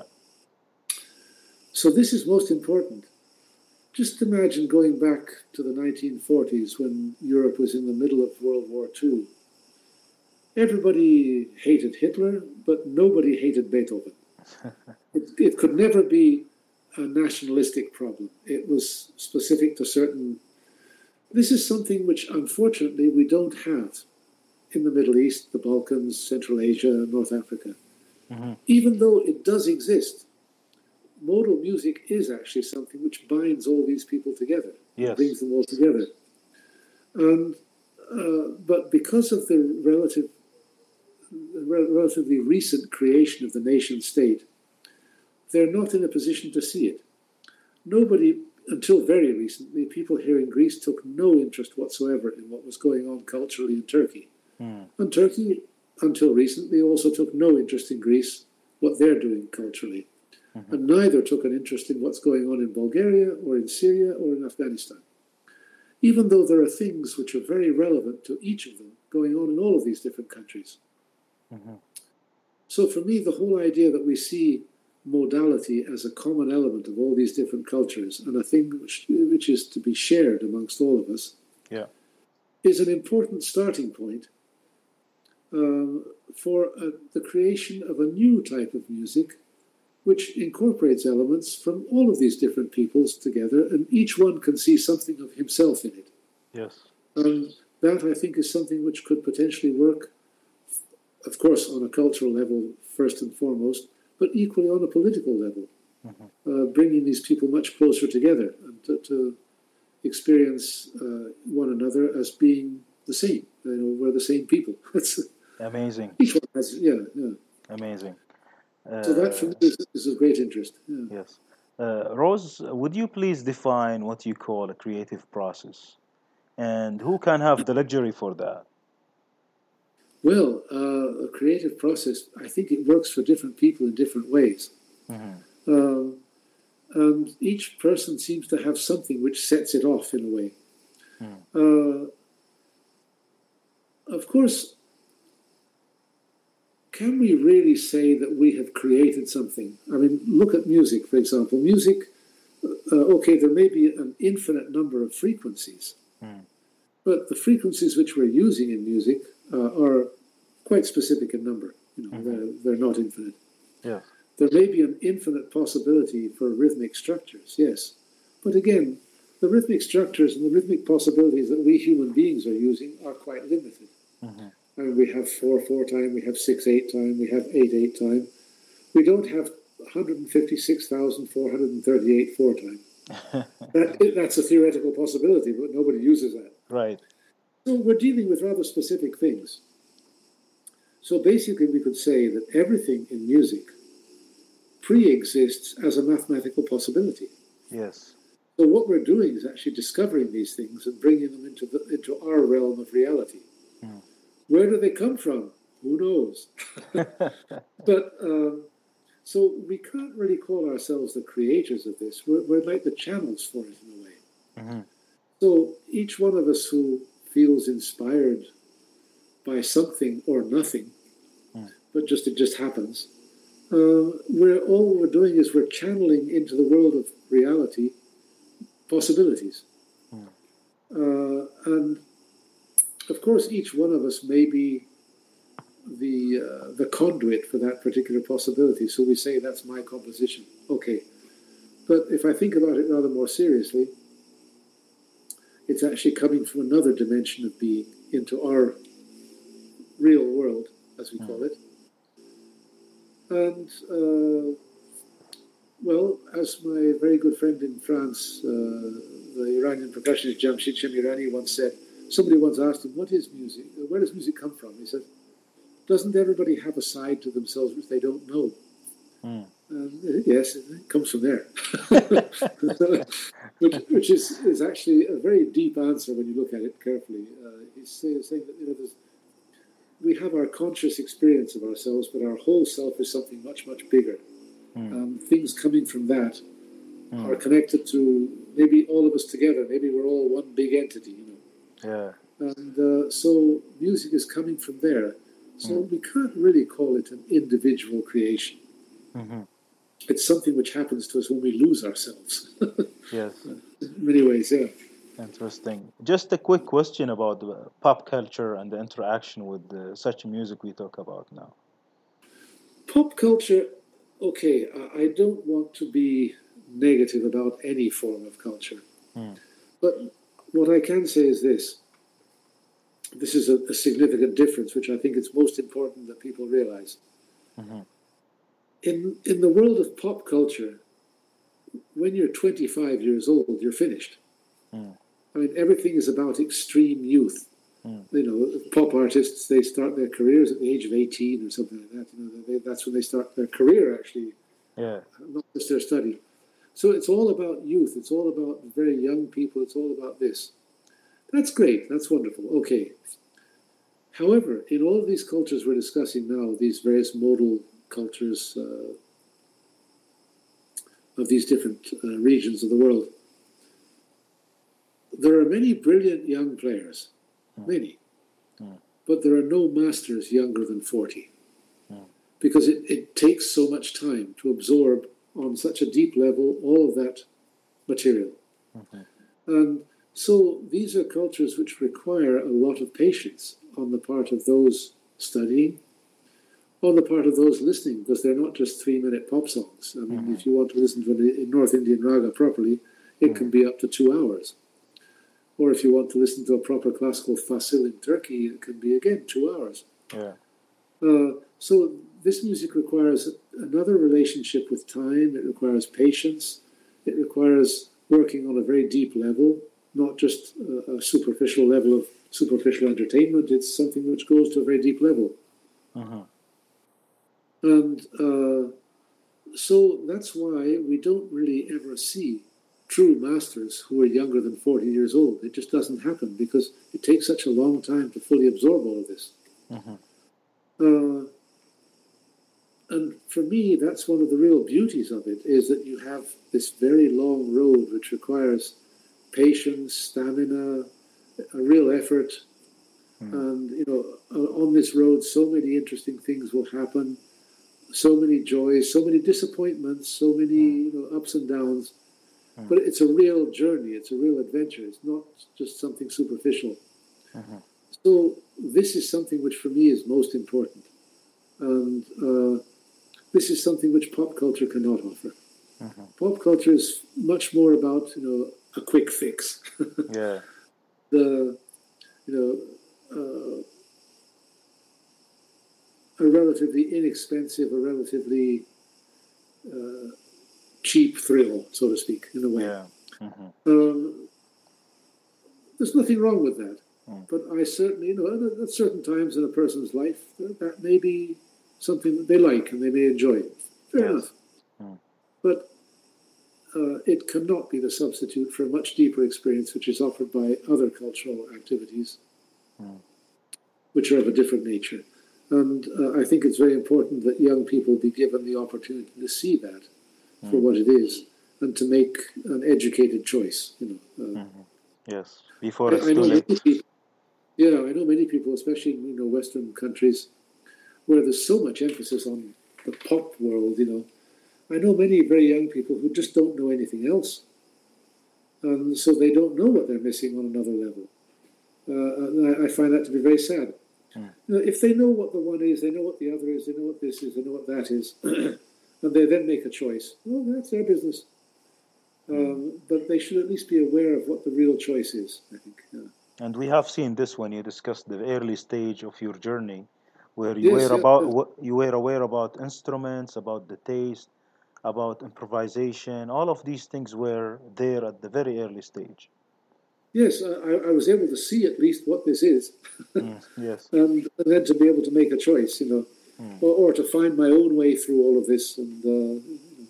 So this is most important. Just imagine going back to the nineteen forties when Europe was in the middle of World War Two. Everybody hated Hitler, but nobody hated Beethoven. it, it could never be a nationalistic problem. It was specific to certain... This is something which, unfortunately, we don't have in the Middle East, the Balkans, Central Asia, North Africa. Mm-hmm. Even though it does exist, modal music is actually something which binds all these people together, yes. brings them all together. And, uh, but because of the relative, relatively recent creation of the nation state, they're not in a position to see it. Nobody, until very recently, people here in Greece took no interest whatsoever in what was going on culturally in Turkey. Mm. And Turkey, until recently, also took no interest in Greece, what they're doing culturally. Mm-hmm. And neither took an interest in what's going on in Bulgaria or in Syria or in Afghanistan. Even though there are things which are very relevant to each of them going on in all of these different countries. Mm-hmm. So for me, the whole idea that we see modality as a common element of all these different cultures and a thing which, which is to be shared amongst all of us, yeah, is an important starting point uh, for uh, the creation of a new type of music which incorporates elements from all of these different peoples together, and each one can see something of himself in it. yes. And that, I think, is something which could potentially work, of course, on a cultural level, first and foremost, but equally on a political level, Mm-hmm. uh, bringing these people much closer together and to, to experience uh, one another as being the same. You know, we're the same people. Amazing. Each one has, yeah, yeah. Amazing. Uh, So that, for me, is, is of great interest. Yeah. yes. Uh, Rose, would you please define what you call a creative process? And who can have the luxury for that? Well, uh, a creative process, I think it works for different people in different ways. Mm-hmm. Um, and each person seems to have something which sets it off in a way. Mm. Uh, of course, can we really say that we have created something? I mean, look at music, for example. Music, uh, okay, there may be an infinite number of frequencies, Mm. but the frequencies which we're using in music uh, are quite specific in number. You know, Mm-hmm. they're, they're not infinite. Yes. There may be an infinite possibility for rhythmic structures, yes. But again, the rhythmic structures and the rhythmic possibilities that we human beings are using are quite limited. Mm-hmm. I mean, we have four four time, we have six eight time, we have eight eight time. We don't have one hundred fifty-six thousand four hundred thirty-eight four time. that, that's a theoretical possibility, but nobody uses that. Right. So we're dealing with rather specific things. So basically, we could say that everything in music pre-exists as a mathematical possibility. Yes. So what we're doing is actually discovering these things and bringing them into the, into our realm of reality. Mm. Where do they come from? Who knows? But um, so we can't really call ourselves the creators of this. We're, we're like the channels for it in a way. Mm-hmm. So each one of us who feels inspired by something or nothing, Mm. but just it just happens, uh, we're all we're doing is we're channeling into the world of reality possibilities. Mm. Uh, and of course, each one of us may be the uh, the conduit for that particular possibility. So we say that's my composition. Okay, but if I think about it rather more seriously, it's actually coming from another dimension of being into our real world, as we call it. And uh, well, as my very good friend in France, uh, the Iranian percussionist Jamshid Shamirani once said, somebody once asked him, what is music? Where does music come from? He said, doesn't everybody have a side to themselves which they don't know? Mm. Um, yes, it comes from there. which which is, is actually a very deep answer when you look at it carefully. Uh, he's say, saying that you know, there's, we have our conscious experience of ourselves, but our whole self is something much, much bigger. Mm. Um, things coming from that Mm. are connected to maybe all of us together. Maybe we're all one big entity, you know. Yeah. And uh, so music is coming from there. So Mm. we can't really call it an individual creation. Mm-hmm. It's something which happens to us when we lose ourselves. Yes. In many ways, yeah. Interesting. Just a quick question about the pop culture and the interaction with uh, such music we talk about now. Pop culture, okay, I, I don't want to be negative about any form of culture. Mm. But what I can say is this. This is a, a significant difference, which I think it's most important that people realize. Mm-hmm. In, in the world of pop culture, when you're twenty-five years old, you're finished. Mm. I mean, everything is about extreme youth. Mm. You know, pop artists, they start their careers at the age of eighteen or something like that. You know, they, that's when they start their career, actually, Yeah. not just their study. So it's all about youth. It's all about very young people. It's all about this. That's great. That's wonderful. Okay. However, in all of these cultures we're discussing now, these various modal cultures, uh, of these different uh, regions of the world. There are many brilliant young players, mm. many, mm. but there are no masters younger than forty, mm. because it, it takes so much time to absorb on such a deep level all of that material. Mm-hmm. And so these are cultures which require a lot of patience on the part of those studying, on the part of those listening, because they're not just three-minute pop songs. I mean, mm-hmm. if you want to listen to a North Indian raga properly, it mm-hmm. can be up to two hours. Or if you want to listen to a proper classical fasil in Turkey, it can be, again, two hours. Yeah. Uh, so this music requires another relationship with time. It requires patience. It requires working on a very deep level, not just a, a superficial level of superficial entertainment. It's something which goes to a very deep level. Mm-hmm. And uh, so that's why we don't really ever see true masters who are younger than forty years old. It just doesn't happen because it takes such a long time to fully absorb all of this. Mm-hmm. Uh, and for me, that's one of the real beauties of it, is that you have this very long road which requires patience, stamina, a real effort. Mm. And, you know, on this road, so many interesting things will happen, so many joys, so many disappointments, so many you know, ups and downs. Mm. But it's a real journey. It's a real adventure. It's not just something superficial. Mm-hmm. So this is something which for me is most important. And uh, this is something which pop culture cannot offer. Mm-hmm. Pop culture is much more about, you know, a quick fix. Yeah. The, you know, uh, a relatively inexpensive, a relatively uh, cheap thrill, so to speak, in a way. Yeah. Mm-hmm. Um, there's nothing wrong with that. Mm. But I certainly, you know, at certain times in a person's life, that may be something that they like and they may enjoy. Fair yes. enough. Mm. But uh, it cannot be the substitute for a much deeper experience which is offered by other cultural activities, mm. which are of a different nature. And uh, I think it's very important that young people be given the opportunity to see that mm. for what it is and to make an educated choice. You know. Uh, mm-hmm. Yes, before I, it's I too late. People, yeah, I know many people, especially in you know Western countries, where there's so much emphasis on the pop world. You know, I know many very young people who just don't know anything else, and so they don't know what they're missing on another level. Uh, and I, I find that to be very sad. Mm. You know, if they know what the one is, they know what the other is, they know what this is, they know what that is, and they then make a choice. Well, that's their business. Um, but they should at least be aware of what the real choice is, I think. Yeah. And we have seen this when you discussed the early stage of your journey, where you Yes, were yeah, about yeah. you were aware about instruments, about the taste, about improvisation. All of these things were there at the very early stage. Yes, I, I was able to see at least what this is, mm, yes, and, and then to be able to make a choice, you know, mm. or, or to find my own way through all of this. And uh,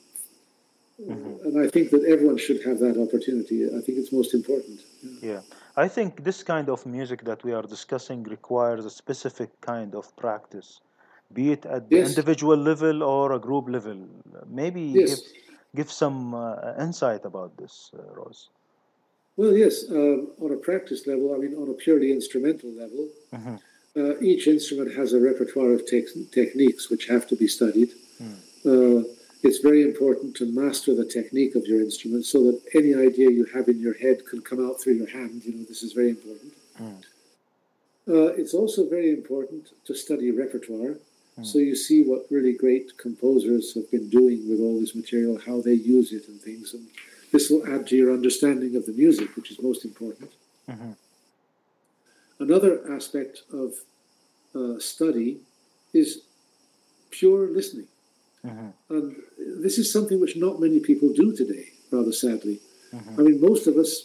mm-hmm. and I think that everyone should have that opportunity. I think it's most important. Yeah. yeah, I think this kind of music that we are discussing requires a specific kind of practice, be it at the Yes. individual level or a group level. Maybe Yes. give give some uh, insight about this, uh, Rose. Well, yes, um, on a practice level, I mean, on a purely instrumental level, mm-hmm. uh, each instrument has a repertoire of te- techniques which have to be studied. Mm. Uh, it's very important to master the technique of your instrument so that any idea you have in your head can come out through your hand. You know, this is very important. Mm. Uh, it's also very important to study repertoire, mm. so you see what really great composers have been doing with all this material, how they use it and things, and this will add to your understanding of the music, which is most important. Mm-hmm. Another aspect of uh, study is pure listening. Mm-hmm. And this is something which not many people do today, rather sadly. Mm-hmm. I mean, most of us,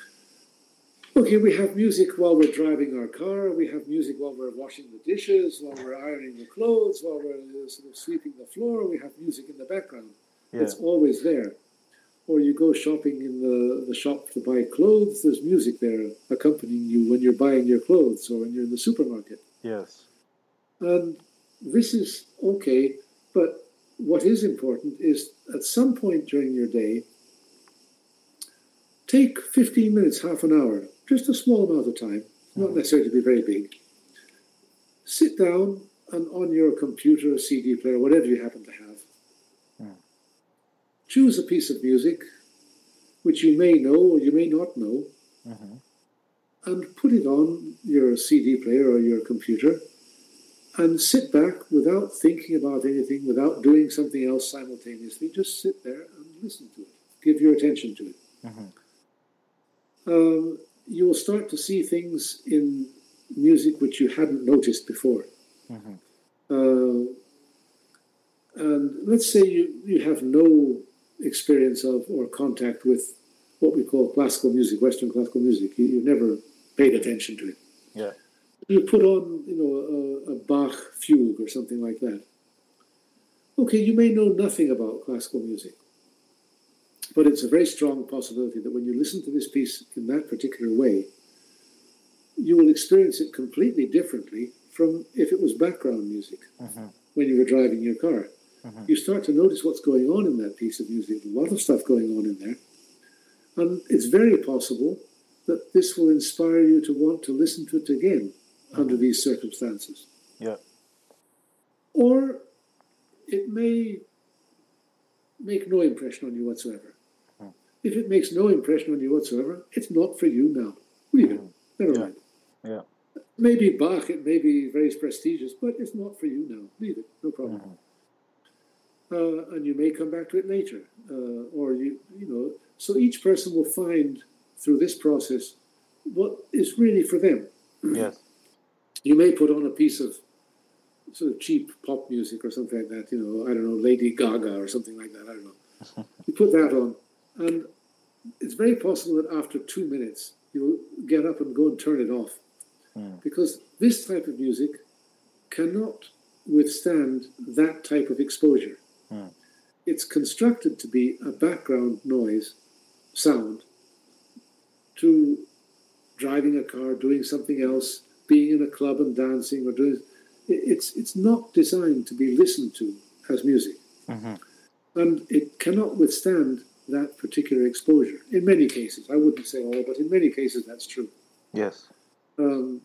okay, we have music while we're driving our car, we have music while we're washing the dishes, while we're ironing the clothes, while we're sort of sweeping the floor, we have music in the background. Yeah. It's always there. Or you go shopping in the, the shop to buy clothes, there's music there accompanying you when you're buying your clothes or when you're in the supermarket. Yes. And this is okay, but what is important is at some point during your day, take fifteen minutes, half an hour, just a small amount of time, not necessarily to be very big. Sit down and on your computer, C D player, whatever you happen to have, mm. choose a piece of music which you may know or you may not know, mm-hmm. and put it on your C D player or your computer and sit back without thinking about anything, without doing something else simultaneously. Just sit there and listen to it. Give your attention to it. Mm-hmm. Um, you will start to see things in music which you hadn't noticed before. Mm-hmm. Uh, and let's say you, you have no experience of or contact with what we call classical music, Western classical music. You, you've never paid attention to it. Yeah. You put on, you know, a, a Bach fugue or something like that. Okay, you may know nothing about classical music, but it's a very strong possibility that when you listen to this piece in that particular way, you will experience it completely differently from if it was background music uh-huh. when you were driving your car. Uh-huh. You start to notice what's going on in that piece of music, a lot of stuff going on in there. And it's very possible that this will inspire you to want to listen to it again uh-huh. under these circumstances. Yeah. Or it may make no impression on you whatsoever. Uh-huh. If it makes no impression on you whatsoever, it's not for you now. Leave it. Never yeah. mind. Yeah. Maybe Bach, it may be very prestigious, but it's not for you now. Leave it, no problem. Mm-hmm. Uh, and you may come back to it later, uh, or you, you know. So each person will find through this process what is really for them. Yes. You may put on a piece of sort of cheap pop music or something like that. You know, I don't know, Lady Gaga or something like that. I don't know. You put that on, and it's very possible that after two minutes you'll get up and go and turn it off. Mm. Because this type of music cannot withstand that type of exposure. Mm. It's constructed to be a background noise, sound, to driving a car, doing something else, being in a club and dancing, or doing. It's it's not designed to be listened to as music, mm-hmm. and it cannot withstand that particular exposure. In many cases, I wouldn't say all, but in many cases that's true. Yes. Um,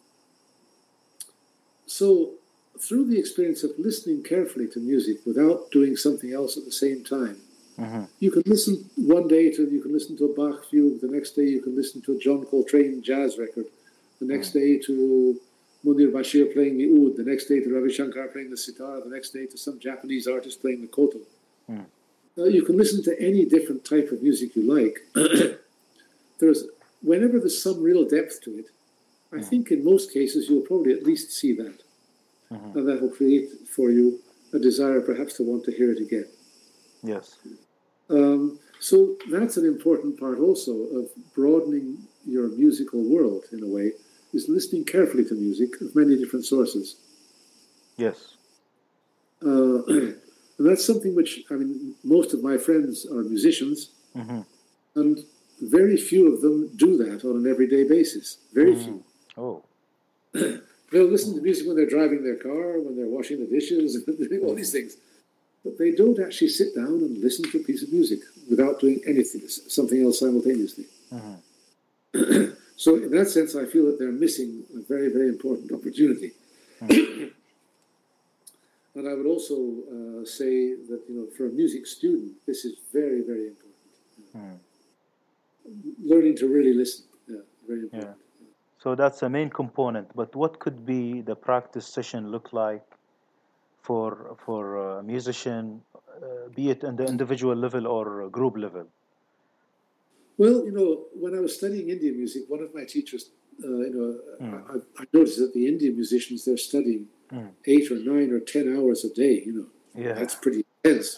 so, through the experience of listening carefully to music without doing something else at the same time, mm-hmm. you can listen one day to you can listen to a Bach fugue. The next day you can listen to a John Coltrane jazz record. The next mm-hmm. day to Munir Bashir playing the oud. The next day to Ravi Shankar playing the sitar. The next day to some Japanese artist playing the koto. Mm. Uh, you can listen to any different type of music you like. There's whenever there's some real depth to it, I mm. think in most cases you'll probably at least see that. Mm-hmm. And that will create for you a desire perhaps to want to hear it again. Yes. Um, so that's an important part also of broadening your musical world in a way, is listening carefully to music of many different sources. Yes. Uh, and that's something which, I mean, most of my friends are musicians, mm-hmm. and very few of them do that on an everyday basis. Very mm. few. Oh. They'll listen to music when they're driving their car, when they're washing the dishes, and doing all these things. But they don't actually sit down and listen to a piece of music without doing anything, something else simultaneously. Mm-hmm. So in that sense, I feel that they're missing a very, very important opportunity. Mm-hmm. And I would also uh, say that, you know, for a music student, this is very, very important. Mm-hmm. Learning to really listen, yeah, very important. Yeah. So that's a main component. But what could be the practice session look like for for a musician, uh, be it on the individual level or group level? Well, you know, when I was studying Indian music, one of my teachers, uh, you know, mm. I, I noticed that the Indian musicians, they're studying mm. eight or nine or ten hours a day, you know. Yeah. That's pretty intense.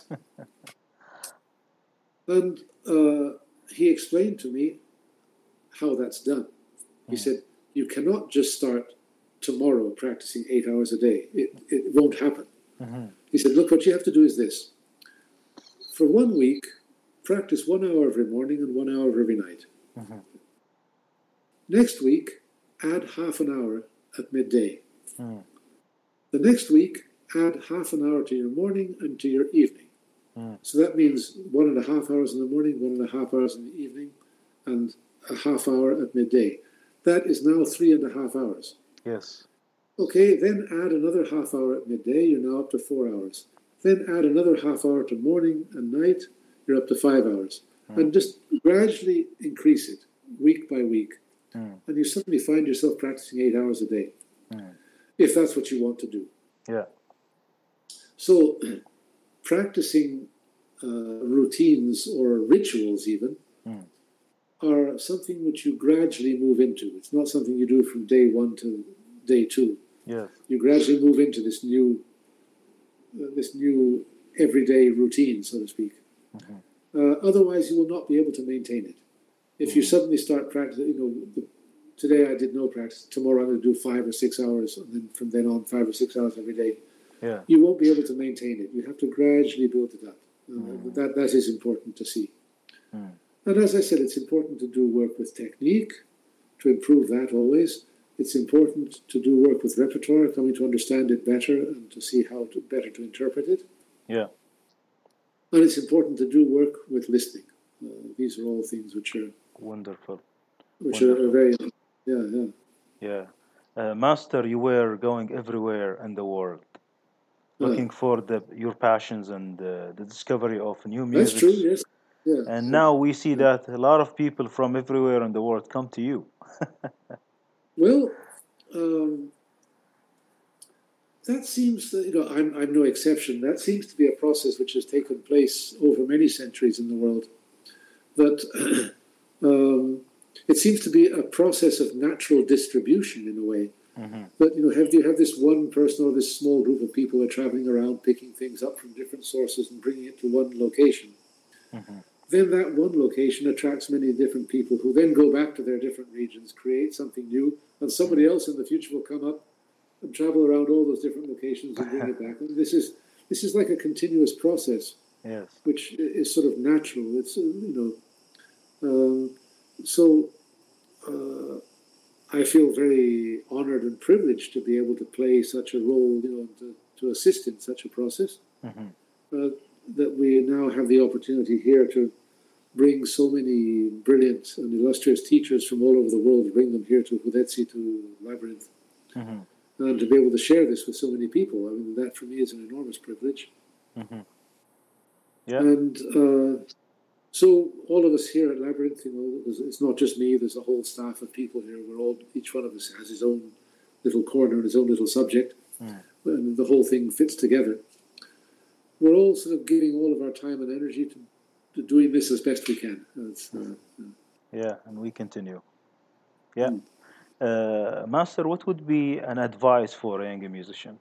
And uh, he explained to me how that's done. He mm. said, you cannot just start tomorrow practicing eight hours a day. It, it won't happen. Mm-hmm. He said, look, what you have to do is this. For one week, practice one hour every morning and one hour every night. Mm-hmm. Next week, add half an hour at midday. Mm. The next week, add half an hour to your morning and to your evening. Mm. So that means one and a half hours in the morning, one and a half hours in the evening, and a half hour at midday. That is now three and a half hours. Yes. Okay, then add another half hour at midday, you're now up to four hours. Then add another half hour to morning and night, you're up to five hours. Mm. And just gradually increase it week by week. Mm. And you suddenly find yourself practicing eight hours a day, mm. if that's what you want to do. Yeah. So practicing uh, routines or rituals even mm. are something which you gradually move into. It's not something you do from day one to day two. Yes. You gradually move into this new, uh, this new everyday routine, so to speak. Mm-hmm. Uh, otherwise, you will not be able to maintain it. If mm-hmm. you suddenly start practicing, you know, the, today I did no practice. Tomorrow I'm going to do five or six hours, and then from then on, five or six hours every day. Yeah. You won't be able to maintain it. You have to gradually build it up. Uh, mm. That that is important to see. Mm. And as I said, it's important to do work with technique, to improve that always. It's important to do work with repertoire, coming to understand it better and to see how to better to interpret it. Yeah. And it's important to do work with listening. Uh, these are all things which are wonderful. Which wonderful. are very, yeah, yeah. Yeah. Uh, Master, you were going everywhere in the world, looking yeah. for the your passions and uh, the discovery of new music. That's true, yes. Yeah. And now we see yeah. that a lot of people from everywhere in the world come to you. Well, um, that seems, that, you know, I'm, I'm no exception. That seems to be a process which has taken place over many centuries in the world. That um, it seems to be a process of natural distribution in a way. Mm-hmm. But, you know, have you have this one person or this small group of people who are traveling around picking things up from different sources and bringing it to one location. Mm-hmm. Then that one location attracts many different people who then go back to their different regions, create something new, and somebody else in the future will come up and travel around all those different locations and bring it back. And this is this is like a continuous process, yes, which is sort of natural. It's, you know, um, so uh, I feel very honored and privileged to be able to play such a role, you know, to, to assist in such a process. Mm-hmm. Uh, that we now have the opportunity here to bring so many brilliant and illustrious teachers from all over the world, bring them here to Hudetsi, to Labyrinth, mm-hmm. and to be able to share this with so many people. I mean, that for me is an enormous privilege. Mm-hmm. Yeah. And uh, so all of us here at Labyrinth, you know, it's not just me, there's a whole staff of people here. We're all, each one of us has his own little corner and his own little subject, mm. and the whole thing fits together. We're all sort of giving all of our time and energy to, to doing this as best we can. Uh, uh, yeah, and we continue. Yeah. Mm. Uh, Master, what would be an advice for a young musician?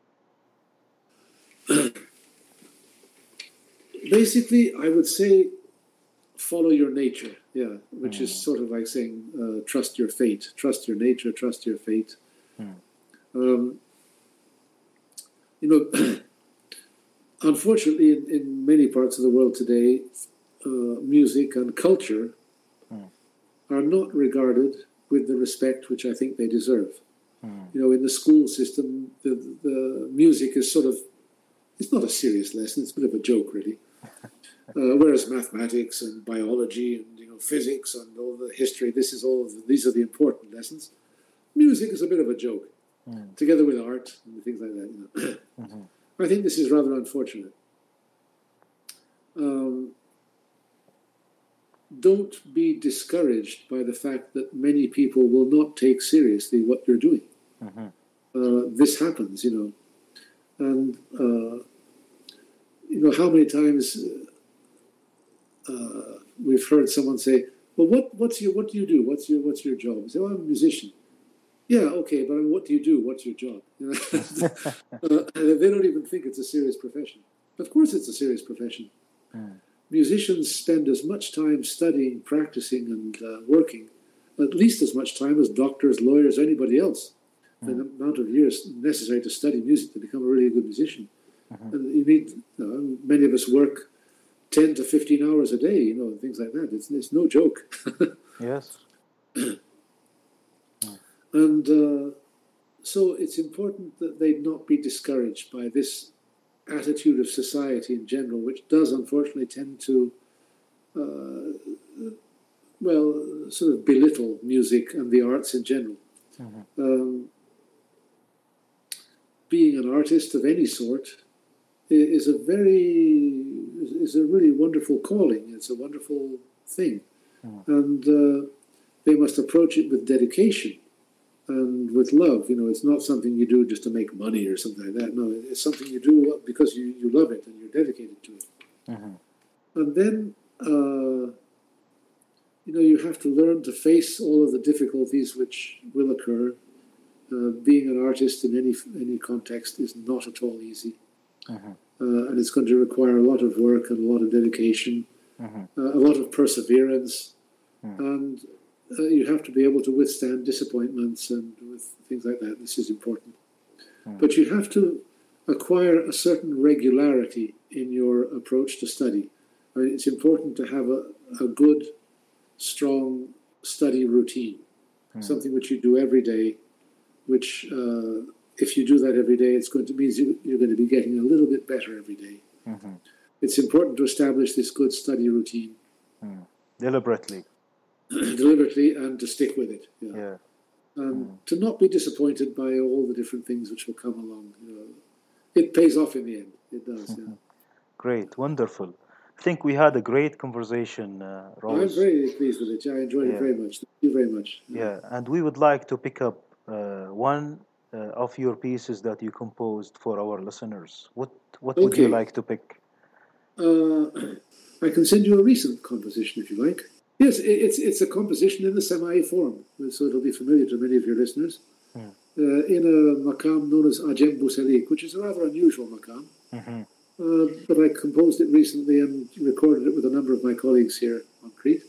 Basically, I would say follow your nature, yeah, which mm. is sort of like saying uh, trust your fate, trust your nature, trust your fate. Mm. Um, you know, unfortunately, in, in many parts of the world today, uh, music and culture mm. are not regarded with the respect which I think they deserve. Mm. You know, in the school system, the, the music is sort of, it's not a serious lesson, it's a bit of a joke, really. Uh, whereas mathematics and biology and, you know, physics and all the history, this is all, the, these are the important lessons. Music is a bit of a joke, mm. together with art and things like that, you know. Mm-hmm. I think this is rather unfortunate. Um, don't be discouraged by the fact that many people will not take seriously what you're doing. Mm-hmm. Uh, this happens, you know. And, uh, you know, how many times uh, we've heard someone say, well, what, what's your, what do you do? What's your, what's your job? I say, well, I'm a musician. Yeah, okay, but what do you do? What's your job? You know? uh, they don't even think it's a serious profession. Of course it's a serious profession. Mm. Musicians spend as much time studying, practicing, and uh, working, at least as much time as doctors, lawyers, anybody else. Mm. The amount of years necessary to study music to become a really good musician. Mm-hmm. And you need, you know, many of us work ten to fifteen hours a day, you know, and things like that. It's, it's no joke. Yes. And uh, so it's important that they not be discouraged by this attitude of society in general, which does unfortunately tend to, uh, well, sort of belittle music and the arts in general. Mm-hmm. Um, being an artist of any sort is a very, is a really wonderful calling. It's a wonderful thing. Mm-hmm. And uh, they must approach it with dedication and with love. You know, it's not something you do just to make money or something like that. No, it's something you do because you, you love it and you're dedicated to it. Mm-hmm. And then, uh, you know, you have to learn to face all of the difficulties which will occur. Uh, being an artist in any any context is not at all easy. Mm-hmm. Uh, and it's going to require a lot of work and a lot of dedication, mm-hmm. uh, a lot of perseverance. Mm-hmm. And Uh, you have to be able to withstand disappointments and with things like that. This is important. Mm. But you have to acquire a certain regularity in your approach to study. I mean, it's important to have a, a good, strong study routine, mm. something which you do every day, which uh, if you do that every day, it's going to mean you, you're going to be getting a little bit better every day. Mm-hmm. It's important to establish this good study routine. Mm. Deliberately. Deliberately, and to stick with it. Yeah. yeah. And mm. to not be disappointed by all the different things which will come along. You know, it pays off in the end. It does. Yeah. Great, wonderful. I think we had a great conversation, uh, Rose. I'm very pleased with it. I enjoyed yeah. it very much. Thank you very much. Yeah, yeah. And we would like to pick up uh, one uh, of your pieces that you composed for our listeners. What What would okay. you like to pick? Uh, I can send you a recent composition if you like. Yes, it's it's a composition in the Sama'i form, so it'll be familiar to many of your listeners. Mm. Uh, in a maqam known as Ajem Busalik, which is a rather unusual maqam. Mm-hmm. Uh, but I composed it recently and recorded it with a number of my colleagues here on Crete.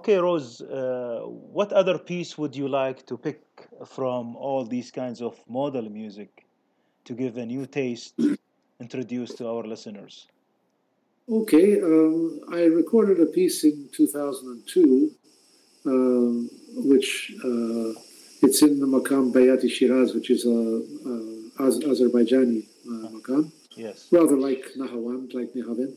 okay, Rose, uh, what other piece would you like to pick from all these kinds of modal music to give a new taste introduced to our listeners? Okay, um, I recorded a piece in two thousand two, um, which uh, it's in the Maqam Bayati Shiraz, which is a, a Az- Azerbaijani uh, maqam, Yes. rather like Nahawand, like Nihavend.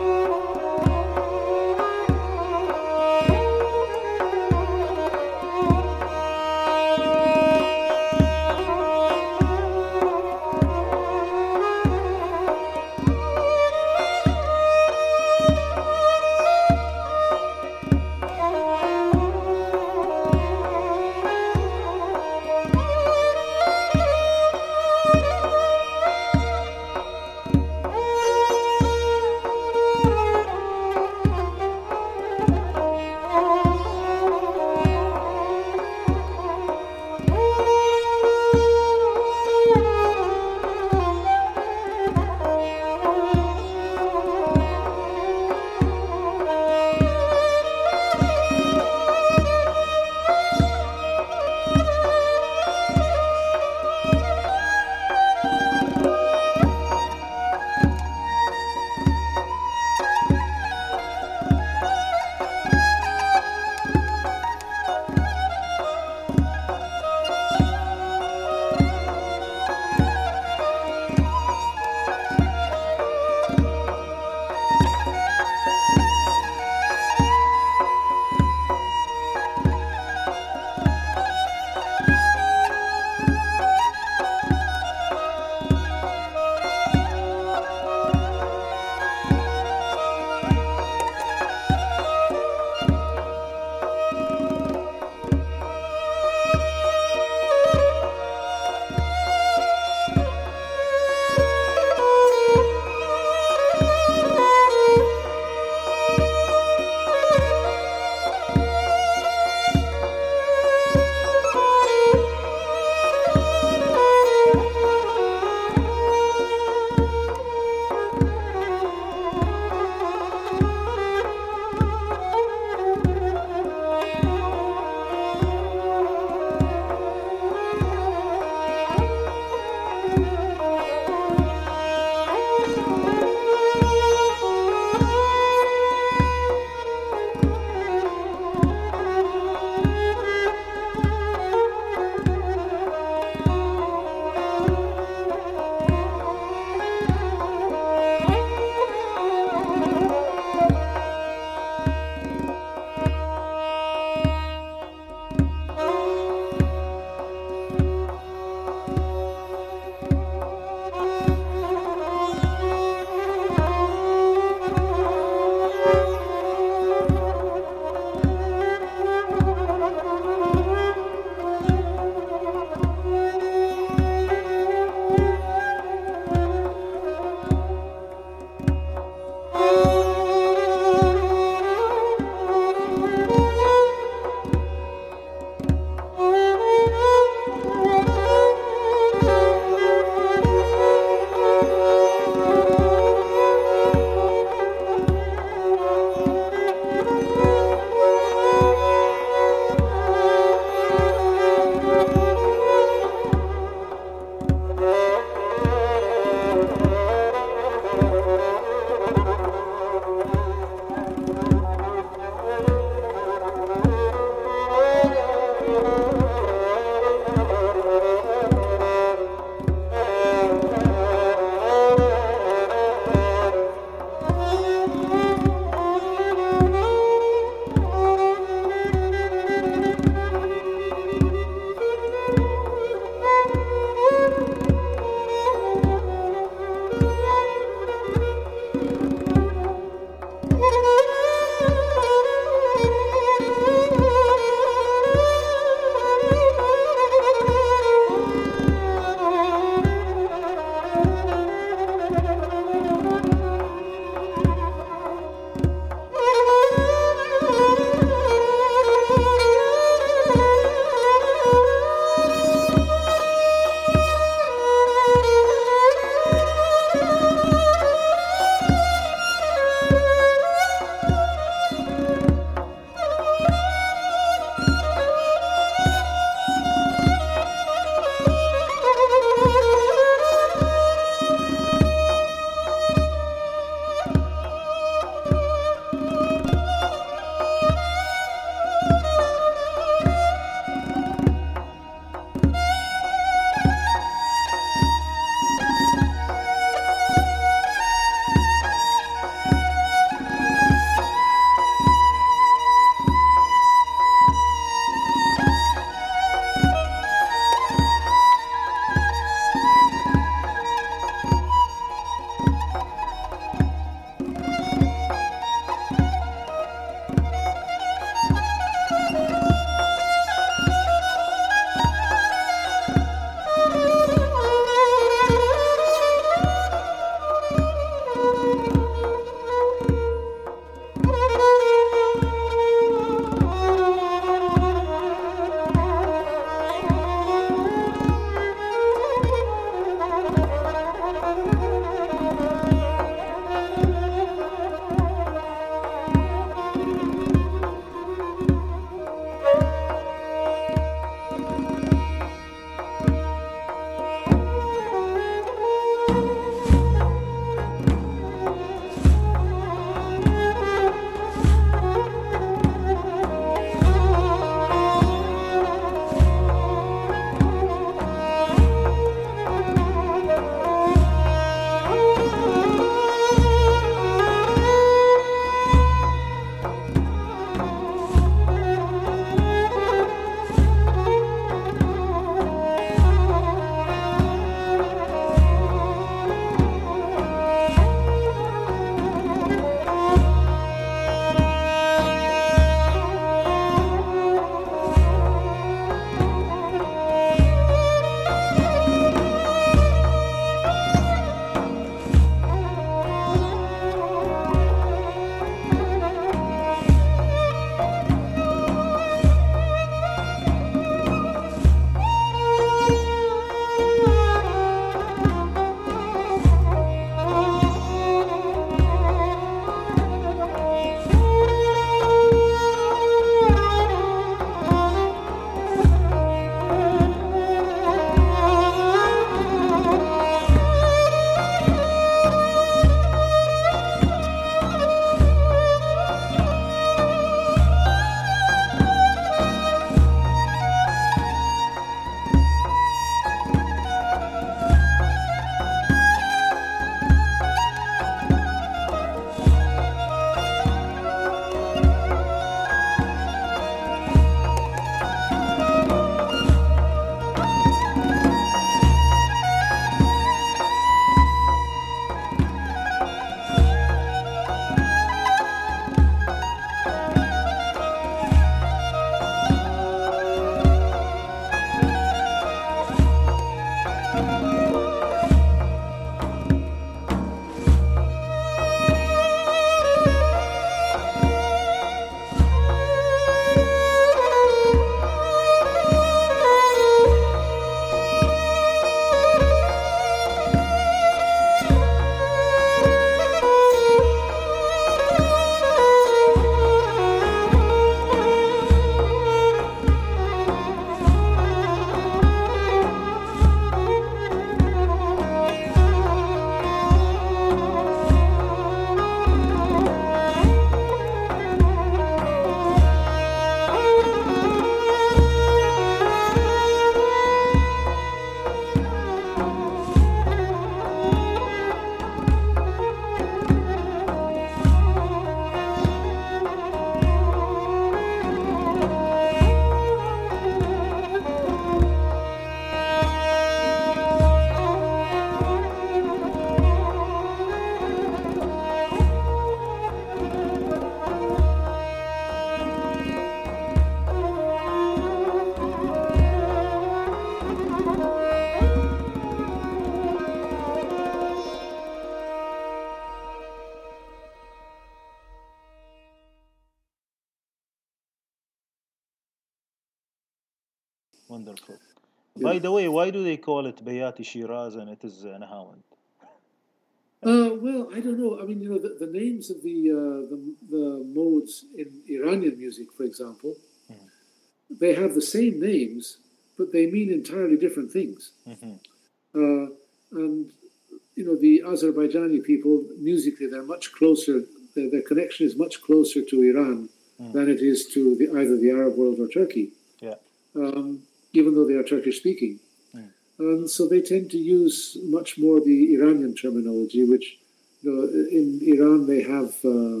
Wonderful. Yeah. By the way, why do they call it Bayati Shiraz and it is uh, Nahawand? Uh, well, I don't know. I mean, you know, the, the names of the, uh, the the modes in Iranian music, for example, Mhm. they have the same names, but they mean entirely different things. Mhm. Uh, and you know, the Azerbaijani people, musically, they're much closer. Their, their connection is much closer to Iran Mm. than it is to the, either the Arab world or Turkey. Yeah. Um, even though they are Turkish speaking. Mm. And so they tend to use much more the Iranian terminology, which you know, in Iran they have uh,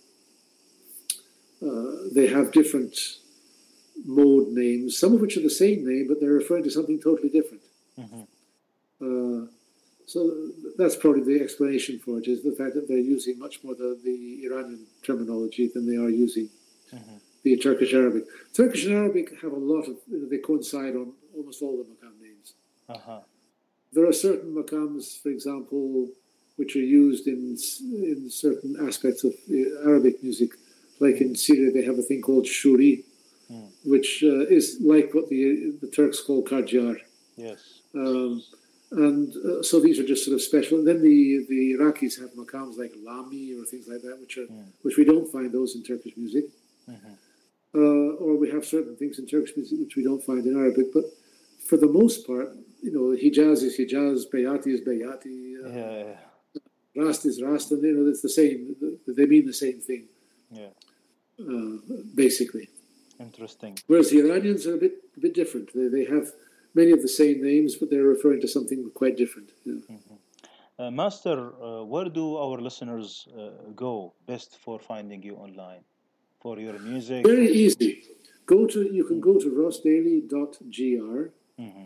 uh, they have different mode names, some of which are the same name, but they're referring to something totally different. Mhm. Uh, so that's probably the explanation for it, is the fact that they're using much more the, the Iranian terminology than they are using Mhm. the Turkish Arabic. Turkish and Arabic have a lot of, you know, they coincide on almost all the maqam names. Uh-huh. There are certain maqams, for example, which are used in in certain aspects of uh, Arabic music. Like in Syria, they have a thing called shuri, Mm. which uh, is like what the the Turks call karjar. Yes. Um, and uh, so these are just sort of special. And then the, the Iraqis have maqams like lami or things like that, which are Mm. which we don't find those in Turkish music. Mhm. Uh, or we have certain things in Turkish music which we don't find in Arabic. But for the most part, you know, Hijaz is Hijaz, Bayati is Bayati, uh, Yeah. Yeah. Rast is Rast, and you know, it's the same. They mean the same thing, Yeah. uh, basically. Interesting. Whereas the Iranians are a bit a bit different. They, they have many of the same names, but they're referring to something quite different. Yeah. Mhm. Uh, Master, uh, where do our listeners uh, go best for finding you online? For your music? Very For... easy. Go to you can Mm. go to ross daly dot g r, Mhm.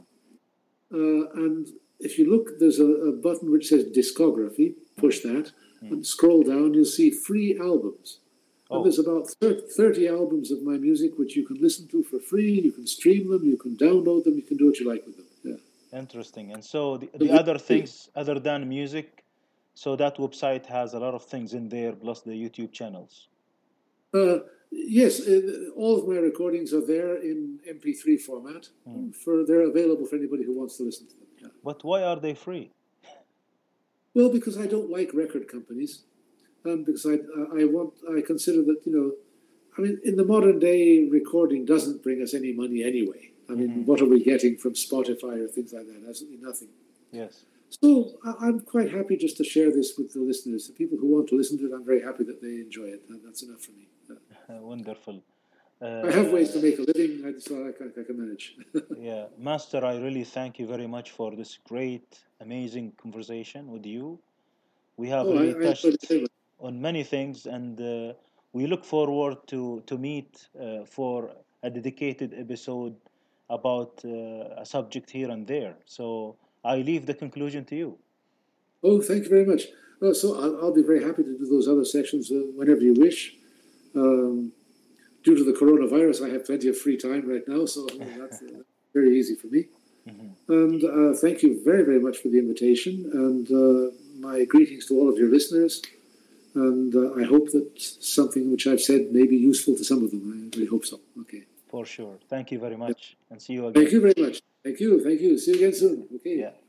uh, and if you look, there's a, a button which says discography. Push that Mm. and scroll down. You'll see free albums. And Oh. there's about thirty albums of my music which you can listen to for free. You can stream them. You can download them. You can do what you like with them. Yeah. Interesting. And so the, the other things other than music, so that website has a lot of things in there, plus the YouTube channels. Uh, yes, uh, all of my recordings are there in M P three format. Mm. For they're available for anybody who wants to listen to them. Yeah. But why are they free? Well, because I don't like record companies, um, because I I want I consider that, you know, I mean, in the modern day, recording doesn't bring us any money anyway. I mean, Mhm. what are we getting from Spotify or things like that? Absolutely nothing. Yes. So I- I'm quite happy just to share this with the listeners. The people who want to listen to it, I'm very happy that they enjoy it. And that's enough for me. Uh, wonderful. I have ways to Uh, make a living, I- so I can, I can manage. yeah, Master, I really thank you very much for this great, amazing conversation with you. We have Oh, I, really I enjoyed it touched very much. on many things, and uh, we look forward to to meet uh, for a dedicated episode about uh, a subject here and there. So I leave the conclusion to you. Oh, thank you very much. Well, so I'll, I'll be very happy to do those other sessions uh, whenever you wish. Um, due to the coronavirus, I have plenty of free time right now, so you know, that's uh, very easy for me. Mhm. And uh, thank you very, very much for the invitation, and uh, my greetings to all of your listeners. And uh, I hope that something which I've said may be useful to some of them. I really hope so. Okay. For sure. Thank you very Yeah. much, and see you Thank again. you very much. Thank you. Thank you. See you again soon. Okay. Yeah.